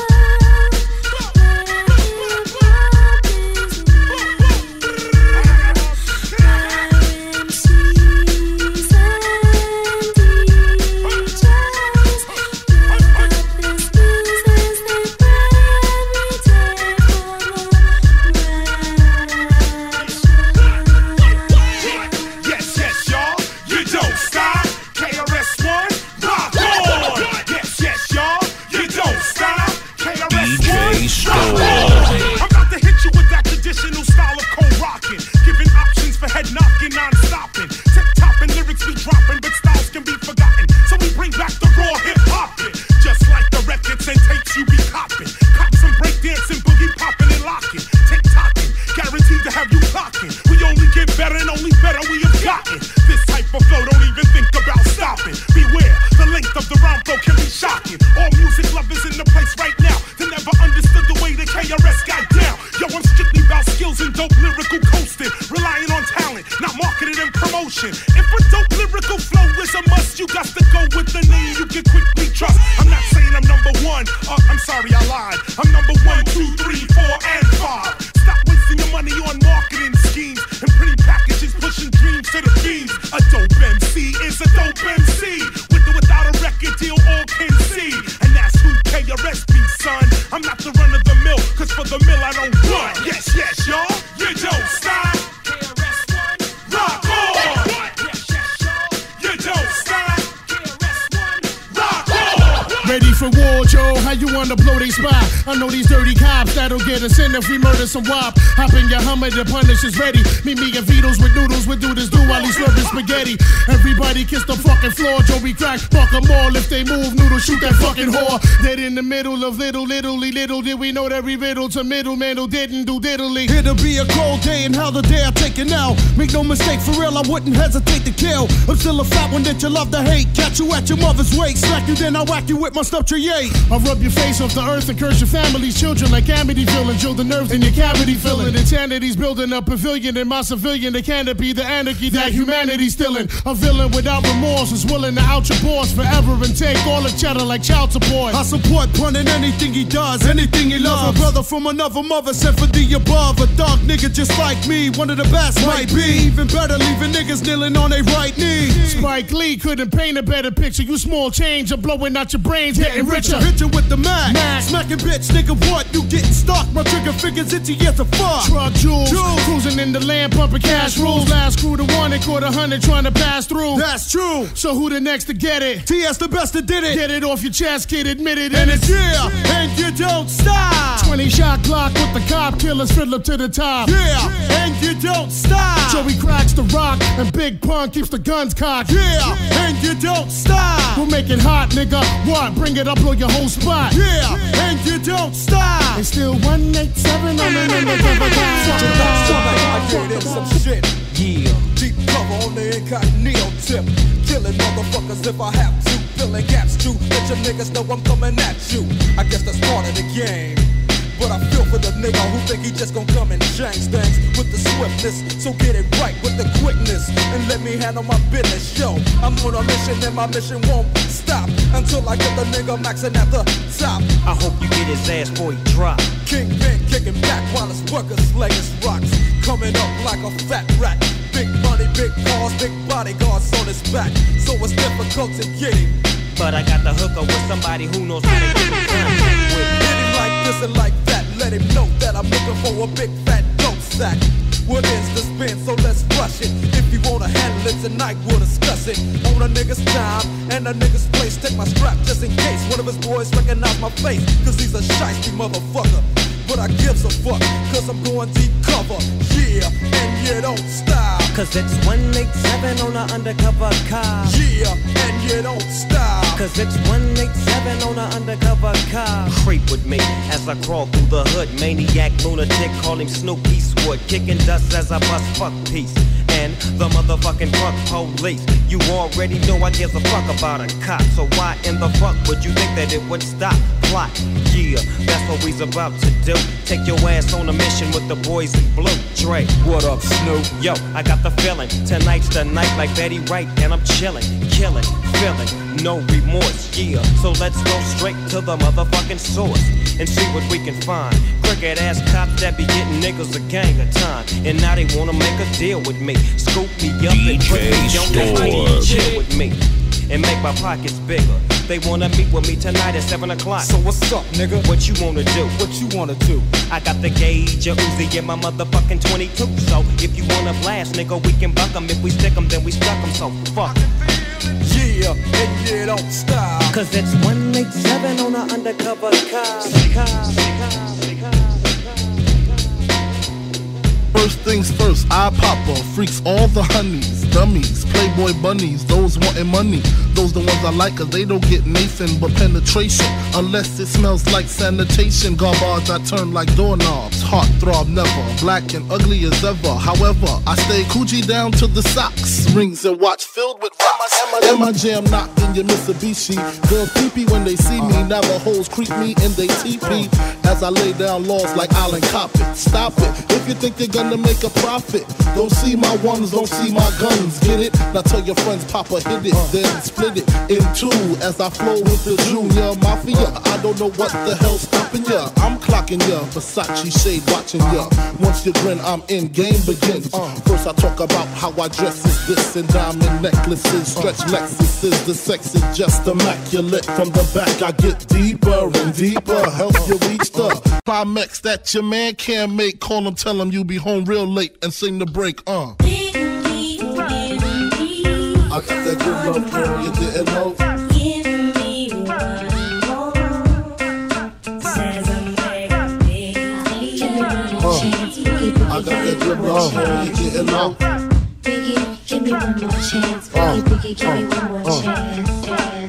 for flow, don't even think about stopping. Beware, the length of the rhyme flow can be shocking. All music lovers in the place right now that never understood the way the KRS got down. Yo, I'm strictly about skills and dope lyrical coasting, relying on talent, not marketing and promotion. If a dope lyrical flow is a must, you got to go with the name you can quickly trust. I'm not saying I'm number one, I'm sorry I lied. I'm number 1, 2, 3, 4, and 5. Stop wasting your money on marketing schemes and pretty packages pushing dreams to the beams. A dope MC is a dope MC, with or without a record deal, all can see. And that's who KRS be, son. I'm not the run of the mill, cause for the mill I don't run. Yes, yes, y'all, you don't stop. KRS-One, rock on. Yes, yes, y'all, you don't stop. KRS-One, rock on. Ready for war, Joe? How you wanna blow they spot? I know these dirty cops that'll get us in if we murder some wop. Hop in your Hummer, the punish is ready. Meet me and Vito's with noodles, we do this do while he's slurping spaghetti. Everybody kiss the fucking floor, Joe, we crack, fuck them all. If they move, noodle, shoot that fucking whore. Dead in the middle of little did we know that we riddle to middleman who didn't do diddly. It'll be a cold day and how the day I take it now. Make no mistake, for real, I wouldn't hesitate to kill. I'm still a fat one that you love to hate. Catch you at your mother's waist, smack you, then I whack you with my stuff tree. I'll rub your face off the earth and curse your family's children like Amityville and drill the nerves in your cavity filling. Insanity's building a pavilion in my civilian, the canopy, the anarchy that humanity's still in. A villain without remorse is willing to out your boss forever and take all the cheddar like child support. I support Pun in anything he does, anything he loves. A brother from another mother sent for the above. A dog nigga just like me, one of the best might be. Even better, leaving niggas kneeling on their right knee. Spike Lee couldn't paint a better picture. You small change, I'm blowing out your brains, getting richer. Hit you with the Mac. Smacking bitch, nigga, what? You getting stuck? My trigger fingers itchy as a fuck. Truck jewels, cruising in the land, pumping cash rules. Last crew to one, they caught 100 trying to pass through. That's true. So who the next to get it? TS the best that did it. Get it off your chest, kid, admit it. And it's and you don't stop. 20 shot clock with the cop killers, fiddler to the top. Yeah, and you don't stop. Joey cracks the rock, and Big Pun keeps the guns cocked. Yeah, and you don't stop. We'll make it hot, nigga. What? Bring it up, blow your whole spot. Yeah, and you don't stop. It's still 187 on the undercover I get in some shit. Yeah. Deep cover on the incognito tip. Killing motherfuckers if I have to. Filling gaps too. Let your niggas know I'm coming at you. I guess that's part of the game. But I feel for the nigga who think he just gon' come and change things with the swiftness. So get it right with the quickness and let me handle my business. Yo, I'm on a mission and my mission won't stop until I get the nigga maxing at the top. I hope you get his ass before he drop. Kingpin kicking back while his workers slaying rocks. Coming up like a fat rat. Big money, big cars, big bodyguards on his back. So it's difficult to get him. But I got the hooker with somebody who knows how to get him done. Hit him like this and like that. Let him know that I'm looking for a big fat dope sack. What is the spin? So let's rush it. If you wanna handle it tonight, we'll discuss it. On a nigga's time and a nigga's place. Take my strap just in case one of his boys recognize my face. Cause he's a shiesty motherfucker. But I gives a fuck, cause I'm going deep cover. Yeah, and you don't stop. Cause it's 187 on an undercover car. Yeah, and you don't stop. Cause it's 187 on an undercover car. Creep with me as I crawl through the hood. Maniac, lunatic, call him Snoop Eastwood. Kicking dust as I bust fuck peace. And the motherfucking fuck police. You already know I give a fuck about a cop. So why in the fuck would you think that it would stop? Plot, yeah, that's what we's about to do. Take your ass on a mission with the boys in blue. Dre, what up, Snoop? Yo, I got the feeling. Tonight's the night like Betty Wright. And I'm chilling, killing, feeling, no remorse, yeah. So let's go straight to the motherfucking source and see what we can find. Crooked ass cops that be getting niggas a gang of time. And now they wanna make a deal with me. Scoop me up and put me on the mic. Chill with me and make my pockets bigger. They wanna meet with me tonight at 7 o'clock. So what's up, nigga? What you wanna do? What you wanna do? I got the gauge, a Uzi, and my motherfucking 22. So if you wanna blast, nigga, we can buck 'em. If we stick 'em, then we stuck 'em. So fuck. Yeah, and you don't stop. Cause it's 187 on an undercover car. First things first, I pop off, freaks all the honeys, dummies, playboy bunnies, those wanting money. Those the ones I like, cause they don't get Nathan but penetration. Unless it smells like sanitation. Garbage I turn like doorknobs. Heart throb never. Black and ugly as ever. However, I stay Coochie down to the socks. Rings and watch filled with and my jam knocked in your Mitsubishi. Girls peepee when they see me. Never hoes creep me in they teepee. As I lay down laws like Island Coppet. Stop it. If you think they're gonna make a profit, don't see my ones, don't see my guns. Get it? Now tell your friends Papa hit it, then split it in two. As I flow with the Junior Mafia. I don't know what the hell's stopping ya. I'm clocking ya. Versace shade watching ya. Once you grin, I'm in. Game begins. First I talk about how I dress is this and diamond necklaces, stretch Lexuses. The sex is just immaculate. From the back I get deeper and deeper. Help you reach the climax that your man can't make. Call him, tell him you be home real late and sing the break. I got that good love, girl, you didn't know. I got that good love, girl, you didn't know. Biggie, give me one more chance. Biggie, give me one more chance.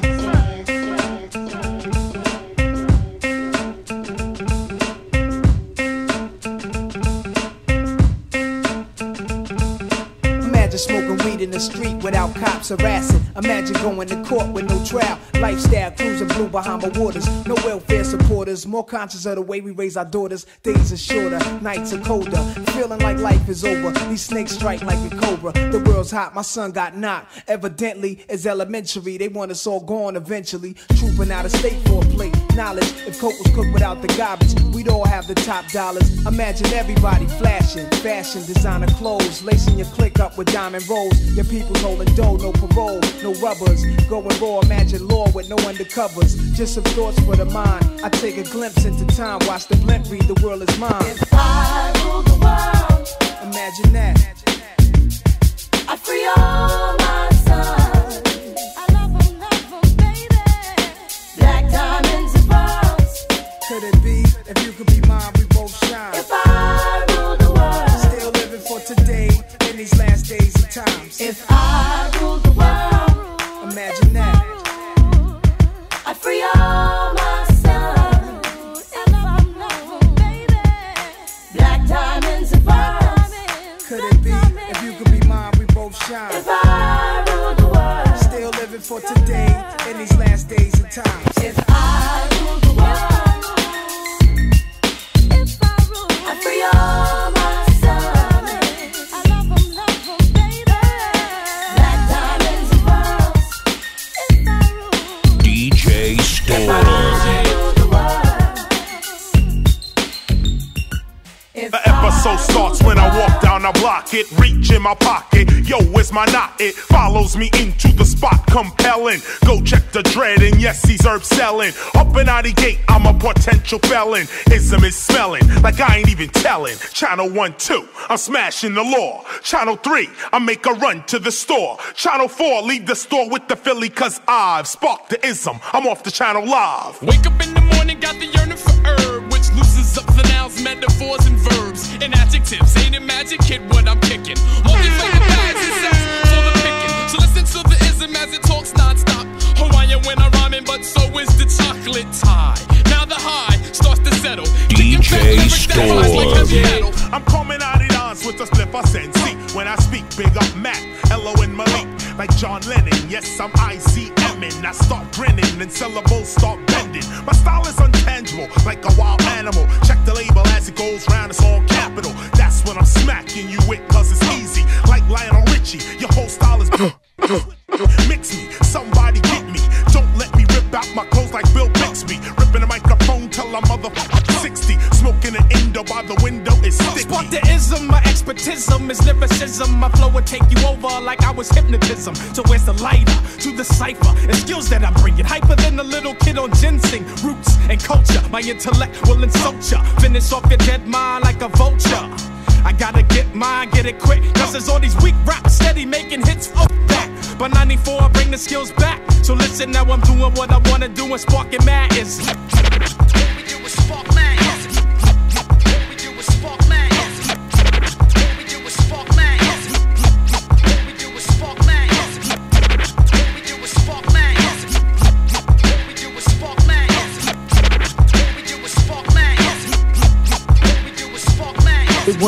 Smoking weed in the street without cops harassing. Imagine going to court with no trial. Lifestyle, cruising blue Bahama waters. No welfare supporters. More conscious of the way we raise our daughters. Days are shorter, nights are colder. Feeling like life is over. These snakes strike like a cobra. The world's hot, my son got knocked. Evidently, it's elementary. They want us all gone eventually. Trooping out of state for a plate. Knowledge, if coke was cooked without the garbage, we'd all have the top dollars. Imagine everybody flashing. Fashion, designer clothes. Lacing your click up with diamond rolls. Your people's holding dough, no parole, no rubbers. Going raw, imagine law with no undercovers. Just some thoughts for the mind. I take a glimpse into time, watch the blimp read, the world is mine. If I rule the world, imagine that. I free all my sons. I love them, baby. Black diamonds and pearls. Could it be, if you could be mine, we both shine. If I rule the world, still living for today. In these last days and times. If I rule the world, imagine that. I free all my sons. Black diamonds and pearls. Could it be, if you could be mine, we both shine. If I rule the world, still living for today. In these last days and times. If I rule the world, if I rule, I free all my The episode starts when I walk down the block. It reach in my pocket. Yo, where's my knot? It follows me into the spot, compelling. Go check the dread, and yes, he's herb selling. Up and out the gate, I'm a potential felon. Ism is smelling like I ain't even telling. Channel 1, 2, I'm smashing the law. Channel 3, I make a run to the store. Channel 4, leave the store with the Philly, cause I've sparked the ism. I'm off the channel live. Wake up in the morning, got the yearning for herb, which loosens up the nouns, metaphors, and verbs, and adjectives. Ain't it magic, kid, what I'm kicking? All these flavor bags and sets for the picking. So listen to the ism as it talks non-stop. Hawaiian when I'm rhyming, but so is the chocolate tie. Now the high starts to settle. DJ Storm. I'm coming out of dance with a split I sense. When I speak, big up Matt, Hello and Malik. Like John Lennon, yes, I'm ICMing. I start grinning and syllables start bending. My style is untangible, like a wild animal. Check the label as it goes round, it's on capital. That's when I'm smacking you with, cause it's easy. Like Lionel Richie, your whole style is mix me, somebody get me. Don't let me rip out my clothes like Bill Bixby. Ripping the microphone till I'm motherfucking 60. Smoking an Indo by the window is sticky. Spark the ism, my expertism is lyricism. My flow will take you over like I was hypnotism. So where's the lighter to the cipher and skills that I'm bringing? Hyper than a little kid on ginseng. Roots and culture, my intellect will insult ya. Finish off your dead mind like a vulture. I gotta get mine, get it quick. Cause there's all these weak raps steady making hits. Fuck that. By 94, I bring the skills back. So listen, now I'm doing what I wanna do and sparking mad is. What we do is spark mad. What we do is spark mad. What we do is spark mad. What we do is spark mad. What we do is spark mad.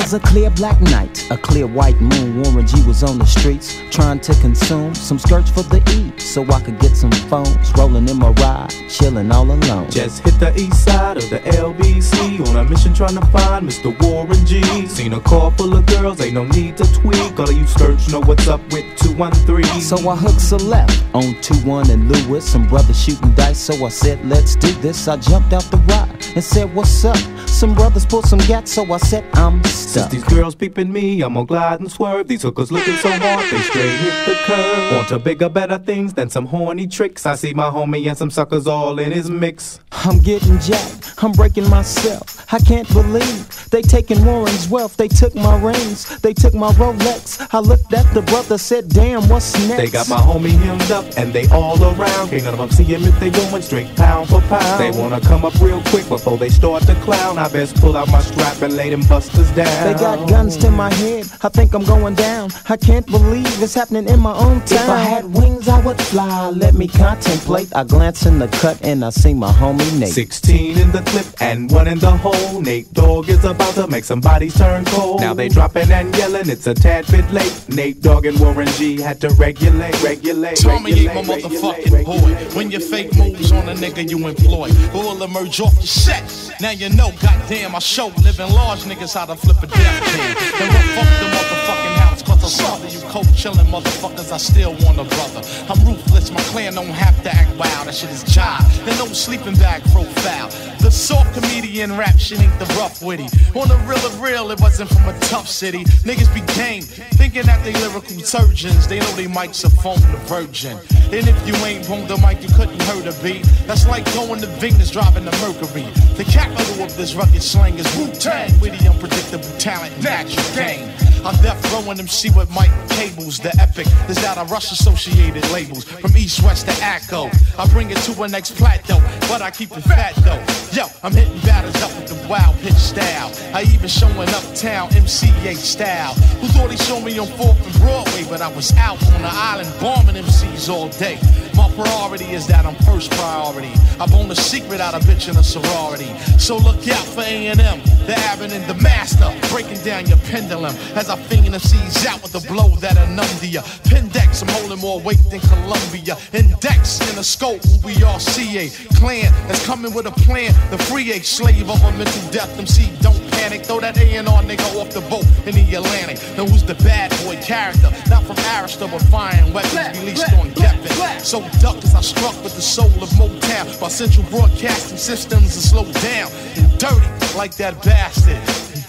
was a clear black night, a clear white moon. Warren G was on the streets trying to consume some skirts for the E, so I could get some phones. Rolling in my ride, chilling all alone. Just hit the east side of the LBC on a mission trying to find Mr. Warren G. Seen a car full of girls, ain't no need to tweak. All of you skirts know what's up with 213. So I hooked a left on 21 and Lewis. Some brothers shooting dice, so I said, let's do this. I jumped out the ride and said, what's up? Some brothers pulled some gats, so I said, I'm stuck. Since these girls peeping me, I'm gonna glide and swerve. These hookers looking so hard, they straight hit the curve. Want to bigger, better things than some horny tricks. I see my homie and some suckers all in his mix. I'm getting jacked, I'm breaking myself. I can't believe they taking Warren's wealth. They took my rings, they took my Rolex. I looked at the brother, said, damn, what's next? They got my homie hemmed up and they all around. Can't none of them see him if they going straight pound for pound. They wanna come up real quick before they start to clown. I best pull out my strap and lay them busters down. They got guns to my head, I think I'm going down. I can't believe it's happening in my own town. If I had wings, I would fly, let me contemplate. I glance in the cut and I see my homie Nate. 16 in the clip and 1 in the hole. Nate Dogg is about to make some bodies turn cold. Now they dropping and yelling, it's a tad bit late. Nate Dogg and Warren G had to regulate. Tommy ain't my motherfucking boy. When your fake moves on a nigga you employ, will emerge off your set. Now you know, goddamn, I show living large niggas how to flip a death can. And rough up the motherfucking house, cause I saw that you cold chillin' motherfuckers, I still want a brother. I'm ruthless, my clan don't have to act wild, that shit is jive. And no sleeping bag profile. The soft comedian rap shit ain't the rough witty. On the real of real, it wasn't from a tough city. Niggas be game, thinking that they lyrical surgeons. They know they mics are phone the virgin. And if you ain't on the mic, you couldn't hurt a beat. That's like going to Venus driving the Mercury. The capital of this rugged slang is Wu-Tang. Witty, unpredictable talent, natural game. I'm death rowing MC with Mike Cables. The epic is that I rush associated labels from East West to Acco. I bring it to a next plateau, but I keep it fat though. Yo, I'm hitting batters up with the wild pitch style. I even showing uptown MCA style. Who thought he saw me on 4th and Broadway, but I was out on the island bombing MCs all day. My priority is that I'm first priority. I bone a secret out of bitch in a sorority. So look out for A&M, the Abbott and the Master, breaking down your pendulum as I finger MCs out with a blow that'll numb to ya. Pendex, I'm holding more weight than Columbia. Index in a scope, we are CA clan that's coming with a plan. The free A slave of a mental death. MC, don't panic. Throw that A&R nigga off the boat in the Atlantic. Now who's the bad boy character? Not from Arista, but firing weapons released on Geffen. So duck as I struck with the soul of Motown. My central broadcasting systems are slowed down and dirty like that bastard.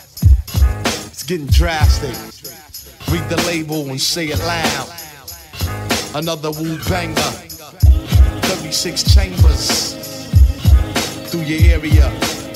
It's getting drastic. Read the label and say it loud. Another Wu banger. 36 chambers through your area.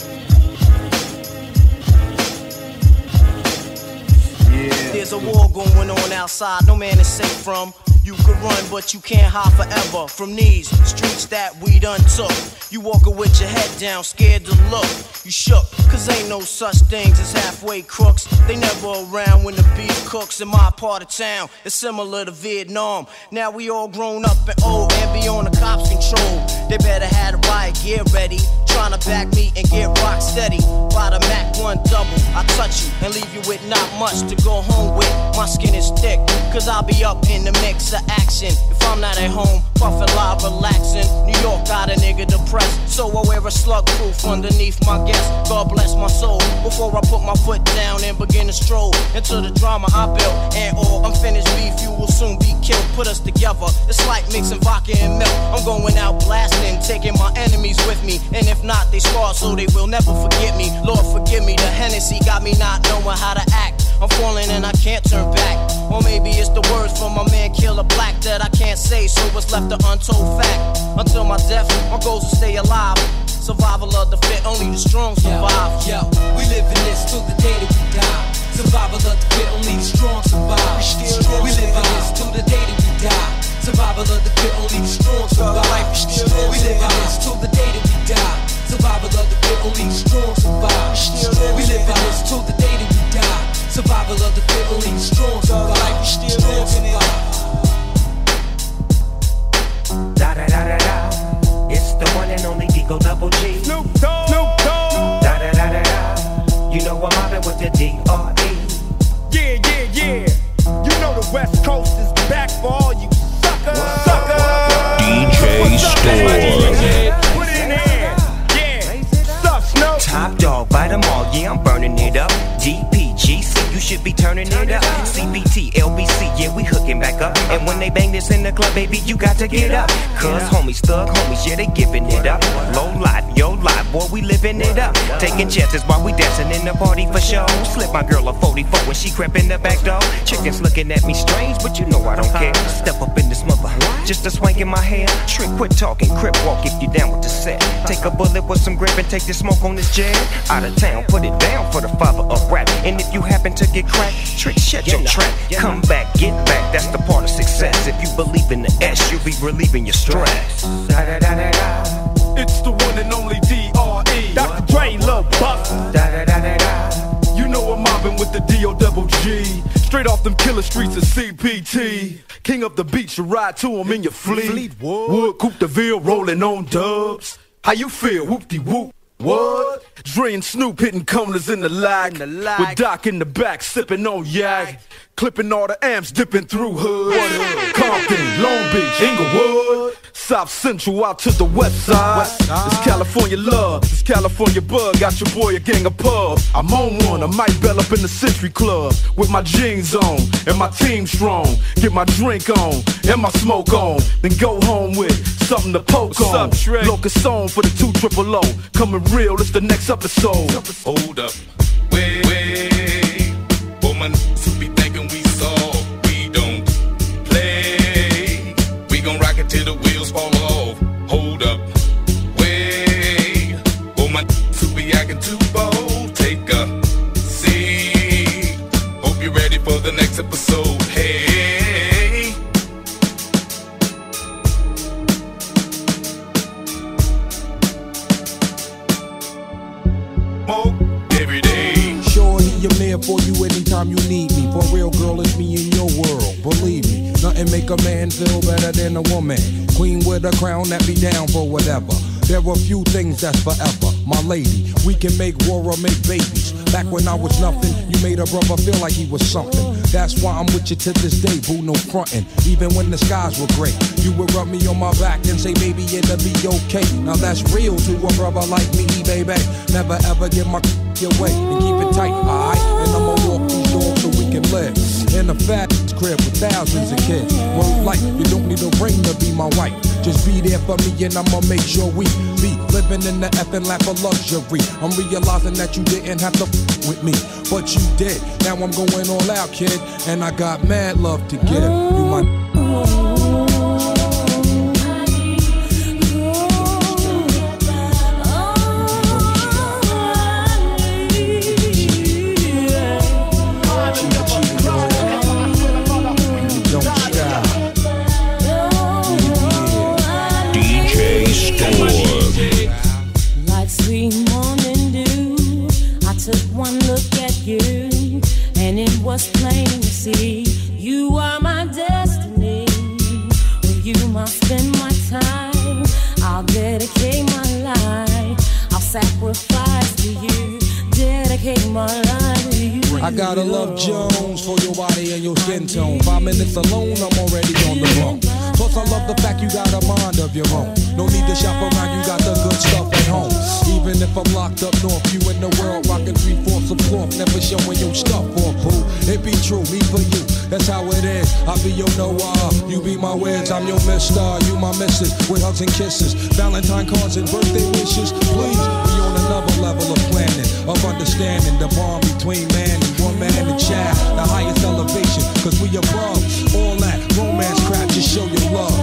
Yeah. There's a war going on outside, no man is safe from. You could run, but you can't hide forever from these streets that we done took. You walking with your head down, scared to look. You shook, cause ain't no such things as halfway crooks. They never around when the beef cooks. In my part of town, it's similar to Vietnam. Now we all grown up and old and be on the cops' control. They better have the riot gear ready. Trying to back me and get rock steady. By the Mac 1 double, I touch you and leave you with not much to go home with. My skin is thick, cause I'll be up in the mix of action. If I'm not at home, puffin' live, relaxing. New York got a nigga depressed, so I wear a slug proof underneath my guest. God bless my soul. Before I put my foot down and begin to stroll into the drama I built. And all unfinished beef, you will soon be killed. Put us together, it's like mixing vodka and milk. I'm going out blasting, taking my enemies with me. And if not, they scar so they will never forget me. Lord forgive me, the Hennessy got me not knowing how to act. I'm falling and I can't turn back. Or maybe it's the words from my man Killer Black that I can't say, so it's left an untold fact. Until my death, my goals will stay alive. Survival of the fit, only the strong survive. Yo, we live in this till the day that we die. Survival of the fit, only the strong survive. We live in this till the day that we die. Survival of the fit, only the strong survive. We live in this till the day that we die. Survival of the fit, only the strong survive. We live in this till the day that we die. Survival of the fit, only the strong survive. Da da da da da. It's the one and only Digo Double G. Snoop Dogg. Da da da da da. You know I'm mobbing with the D.R.E. Top dog, bite them all, yeah, I'm burning it up. DPGC, you should be turning it up. CBT, LBC, yeah, we hooking back up. And when they bang this in the club, baby, you got to get up. Cuz homies, thug homies, yeah, they giving it up. Low life, yo life, boy, we living it up. Taking chances while we dancing in the party for show. Slip my girl a 44 when she crept in the back door. Chickens looking at me strange, but you know I don't care. Step up in this mother, just a swank in my hair. Trick, quit talking, crip walk if you down with the set. Take a bullet with some grip and take the smoke on this jet. Out of town, put it down for the father of rap. And if you happen to get cracked, trick, shut your trap. Come back, get back, that's the part of success. If you believe in the S, you'll be relieving your stress. It's the one and only D.R.E. Dr. Dre, Lil Buck. You know I'm mobbing with the D.O.G. Straight off them killer streets of CPT. King of the beach, you ride to him in your fleet. Wood, Coupe de Ville, rolling on dubs. How you feel? Whoop-de-whoop. What? Dre and Snoop hitting corners in the lag. With Doc in the back, sipping on yak. Clipping all the amps, dipping through hood. Compton, Long Beach, Inglewood. South Central out to the west side. It's California love, it's California bug. Got your boy a gang of pub. I'm on one, I might bell up in the Century Club. With my jeans on, and my team strong. Get my drink on, and my smoke on. Then go home with something to poke on. Locust on for the 200. Coming real, it's the next episode. Hold up, wait, woman, who be thinking we soft, we don't play. We gon' rock it till the wheels fall off. Hold up, wait, woman, who be acting too bold, take a seat. Hope you're ready for the next episode. Hey. Every day. Sure, I'm there for you anytime you need me. For real, girl, it's me in your world. Believe me, nothing make a man feel better than a woman. Queen with a crown that be down for whatever. There are few things that's forever. My lady, we can make war or make babies. Back when I was nothing, you made a brother feel like he was something. That's why I'm with you to this day, boo, no frontin'. Even when the skies were gray, you would rub me on my back and say, baby, it'll be okay. Now that's real to a brother like me, baby. Never ever give my away and keep it tight, alright? And I'ma walk these doors so we can live in a fat crib with thousands of kids. Word life, you don't need a ring to be my wife. Just be there for me and I'ma make sure we be living in the effing lap of luxury. I'm realizing that you didn't have to with me, but you did. Now I'm going all out, kid, and I got mad love to give. You my Like sweet morning dew, I took one look at you, and it was plain to see you are my destiny. With you I'll spend my time, I'll dedicate my life, I'll sacrifice to you, dedicate my life to you. I gotta love Jones for your body and your skin tone. 5 minutes alone, I'm already on the run. Plus I love the fact you got a mind of your own. No need to shop around, you got the good stuff at home. Even if I'm locked up north, you in the world rocking 3/4 of cloth, never showing your stuff off, boo. It be true, me for you, that's how it is. I be your Noah, you be my Wiz, I'm your Mister, you my Missus, with hugs and kisses, Valentine cards and birthday wishes. Please, we on another level of planning, of understanding the bond between man and woman and child, the highest elevation, cause we above all that romance crap, just show your love.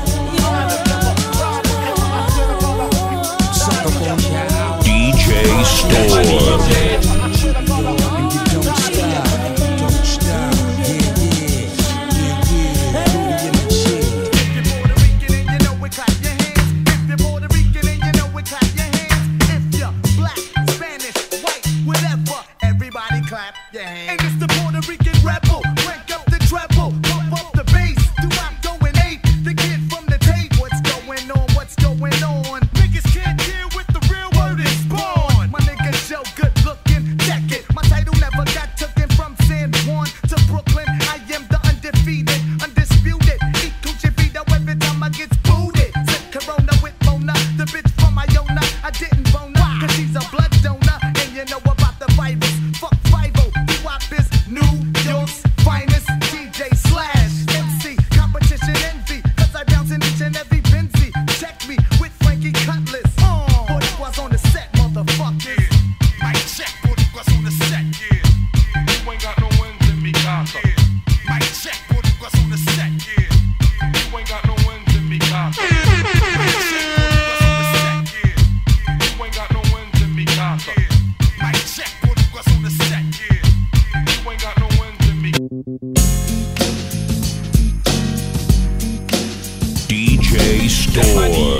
DJ Storm. Clap your hands. And it's the Puerto Rican rebel. Crank up the treble, pump up the bass. Do I'm going ape? The kid from the tape. What's going on? What's going on? Niggas can't deal with the real word is born. My nigga Joe, good looking, Store.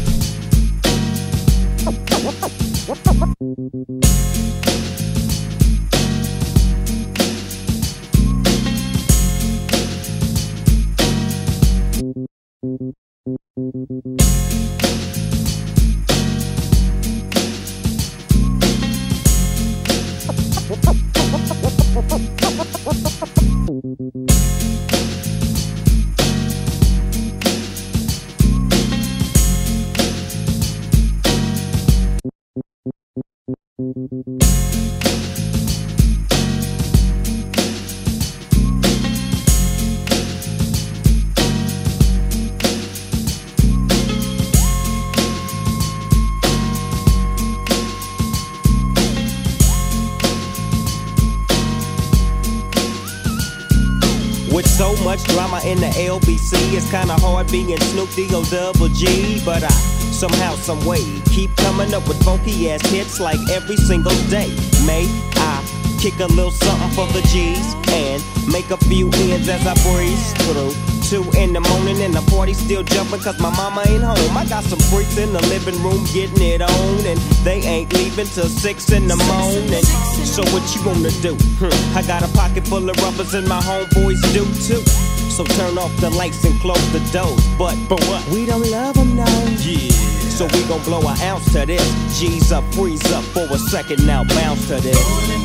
With so much drama in the LBC, it's kinda hard being Snoop D-O-double-G. But I somehow, some way, keep coming up with funky ass hits like every single day. May I kick a little something for the G's and make a few ends as I breeze through. 2 in the morning and the party still jumping cause my mama ain't home. I got some freaks in the living room getting it on and they ain't leaving till 6 in the morning. So what you gonna do? I got a pocket full of rubbers and my homeboys do too. So turn off the lights and close the doors. But what? We don't love them now. Yeah. So we gon' blow an ounce to this. G's up, freeze up for a second now, bounce to this.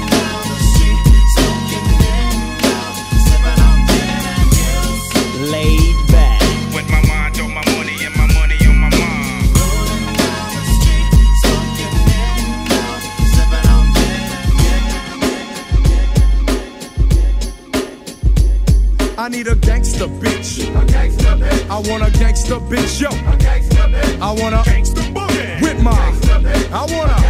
Laid back with my mind on my money and my money on my mind. I need a gangster bitch. I want a gangster bitch, yo. I want a gangster boogie with my. I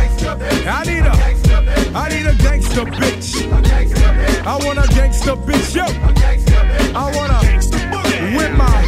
need a gangster bitch. I want a gangster bitch, yo. I want a with my.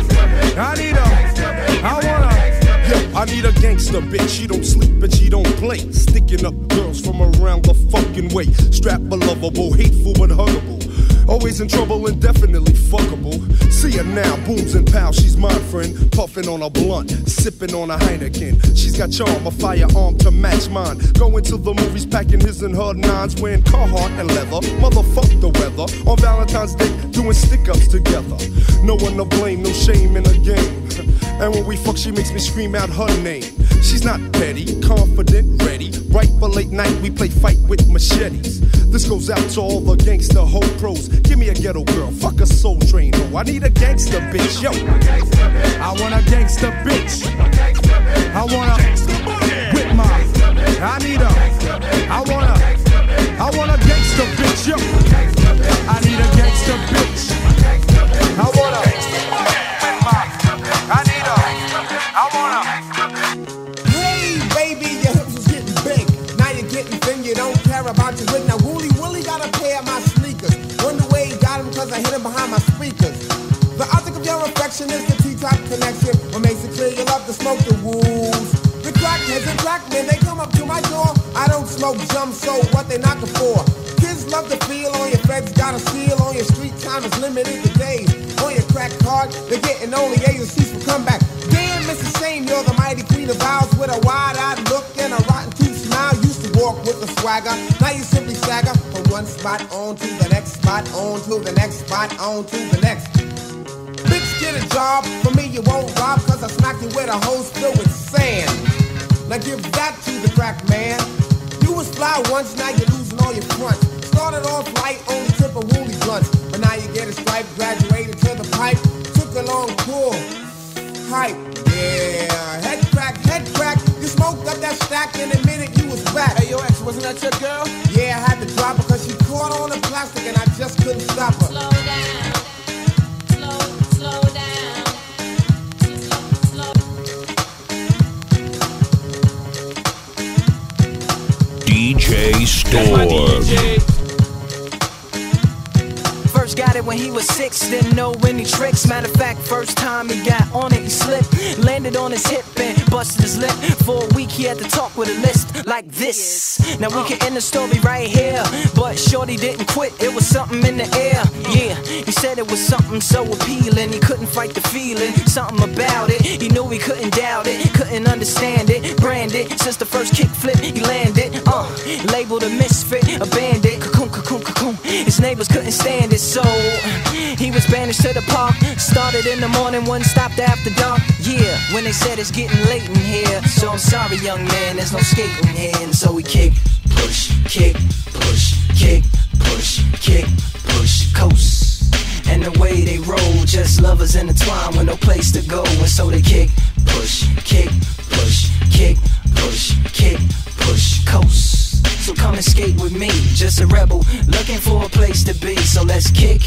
I need a gangster bitch. She don't sleep and she don't play. Sticking up girls from around the fucking way. Strap a lovable, hateful but huggable. Always in trouble and definitely fuckable. See her now, booms and pals, she's my friend. Puffing on a blunt, sipping on a Heineken. She's got charm, a firearm to match mine. Going to the movies, packing his and her nines. Wearing Carhartt and leather, motherfuck the weather. On Valentine's Day, doing stick-ups together. No one to blame, no shame in the game. And when we fuck, she makes me scream out her name. She's not petty, confident, ready. Right for late night, we play fight with machetes. This goes out to all the gangster hoe pros. Give me a ghetto girl, fuck a soul train ho. I need a gangster bitch, yo. I want a gangster bitch. I want a with my. I want a gangster bitch, yo. I need a gangster bitch. I want a with my. Hey baby, your hips was getting big. Now you're getting thin, you don't care about your wig. Now Wooly got a pair of my sneakers. Wonder where he got him cause I hit him behind my speakers. The object of your affection is the T-top connection. What makes it clear you love to smoke the wolves. The crackheads and crackmen, they come up to my door. I don't smoke jump, so what they knocking for? Kids love to feel on your feds, got a seal on your street time is limited to days. On your crack card, they're getting only A's and C's for comeback. Damn, Mrs. Shane, you're the mighty queen of vows with a wide-eyed look and a rotten tooth smile. Used to walk with a swagger, now you simply stagger from one spot on to the next spot, on to the next spot, on to the next. Bitch, get a job, for me you won't rob, cause I smack you with a hose filled with sand. Now give that to the crack man. You was fly once, now you're losing all your fronts. Started off light, only tip of Wooly blunts, but now you get a stripe, graduated to the pipe. Took a long pull, hype, yeah. Head crack, you smoked up that stack in a minute you was back. Hey yo ex, wasn't that your girl? Yeah, I had to drop her cause she caught on the plastic and I just couldn't stop her. Slow down, slow down. DJ Store. First got it when he was 6, didn't know any tricks. Matter of fact, first time he got on it, he slipped. Landed on his hip and busted his lip. For a week he had to talk with a list like this. Now we can end the story right here, but shorty didn't quit, it was something in the air. Yeah, he said it was something so appealing, he couldn't fight the feeling. Something about it, he knew he couldn't doubt it, couldn't understand it. Branded since the first kick flip he landed. Labeled a misfit, a bandit. Cocoon, cocoon, cocoon. His neighbors couldn't stand it, so he was banished to the park. Started in the morning, one stopped after dark. Yeah, when they said it's getting late in here. So I'm sorry, young man, there's no skating here. And so we kick, push, kick, push, kick, push, kick, push, coast. And the way they roll, just lovers intertwined with no place to go. And so they kick, push, kick, push, kick, push, kick, push, coast. So come and skate with me, just a rebel looking for a place to be. So let's kick,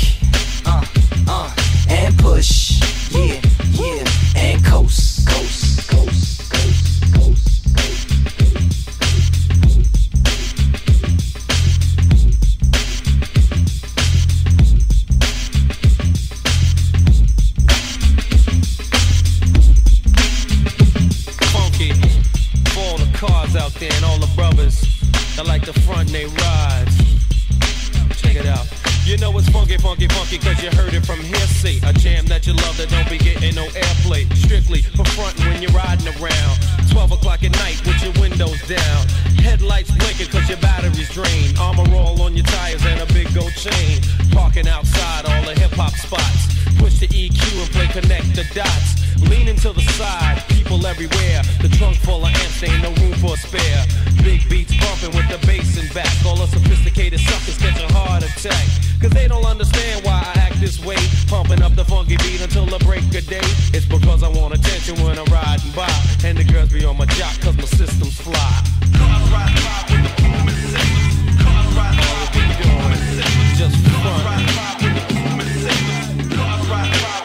and push, yeah, yeah, and coast, coast, coast, coast, coast. Cars out there and all the brothers that like to front and they rides. Check it out. You know it's funky, funky, funky, cause you heard it from hearsay. A jam that you love that don't be getting no airplay. Strictly for frontin' when you're riding around. 12 o'clock at night with your windows down. Headlights blinking cause your battery's drained. Armor all on your tires and a big gold chain. Parking outside all the hip hop spots. Push the EQ and play connect the dots. Leaning to the side, people everywhere. The trunk full of amps, ain't no room for a spare. Big beats bumping with the bass in back. All the sophisticated suckers catch a heart attack. Cause they don't understand why I act this way. Pumping up the funky beat until the break of day. It's because I want attention when I'm riding by. And the girls be on my jock cause my system's fly. Cars ride by with the boom and signals. Cars ride by with the boom and signals. Just for fun. Cars ride by with the boom and signals. Cars ride by with the boom and signals.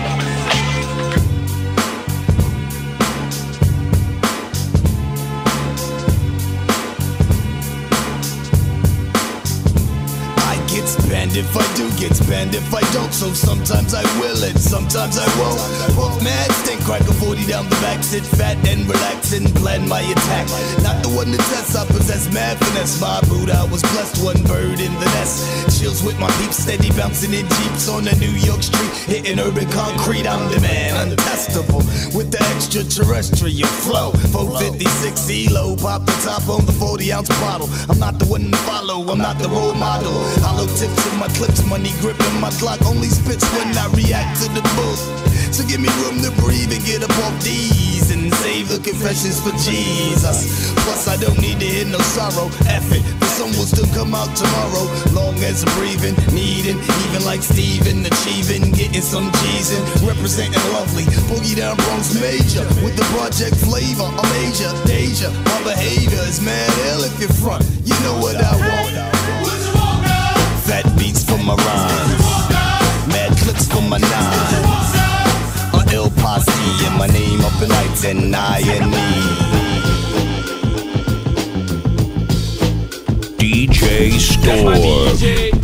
Spend if I do get spend if I don't, so sometimes I will and sometimes I won't. Puff mad, stink, crack a 40 down the back, sit fat and relax and plan my attack. Not the one to test, I possess mad finesse. My boot, I was blessed, one bird in the nest. Chills with my peeps, steady bouncing in jeeps on the New York street, hitting urban concrete. I'm the man, untestable, with the extraterrestrial flow. 456 ELO, pop the top on the 40-ounce bottle. I'm not the one to follow, I'm not the role model. Hollow tips in my clips, money gripping my clock. Only spits when I react to the book. So give me room to breathe and get up off these and save the confessions for Jesus. Plus I don't need to hear no sorrow. F it, the sun will still come out tomorrow. Long as I'm breathing, needing, even like Steven, achieving, getting some G's in, representing lovely. Boogie down Bronx major with the project flavor. I'm major, danger, my behavior is mad ill if you're front. You know what I want. Fat beats for my rhymes, mad clips for my nines. A ill posse and my name up in lights and I and me. DJ Storm.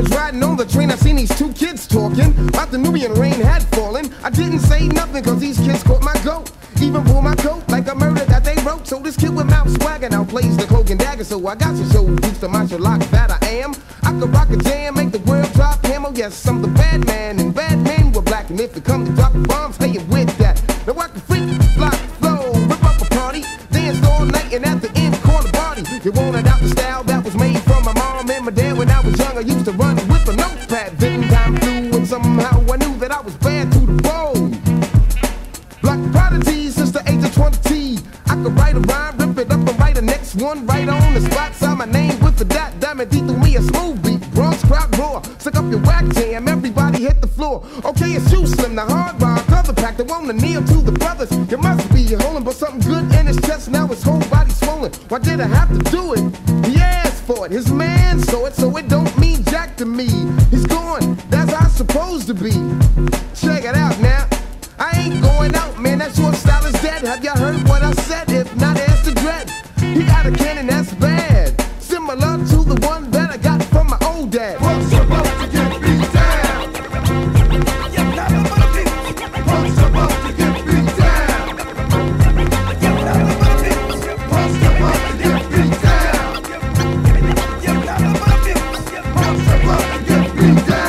was riding on the train, I seen these two kids talking about the Nubian rain had fallen. I didn't say nothing cause these kids caught my goat. Even pull my coat like a murder that they wrote. So this kid with mouth swagger now plays the cloak and dagger. So I got to show Dukes the martial lock that I am. I could rock a jam, make the world drop camo. Yes, I'm the bad man, and bad men were black. And if it comes to dropping bombs, hey, you with that. Now I can freak, fly, flow, rip up a party, dance all night, and at the end, call the party. You want it out the style that was made from my mom and my dad when I was young. I used to run with a notepad. Then time flew, and somehow I knew that I was bad to the bone. Black prodigy since the age of 20. I could write a rhyme, rip it up and write the next one right on the spot. Sign my name with the dot. Diamond D threw me a smooth beat. Bronx crowd roar. Stick up your whack jam. Everybody hit the floor. Okay, it's you, Slim, the hard rock. Cover pack. They wanna kneel to the brothers. You must be holding but something good in his chest. Now his whole body swollen. Why did I have to do it? He asked for it. His man saw it, so it don't mean jack to me. He's gone. That's how it's supposed to be. Check it out now. I ain't going out, man, that short style is dead. Have y'all heard what I said? If not, ask the dread. He got a cannon that's bad, similar to the one that I got from my old dad. What's about to get beat down? What's about to get beat down? What's about to get beat down? What's about to get beat down?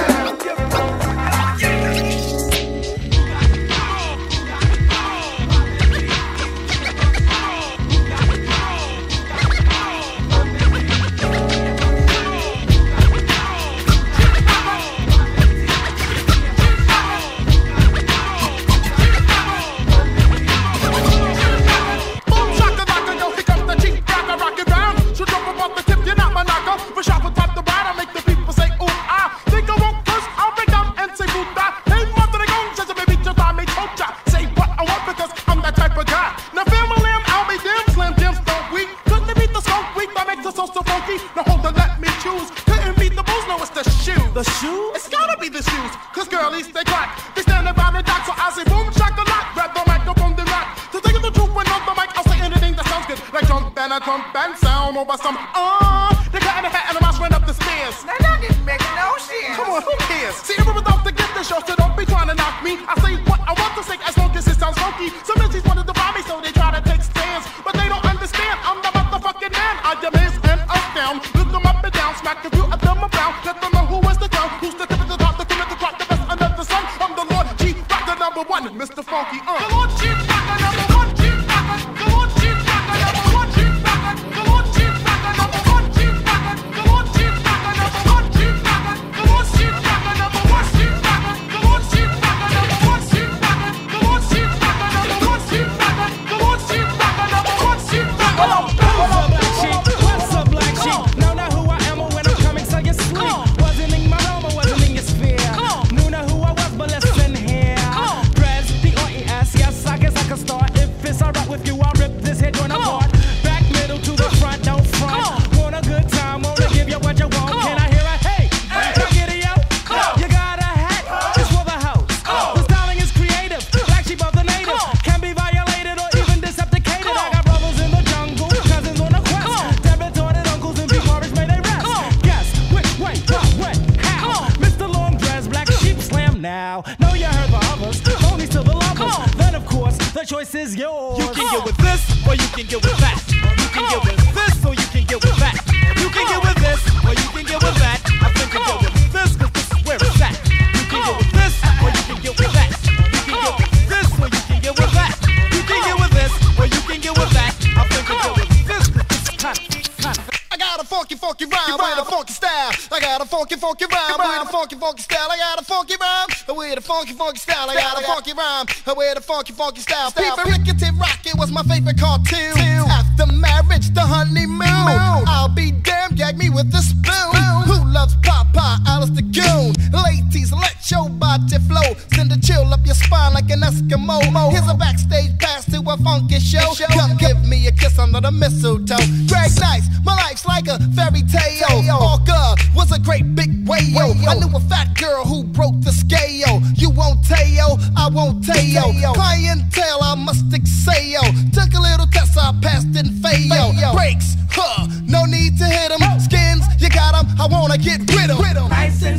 Funky style. People Rickety Rocket was my favorite cartoon. After marriage, the honeymoon. I'll be damned, gag me with the spoon. Who loves Papa, Alice the Goon? Ladies, let your body flow. Send a chill up your spine like an Eskimo. Here's a backstage pass to a funky show. Come give me a kiss under the mistletoe. Greg Nice, my life's like a fairy tale. Orca was a great big whale. I knew a fat girl who broke the scale. You won't tell, I won't tell. Clientele, I must excel. Took a little test, I passed and failed. Breaks, no need to hit 'em. Skins, you got 'em, I wanna get rid of 'em. Nice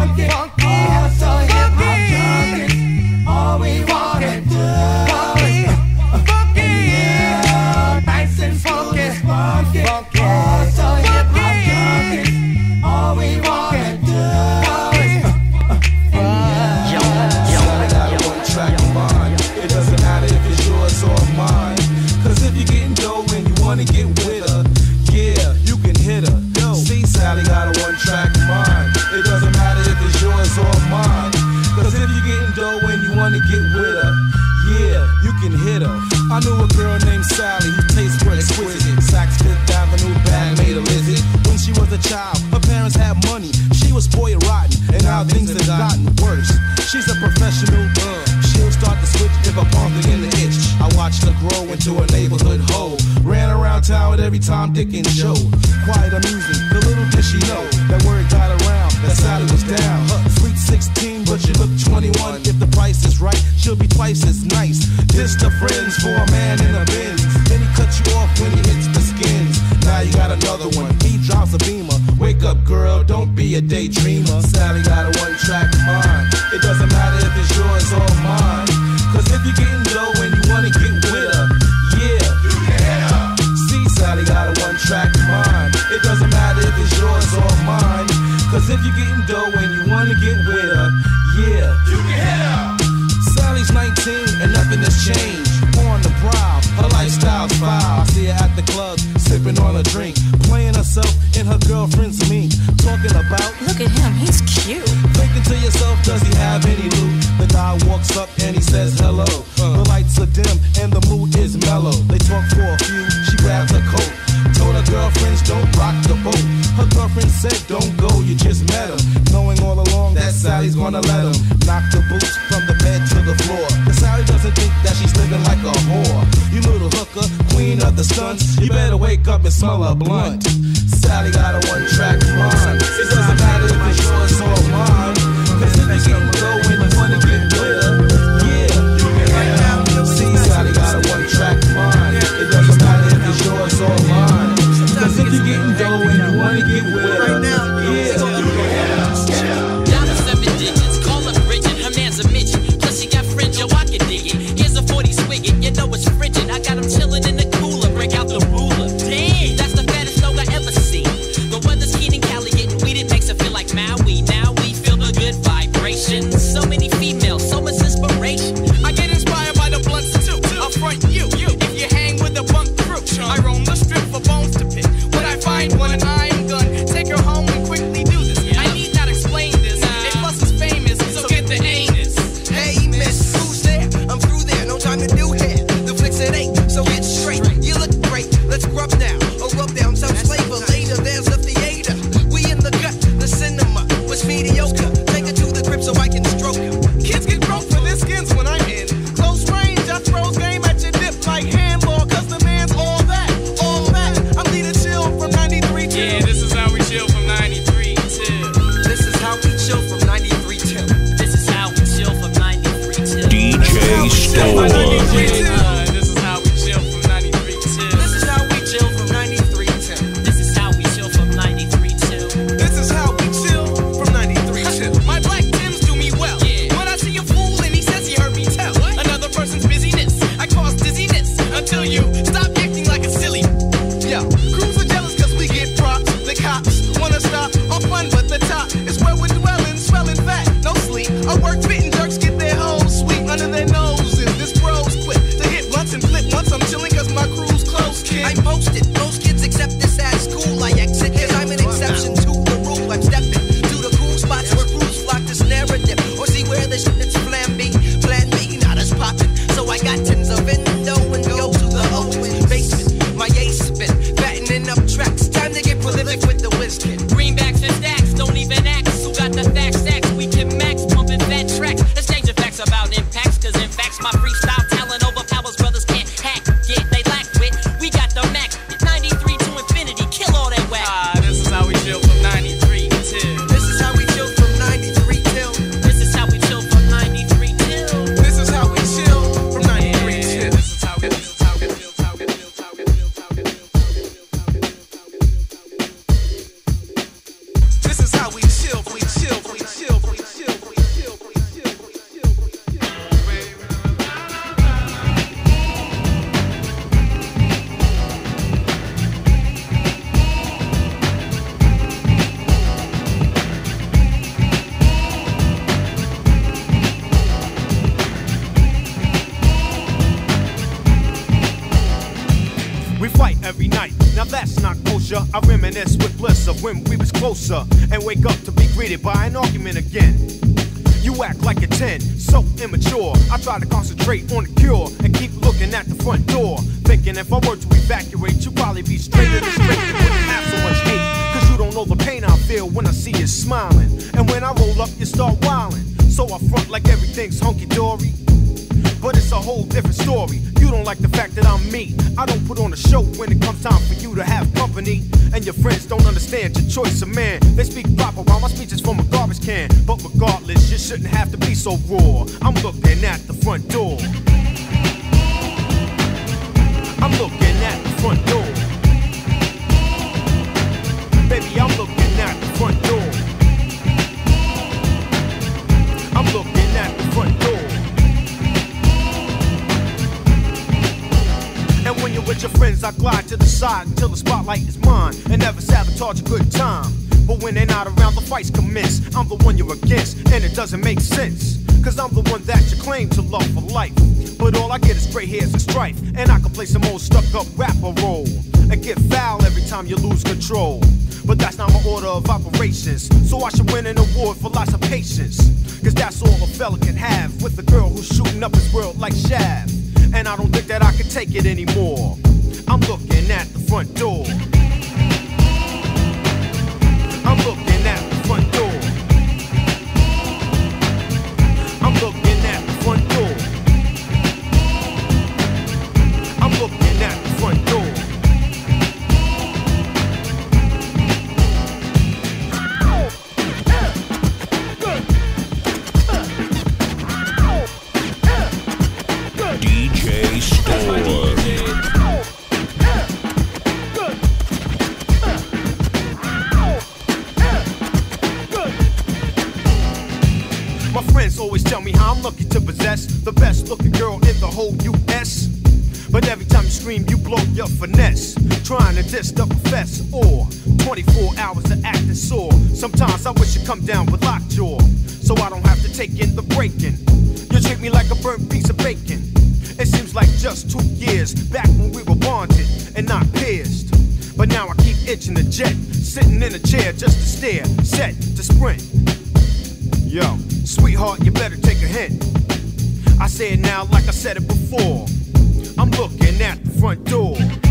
funky, oh so hip hop junkies. All we wanna do is funky, yeah, nice and funky, funky, oh so hip hop junkies. All we wanna do is Sally got a one-track mind. It doesn't matter if it's yours or mine. 'Cause if you're getting dough and you wanna get with her, yeah, you can hit her. See, Sally got a one-track mind. It doesn't matter if it's yours or mine. 'Cause if you're getting dough and you wanna get with her, yeah, you can hit her. I knew a girl named Sally who tastes were exquisite. Saks Fifth Avenue bag made a visit. When she was a child, her parents had money. She was spoiled rotten, and now things have gotten worse. She's a professional, she'll start to switch if a punk in the itch. I watched her grow into a neighborhood hoe. Ran around town with every Tom, Dick, and Joe. Quite amusing, the little did she know that word got around that Sally was down. Sweet 16, but she look 21. If the price is right, she'll be twice as nice. Dissed her friends for a man in a Benz. Then he cut you off when he hits the skins. Now you got another one. He drops a beamer. Wake up, girl, don't be a daydreamer. Sally got a one-track mind. It doesn't matter if it's yours or mine. 'Cause if you're getting dough and you wanna get with her, yeah, you can hit her. See, Sally got a one-track mind. It doesn't matter if it's yours or mine. 'Cause if you're getting dough and you wanna get with her, yeah, you can hit her. Sally's 19 and nothing has changed. On the prowl, her lifestyle's foul. I see her at the club, sipping on a drink, playing herself in her girlfriend's mink. Talking about, look at him, he's cute. Thinking to yourself, does he have any loot? The guy walks up and he says hello. The lights are dim and the mood is mellow. They talk for a few, she grabs her coat. Told her girlfriends don't rock the boat. Her girlfriend said don't go, you just met him. Knowing all along that Sally's gonna let him knock the boots from the bed to the floor. But Sally doesn't think that she's living like a whore. You little hooker, queen of the stunts, you better wake up and smell a blunt. Sally got a one-track mind. It doesn't matter if it's yours or mine. 'Cause if you can go and you wanna get with her, yeah, you can hit her. See, Sally got a one-track mind. It doesn't matter if it's yours or mine. 'Cause if you're getting dough and you wanna get with her, yeah, you can hit her. Down to 7 digits, call up Bridget, her man's a midget. Plus she got fringe, yo, I can dig it. Here's a 40 swigget, you know it's frigid. I got him chillin' in the cooler, break out the ruler. Damn, that's the fattest dog I ever seen. The weather's keen in Cali, getting weed, it makes it feel like Maui. Now we feel the good vibrations. So many females, so much inspiration. I get inspired by the blunts too. I'll front you. If you hang with the bunk crew, I roam the strip for bones to pick. When I find one and I'm gun, take her home and quickly do this. I need not explain this. It plus is famous, so get the anus. Hey, miss, who's there? I'm through there, no time to do hair. The flicks it ain't, so get straight. You look great, let's grub now. Or rub down some flavor later, there's a theater. We in the gut, the cinema was mediocre. Take her to the crib so I can stroke her. Kids get broke for their skins when I'm in close range. I throws game at your dip like handball, 'cause the man's all that, all that. I'm Leader Chill from 93 till. Yeah, this is how we chill from 93 till. This is how we chill from 93 till. This is how we chill from 93 till. DJ Storm. This is how we chill from 93 till. This is how we chill from 93 till. This is how we chill from 93 till. This is how we chill from 93 till. My black Tims do me well. When I see a fool and he says he heard me tell another person's busyness, I cause dizziness until you stop acting like a silly. Yo, crews are jealous 'cause we get props. The cops wanna stop our fun, but the top is where we're dwelling, swelling fat, no sleep. Our work fitting jerks get their hoes sweet under their noses. This bro's quick to hit blunts and flip once I'm chilling 'cause my crew's close, kid. I'm posted, most kids accept this at school. I exit 'cause I'm an exception to the rule. I'm stepping to the cool spots where crews flock to snare a dip or see where the shit's flamby. Plan B, not as poppin'. So I got tins of endo and go to the open basement. My ace spin, fattening up tracks. Time to get prolific with the whiz kid. Greenbacks and stacks don't even ask. Who got the facts? Stacks we can max, pumping fat tracks. Exchanging facts about impacts, 'cause in facts my freestyle talent overpowers brothers can't hack. Yeah, they lack wit. We got the max. 93 to infinity, kill all that whack. This is how we chill from 93 till. This is how we chill from 93 till. This is how we chill from 93 till. This is how we chill from 93 till. This is how we chill. fight every night. Now that's not kosher. I reminisce with bliss of when we was closer, and wake up to be greeted by an argument again. You act like a 10, so immature. I try to concentrate on the cure and keep looking at the front door, thinking if I were to evacuate, you'd probably be straighter than straight and wouldn't have so much hate. Cause you don't know the pain I feel when I see you smiling, and when I roll up, you start wilding. So I front like everything's hunky-dory, but it's a whole different story. You don't like the fact that I'm me. I don't put on a show when it comes time for you to have company. And your friends don't understand your choice of man. They speak proper while my speech is from a garbage can. But regardless, you shouldn't have to be so raw. I'm looking at the front door. I'm looking at the front door. Baby, I'm looking at the front door. I'm looking at the front door. And when you're with your friends, I glide to the side until the spotlight is mine, and never sabotage a good time. But when they're not around, the fights commence. I'm the one you're against, and it doesn't make sense. Cause I'm the one that you claim to love for life. But all I get is gray hairs and strife, and I can play some old stuck-up rapper role and get foul every time you lose control. But that's not my order of operations, so I should win an award for lots of patience. Cause that's all a fella can have with a girl who's shooting up his world like Shaft. And I don't think that I can take it anymore. I'm looking at the front door. I'm looking at the front door. I'm looking at the front door. I'm looking at the front door. DJ Storm. My friends always tell me how I'm lucky to possess the best looking girl in the whole US. But every time you scream, you blow your finesse, trying to diss the professor, or 24 hours of acting sore. Sometimes I wish you'd come down with lockjaw, so I don't have to take in the breaking. You treat me like a burnt piece of bacon. It seems like just 2 years back when we were bonded and not pierced. But now I keep itching the jet, sitting in a chair just to stare, set to sprint. Yo, sweetheart, you better take a hint. I say it now like I said it before. I'm looking at the front door.